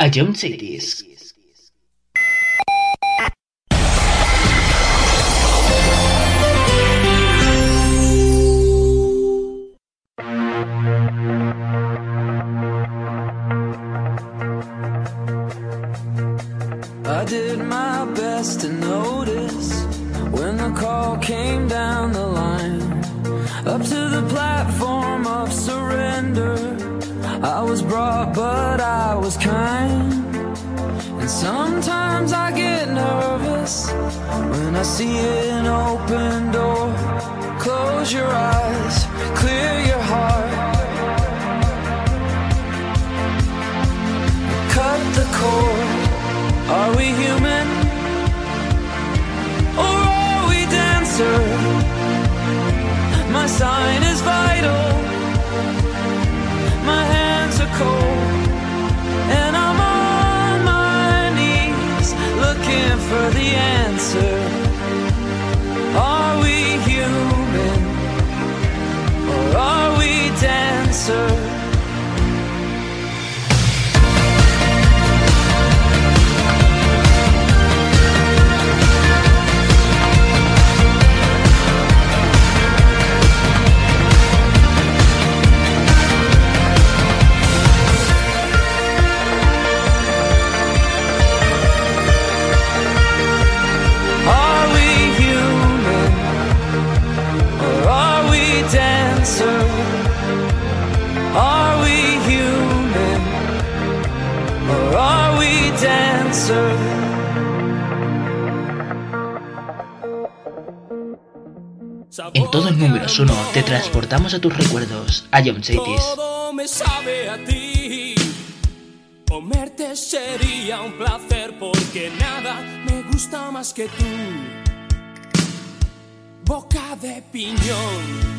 a John Cities. I did my best to notice when the call came down the line, up to the platform of surrender. I was brought, but I was kind. And sometimes I get nervous when I see an open door. Close your eyes, clear your heart, cut the cord. Are we human, or are we dancer? My sign is vital, my hands are cold, and I'm on my knees looking for the answer. Are we human, or are we dancer? Are we human, or are we dancer? En todos números 1 te transportamos a tus recuerdos, a John Cities. Todo me sabe a ti. Comerte sería un placer porque nada me gusta más que tú. Boca de piñón.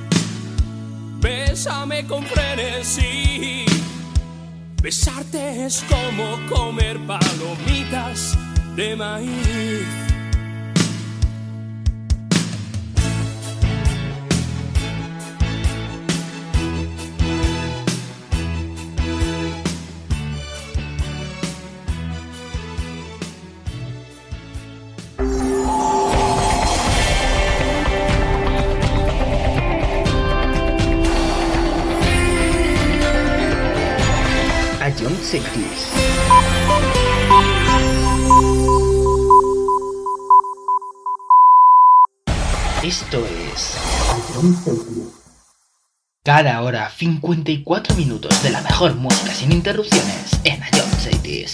Bésame con frenesí. Besarte es como comer palomitas de maíz. John Cities. Esto es cada hora 54 minutos de la mejor música sin interrupciones en John Cities.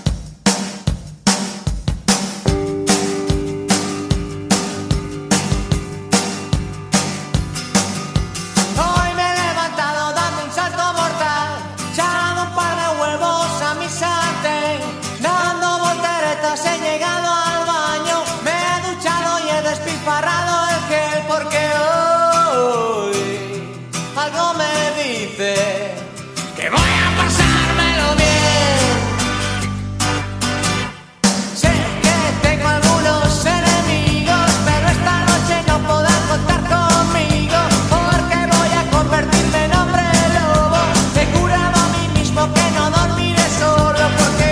He llegado al baño, me he duchado y he despilfarrado el gel porque hoy algo me dice que voy a pasármelo bien. Sé que tengo algunos enemigos, pero esta noche no podrán contar conmigo porque voy a convertirme en hombre lobo. He jurado a mí mismo que no dormiré solo porque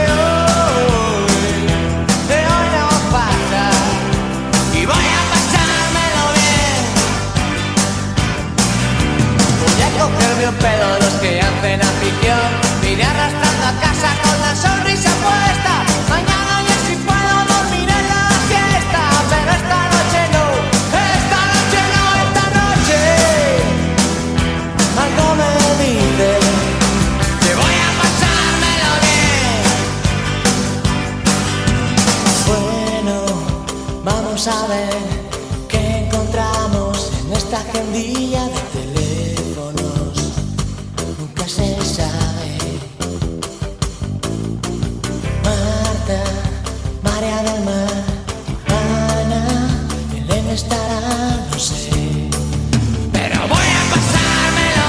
un pedo los que hacen afición. Vine arrastrando a casa con la sonrisa puesta. Mañana ya sí puedo dormir en la siesta, pero esta noche no, esta noche no, esta noche algo me dice que voy a pasármelo bien. Bueno, vamos a ver qué encontramos en esta agendilla de teléfonos. Nunca se sabe. Marta, María del Mar, Ana, Belén estará, no sé. Pero voy a pasármelo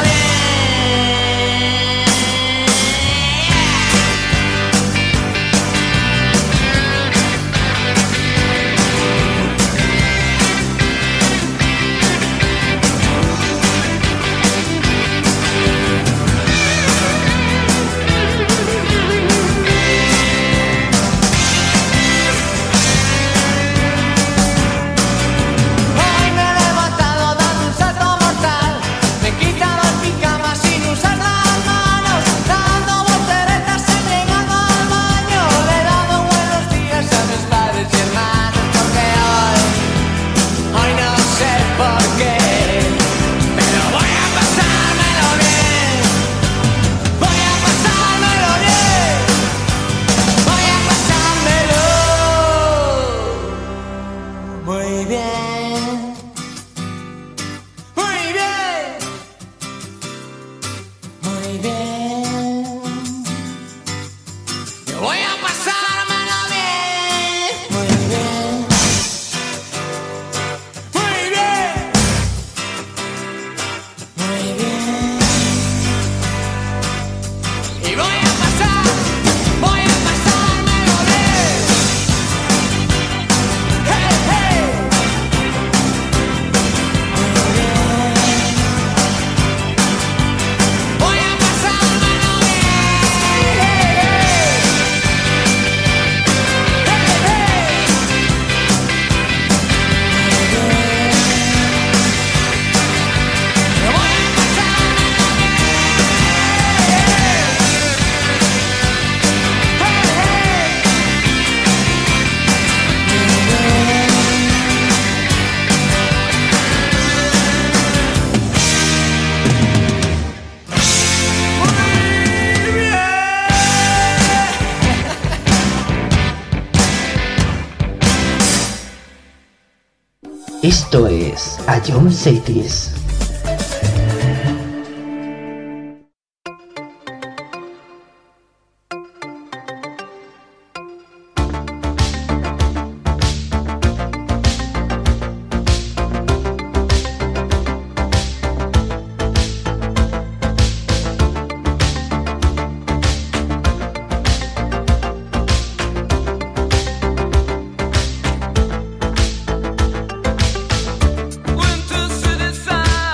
bien. Yo voy a pasármelo bien. Muy bien. Muy bien. Muy bien. Y voy a pasármelo bien. Hey, hey. Muy bien. Voy a pasármelo bien. Hey, hey. Hey, hey. Muy bien. Yo voy a pasármelo bien. Hey, hey. Muy bien. Esto es A John Cities. Went to city side.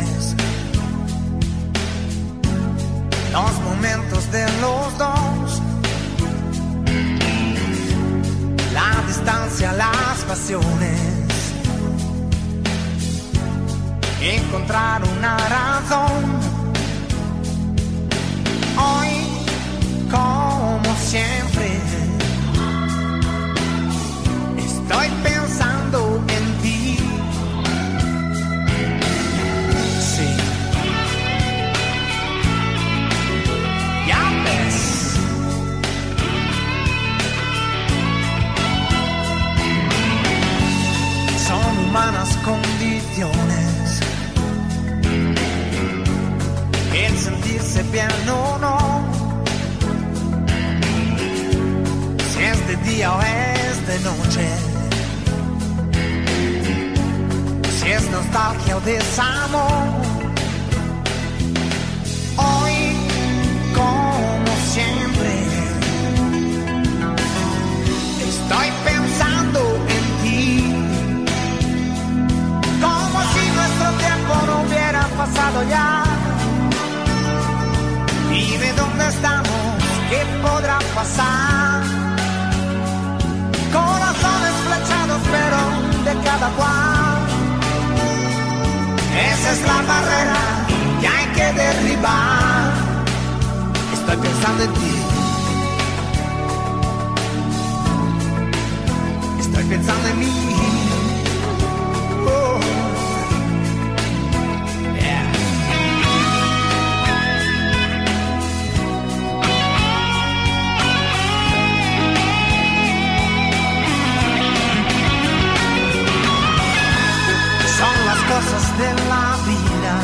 estaciones, los momentos de los dos, la distancia, las pasiones, encontrar una razón. Hoy, como siempre, estoy pensando en ti. Sí, ya ves. Son humanas condiciones, el sentirse bien o no, si es de día o es de noche, si es nostalgia o desamor. Hoy, como siempre, estoy pensando en ti, como si nuestro tiempo no hubiera pasado ya. Dime dónde estamos, qué podrá pasar. Corazones flechados, pero de cada cual. Esa es la barrera que hay que derribar. Estoy pensando en ti. Estoy pensando en mí. Oh. Cosas de la vida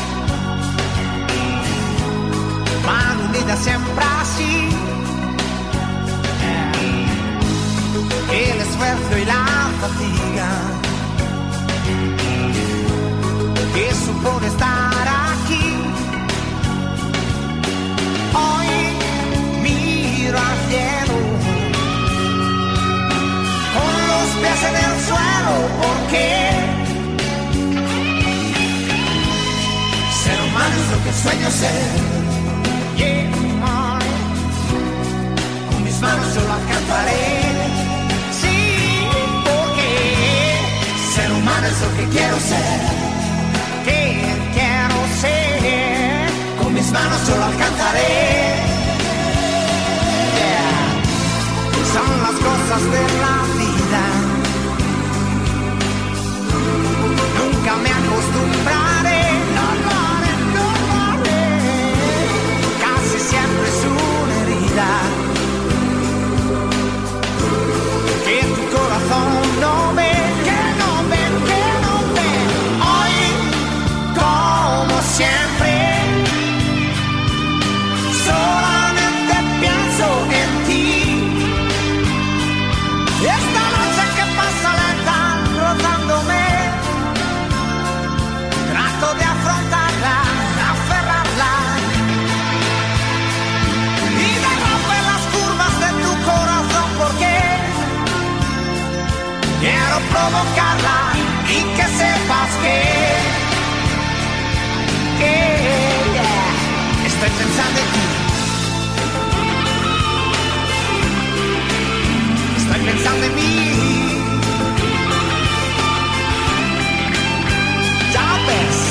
van unidas siempre así. El esfuerzo y la fatiga que supone estar aquí. Hoy miro al cielo con los pies en el suelo, porque ser humano es lo que sueño ser. Yeah. Con mis manos yo lo alcanzaré. Sí, porque ser humano es lo que quiero ser. Que quiero ser. Con mis manos yo lo alcanzaré. Yeah. Son las cosas de la vida. Nunca me acostumbraré. Siempre es una herida que tu corazón no ve, que no ve, que no ve. Hoy, como siempre, solamente pienso en ti. Esta noche que pasa lenta, rozándome, trato de afrontarla, aferrarla. Quiero provocarla y que sepas que yeah, estoy pensando en ti. Estoy pensando en mí. Ya ves.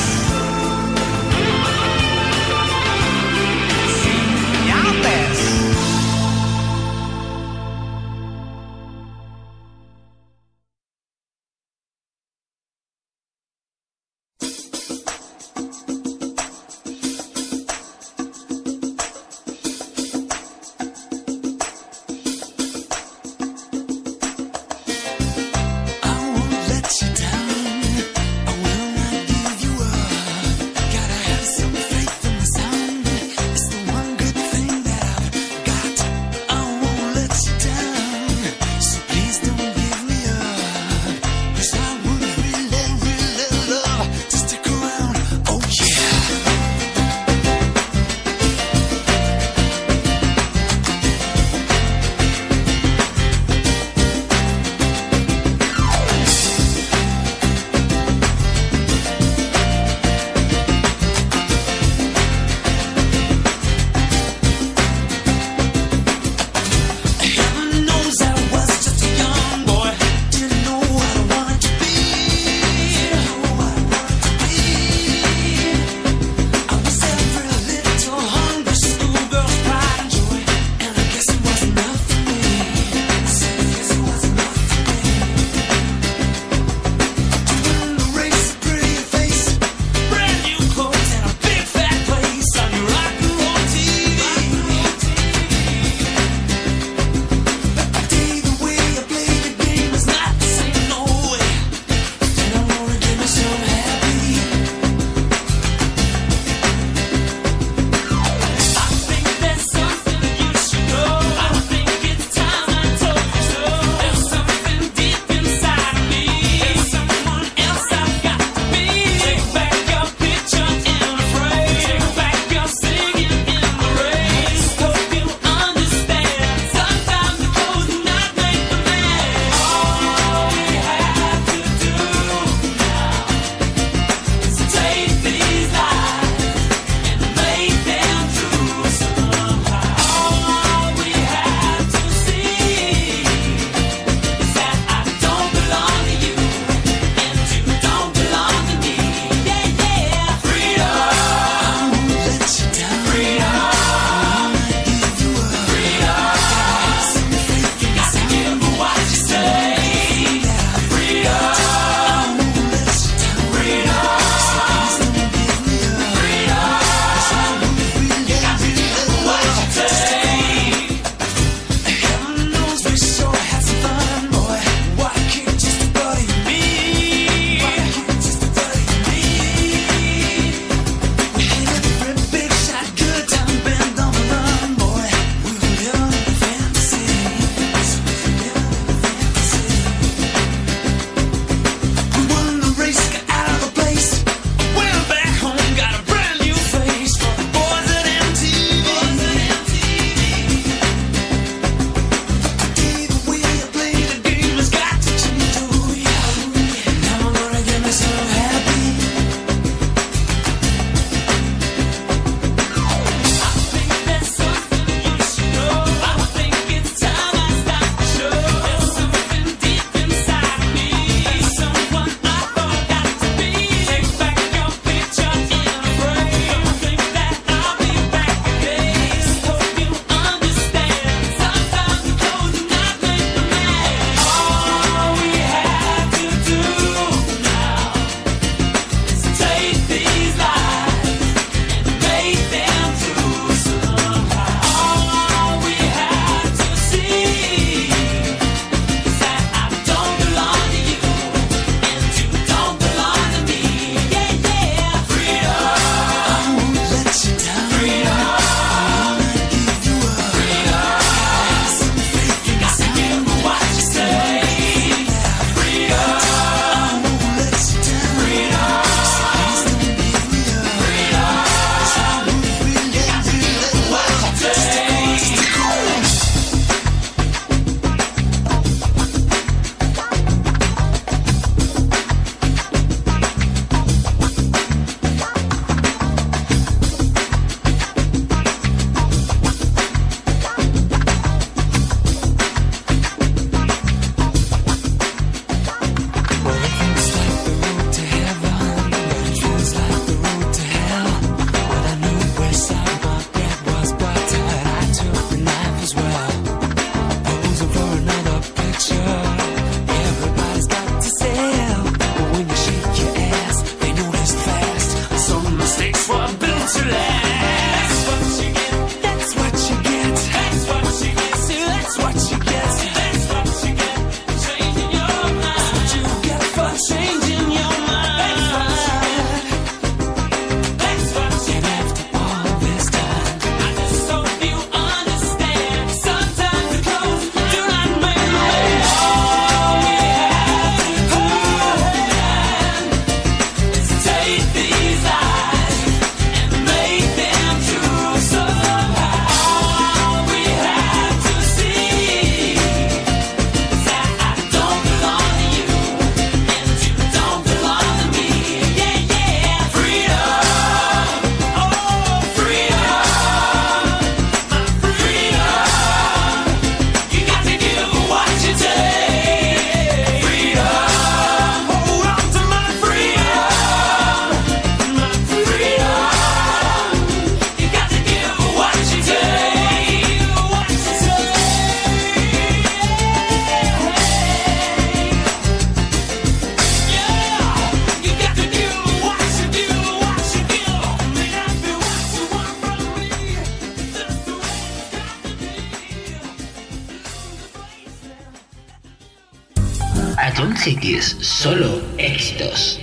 Ion Cities, solo éxitos.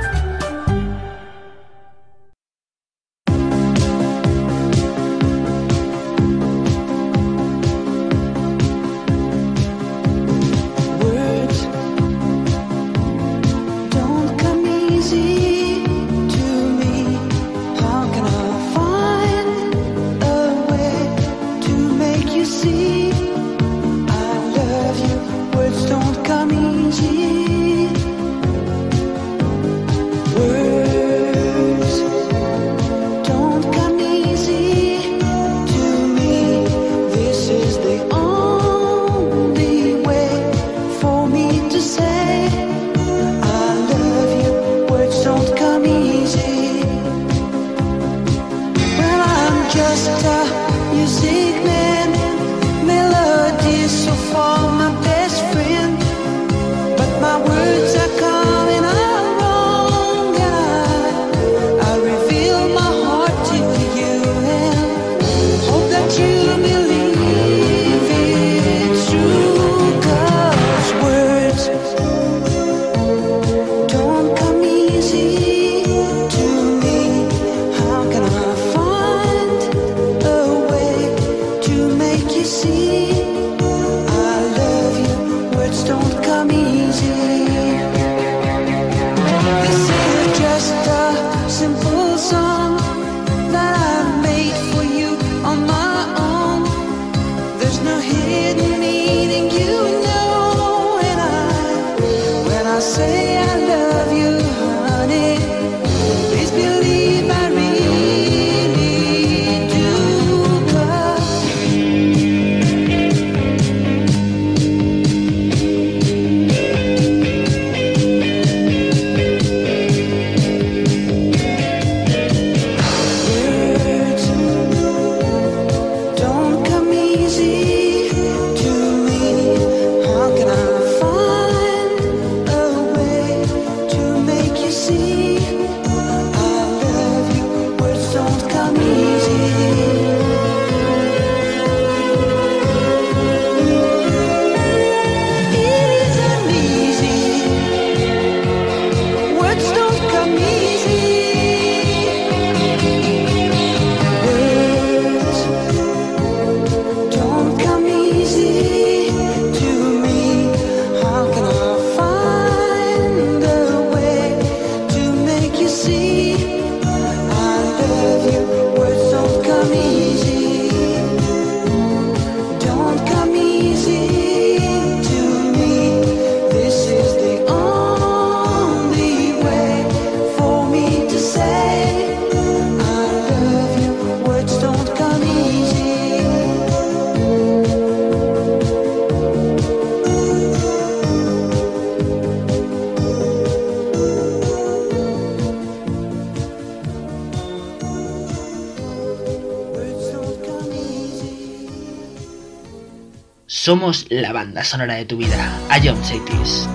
Somos la banda sonora de tu vida. Ion Cities.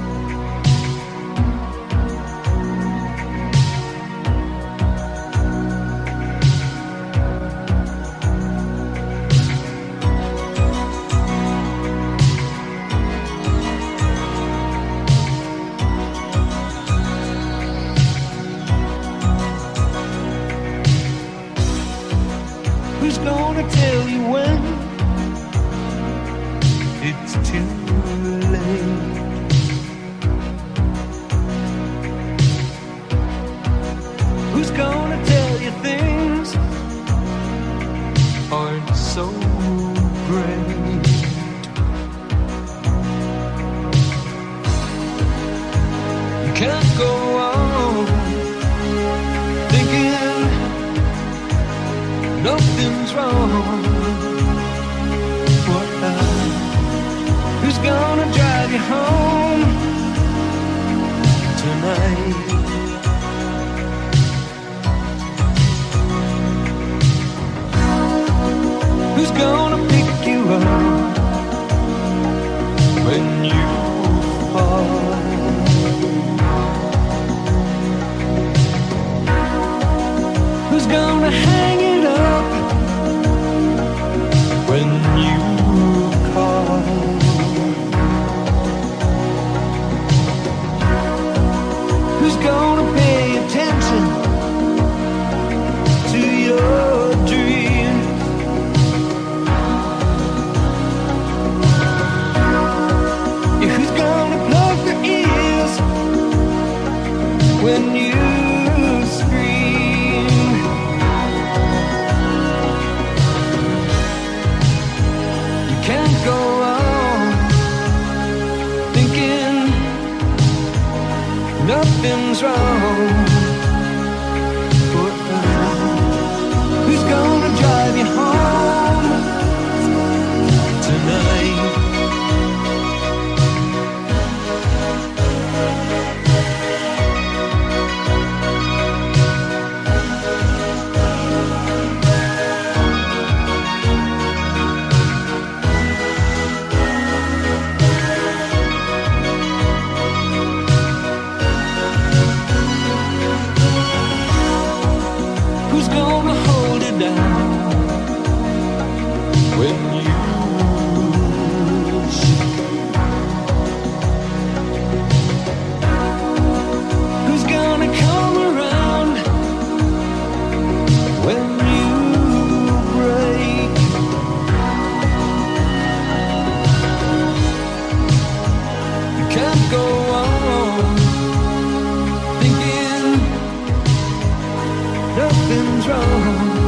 Who's gonna tell you when it's too late? Who's gonna tell you things aren't so great? You can't go on thinking nothing's wrong. What who's gonna drive you home tonight? Who's gonna pick you up when you fall? Who's gonna hang it up when you call? Who's gonna pay attention to your dreams? Yeah, who's gonna plug their ears when you go on thinking nothing's wrong? Who's gonna drive you home tonight? When you who's gonna come around when you break? You can't go on thinking nothing's wrong.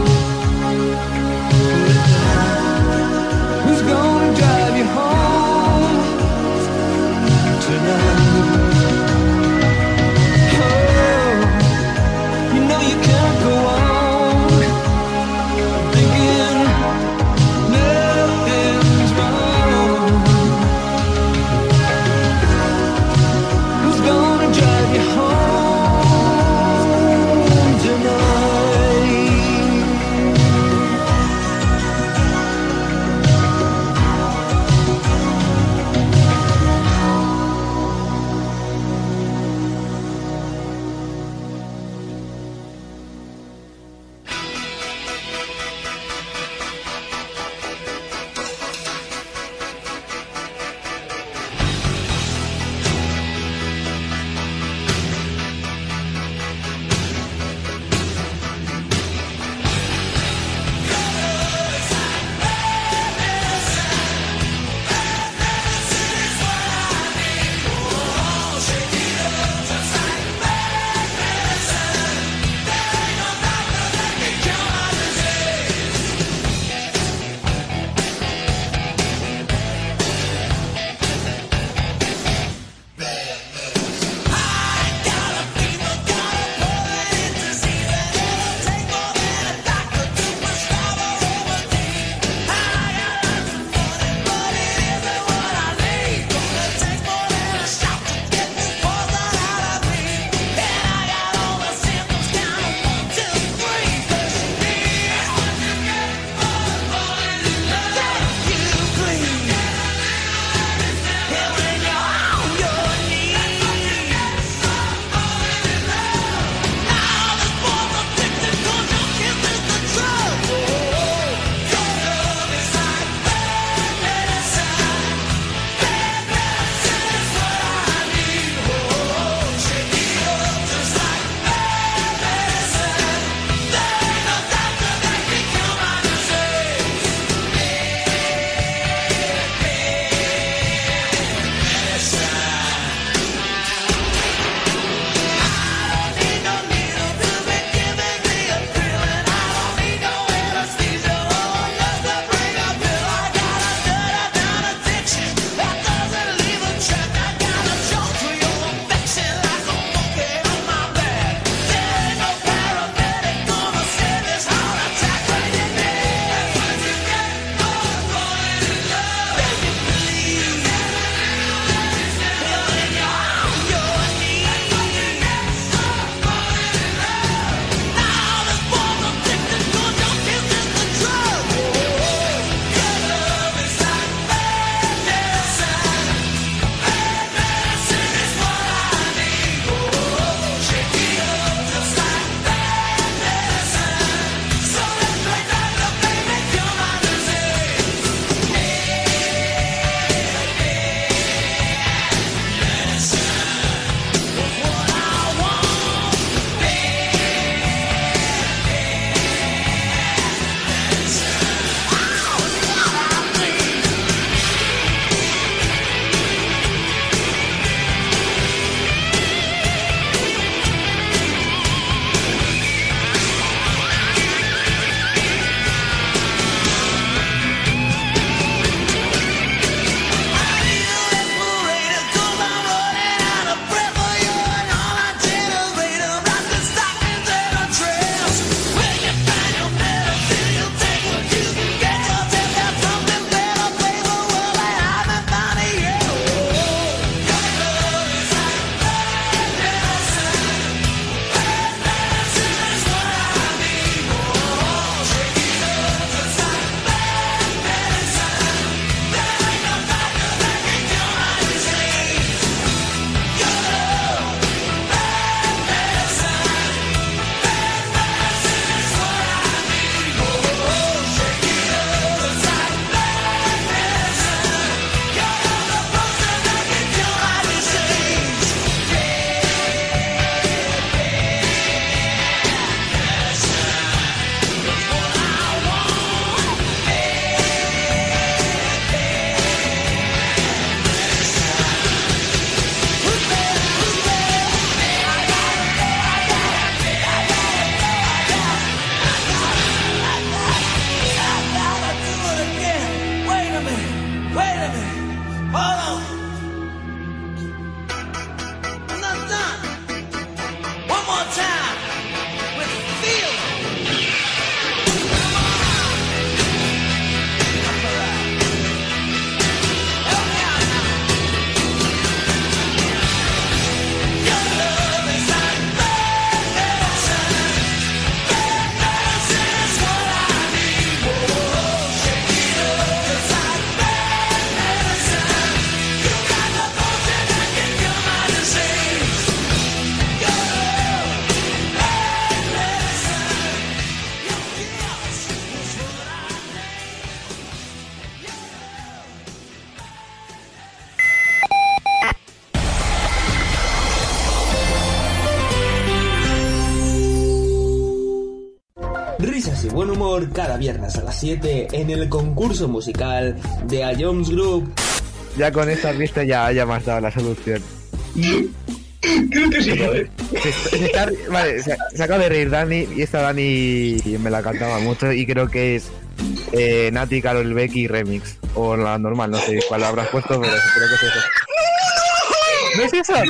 Risas y buen humor cada viernes a las 7 en el concurso musical de A Jones Group. Ya con esta vista ya me has dado la solución. Creo que sí, ¿vale? Vale, se acaba de reír Dani, y esta Dani me la cantaba mucho y creo que es Nati, Karol Becky remix. O la normal, no sé cuál habrás puesto, pero creo que es eso. ¿No es eso?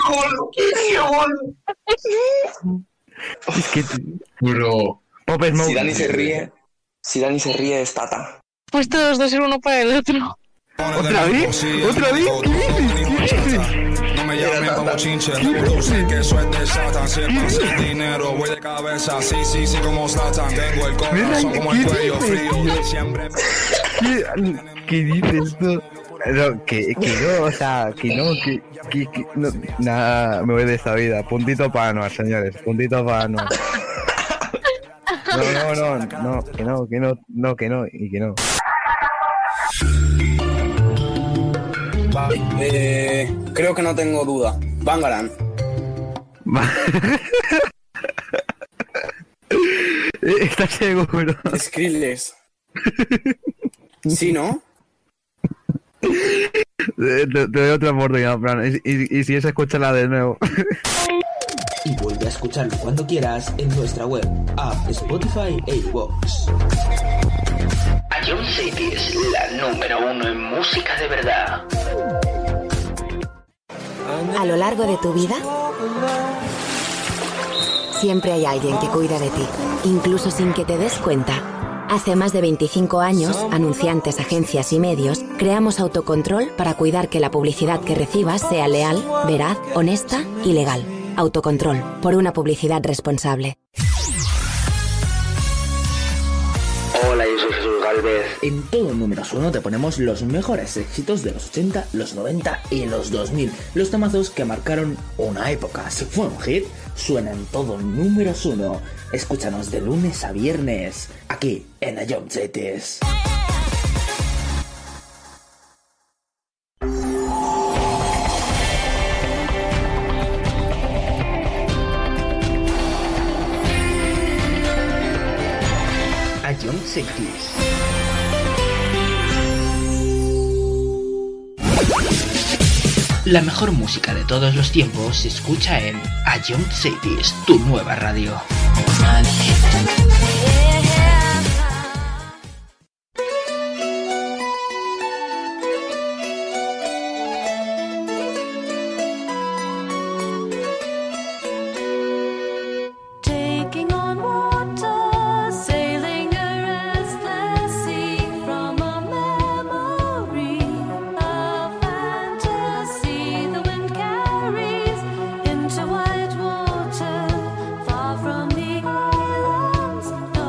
Es que... Bro. Pop Smoke. Si Dani se ríe es Tata. Pues todos dos ser uno para el otro. ¿Otra vez? ¿Otra vez? ¿Qué dices? No me llamen como chinche, tú sé que eso es de Satan. Siempre sin dinero, voy de cabeza, sí, como Satan. Tengo el corazón como el cuello frío, siempre... ¿Qué dices tú? No, que no, o sea, que no, no, nada, me voy de esta vida. Puntito para Anuar, señores, puntito para Anuar. No, que no, y que no. Vale, creo que no tengo duda. Bangaran. ¿Estás seguro? Skrillex. ¿Sí, no? Te doy otra oportunidad, Fran. Y si es, escúchala de nuevo. Y vuelve a escucharlo cuando quieras en nuestra web, app, Spotify e iVoox. A John City es la número 1 en música de verdad. A lo largo de tu vida, siempre hay alguien que cuida de ti, incluso sin que te des cuenta. Hace más de 25 años, anunciantes, agencias y medios, creamos Autocontrol para cuidar que la publicidad que recibas sea leal, veraz, honesta y legal. Autocontrol, por una publicidad responsable. Hola, yo soy Jesús Galvez. En todo Números 1 te ponemos los mejores éxitos de los 80, los 90 y los 2000. Los temazos que marcaron una época. Si fue un hit, suena en todo Números 1. Escúchanos de lunes a viernes, aquí en A Young Cities. A Young Cities. La mejor música de todos los tiempos se escucha en A Young Cities, tu nueva radio. Into white water, far from the islands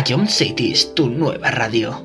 Ion City es tu nueva radio.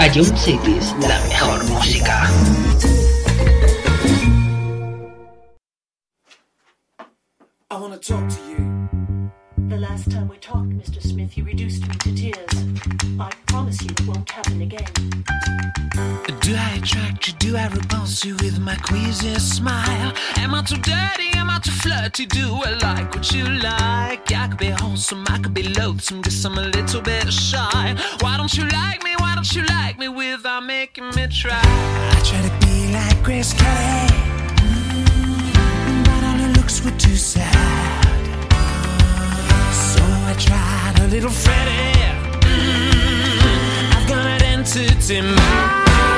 Jump Cities, la mejor música. I wanna talk to you. The last time we talked, Mr. Smith, you reduced me to tears. I promise you it won't happen again. Do I attract you? Do I repulse you with my queasy smile? Am I too dirty? Am I too flirty? Do I like what you like? I could be wholesome, I could be loathsome, guess I'm a little bit shy. Why don't you like me? Why don't you like me without making me try? I try to be like Grace Kelly, but all her looks were too sad. So I tried a little Freddie. I've got an entity mind.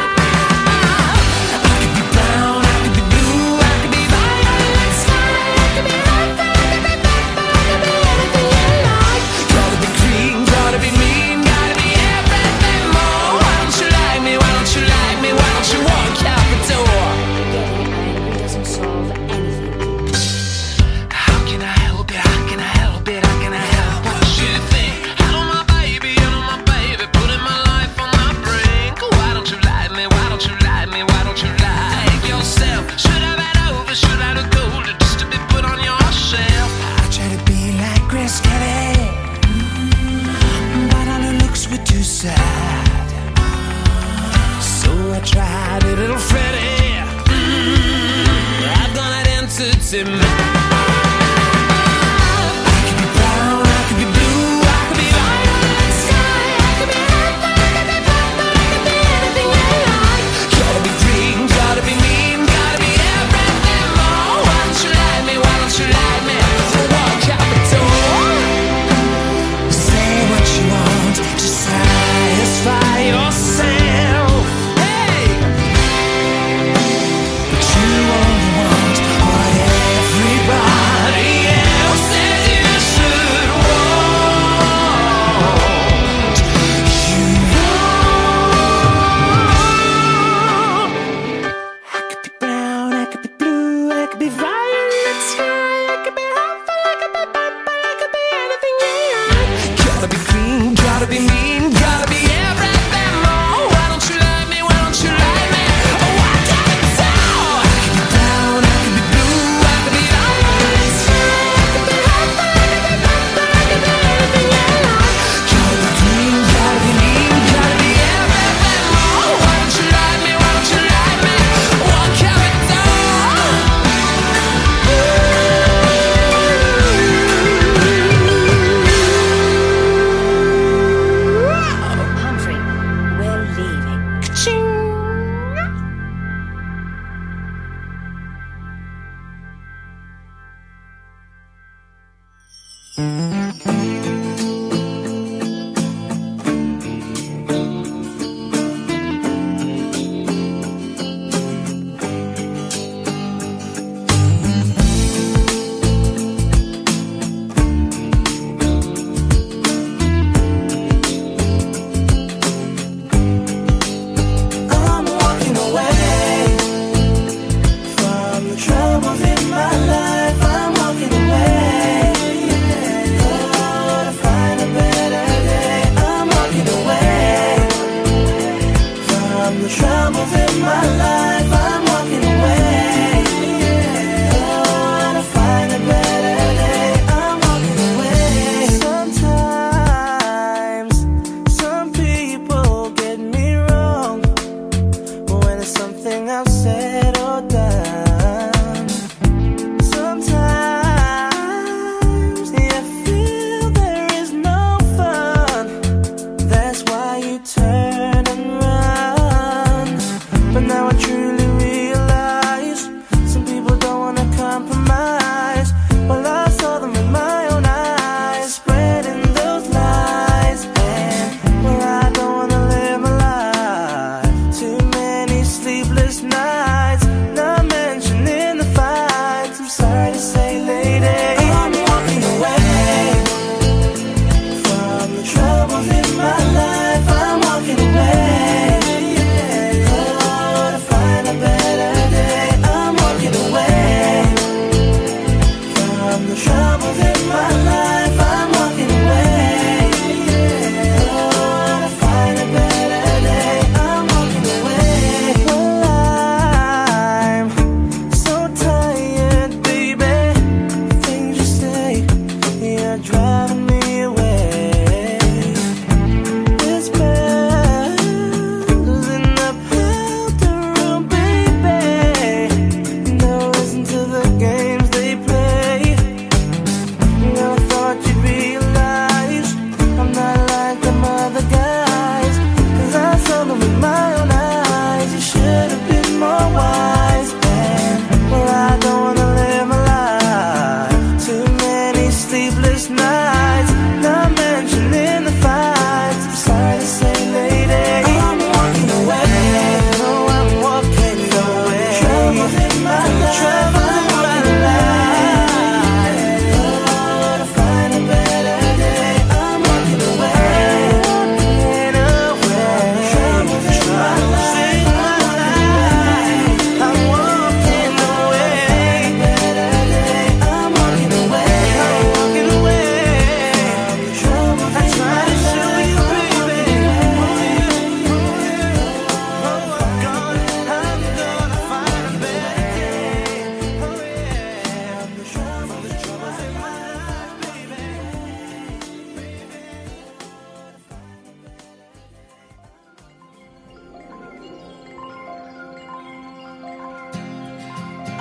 Tried a little Freddie. I've got an entity mind.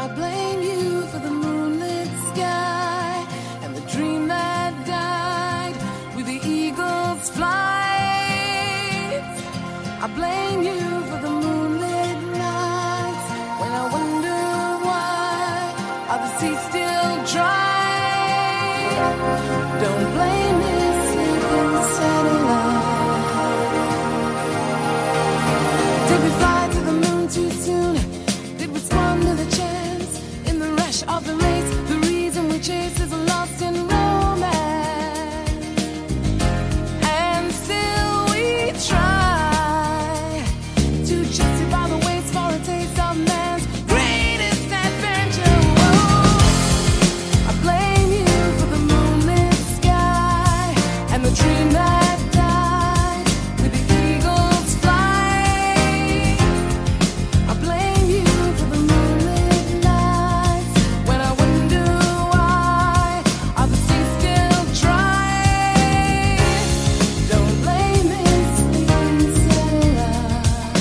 I blame you for the moonlit sky and the dream that died with the eagle's flight. I blame you for the moonlit nights when I wonder why are the seas still dry. Don't blame me, sleeping satellite. Did we fly to the moon too soon? Did we squander the chance in the rush of the race? The reason we chase is lost in romance, and still we try to justify the waste for a taste of man's greatest adventure. Whoa. I blame you for the moonlit sky and the dream that died with the eagle's flight. I blame you for the moonlit nights when I wonder why are the seas still dry. Don't blame me, sleeping satellite.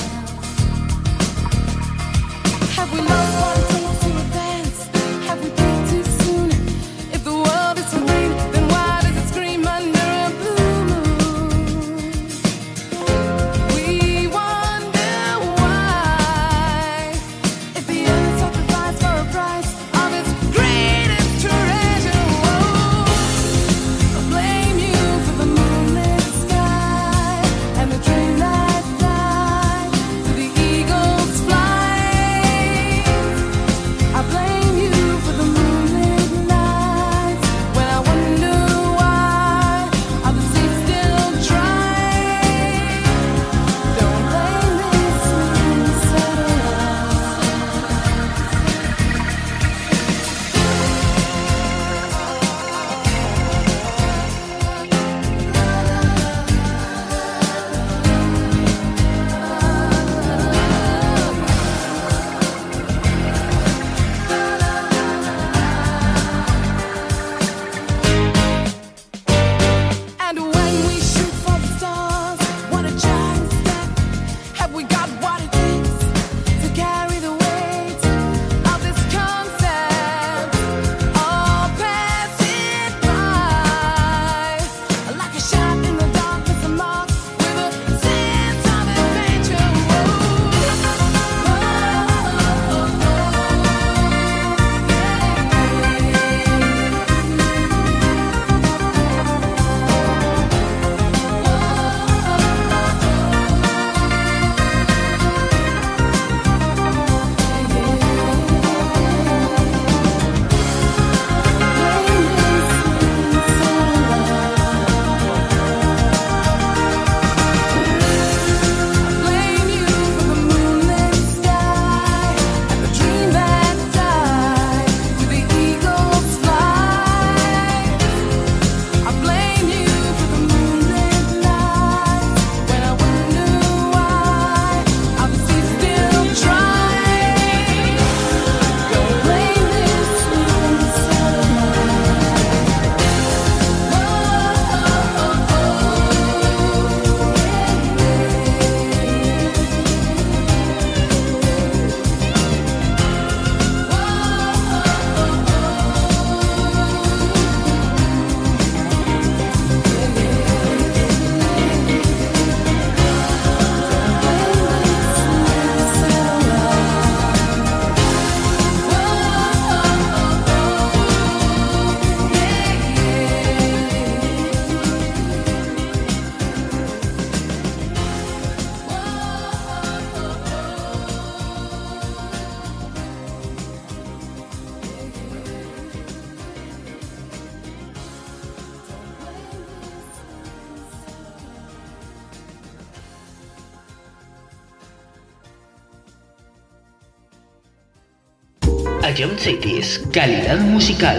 Have we lost what it takes to advance? Have we peaked too soon? If the world is for green, then why does it scream under a blue moon? We wonder why, if the earth sacrificed for a price of its greatest treasure. Whoa. I blame you for the moonlit sky and the dream that died to the eagle's flight. I blame you for the moonlit nights when I wonder why are the seas still dry. Don't blame me, sleeping And when we shoot for the stars, what a giant step. Have we got what it takes to carry the weight of this concept? All passing by like a shot in the darkness, a mark with a sense of adventure. Blame you for the moonlit sky and the dream that died with the eagle's flight. I blame you for the moonlit nights when I wonder why are the seas still dry. Don't blame me, sleeping Ion Cities, calidad musical.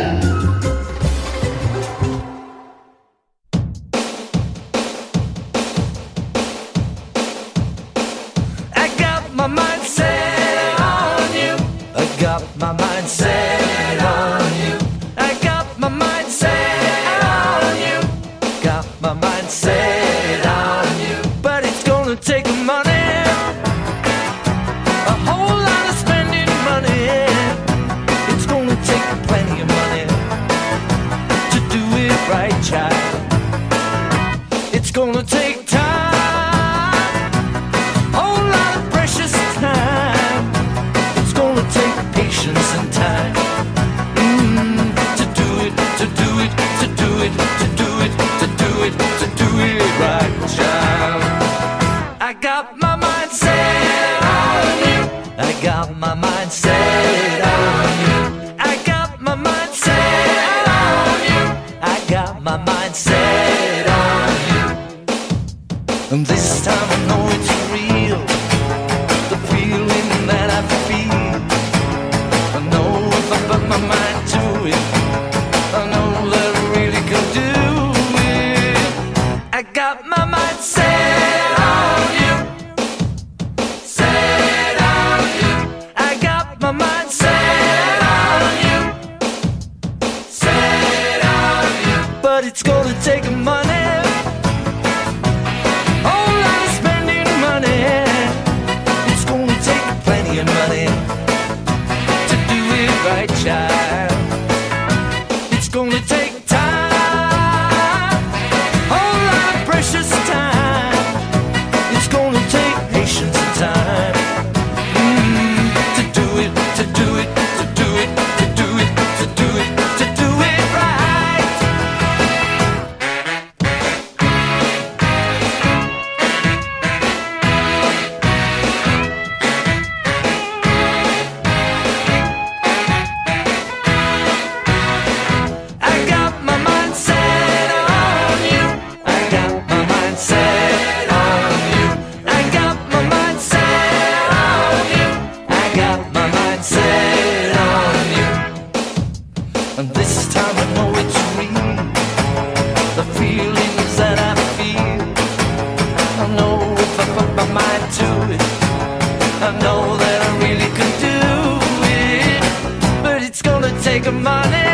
I got my mind set on you. I got my mind set on you. I got my mind set on you. Got my mind set on you. But it's gonna take money, a whole lot of spending money. my mind set on you. I got my mind set on you. I got my mind set on you. And this time I know it's real, the feeling that I feel. I know if I put my mind to it, I know that I really can do it. I got my mind set on you. Set on you. I got my mind set on you. Set on you. But it's gonna take money. Money to do it right, child. It's gonna take time, whole lot of precious time. It's gonna take patience and time to do it, to do it, to do it, to do it, to do it, to do it right. And this time I know it's real, the feelings that I feel. I know if I put my mind to it, I know that I really can do it. But it's gonna take money.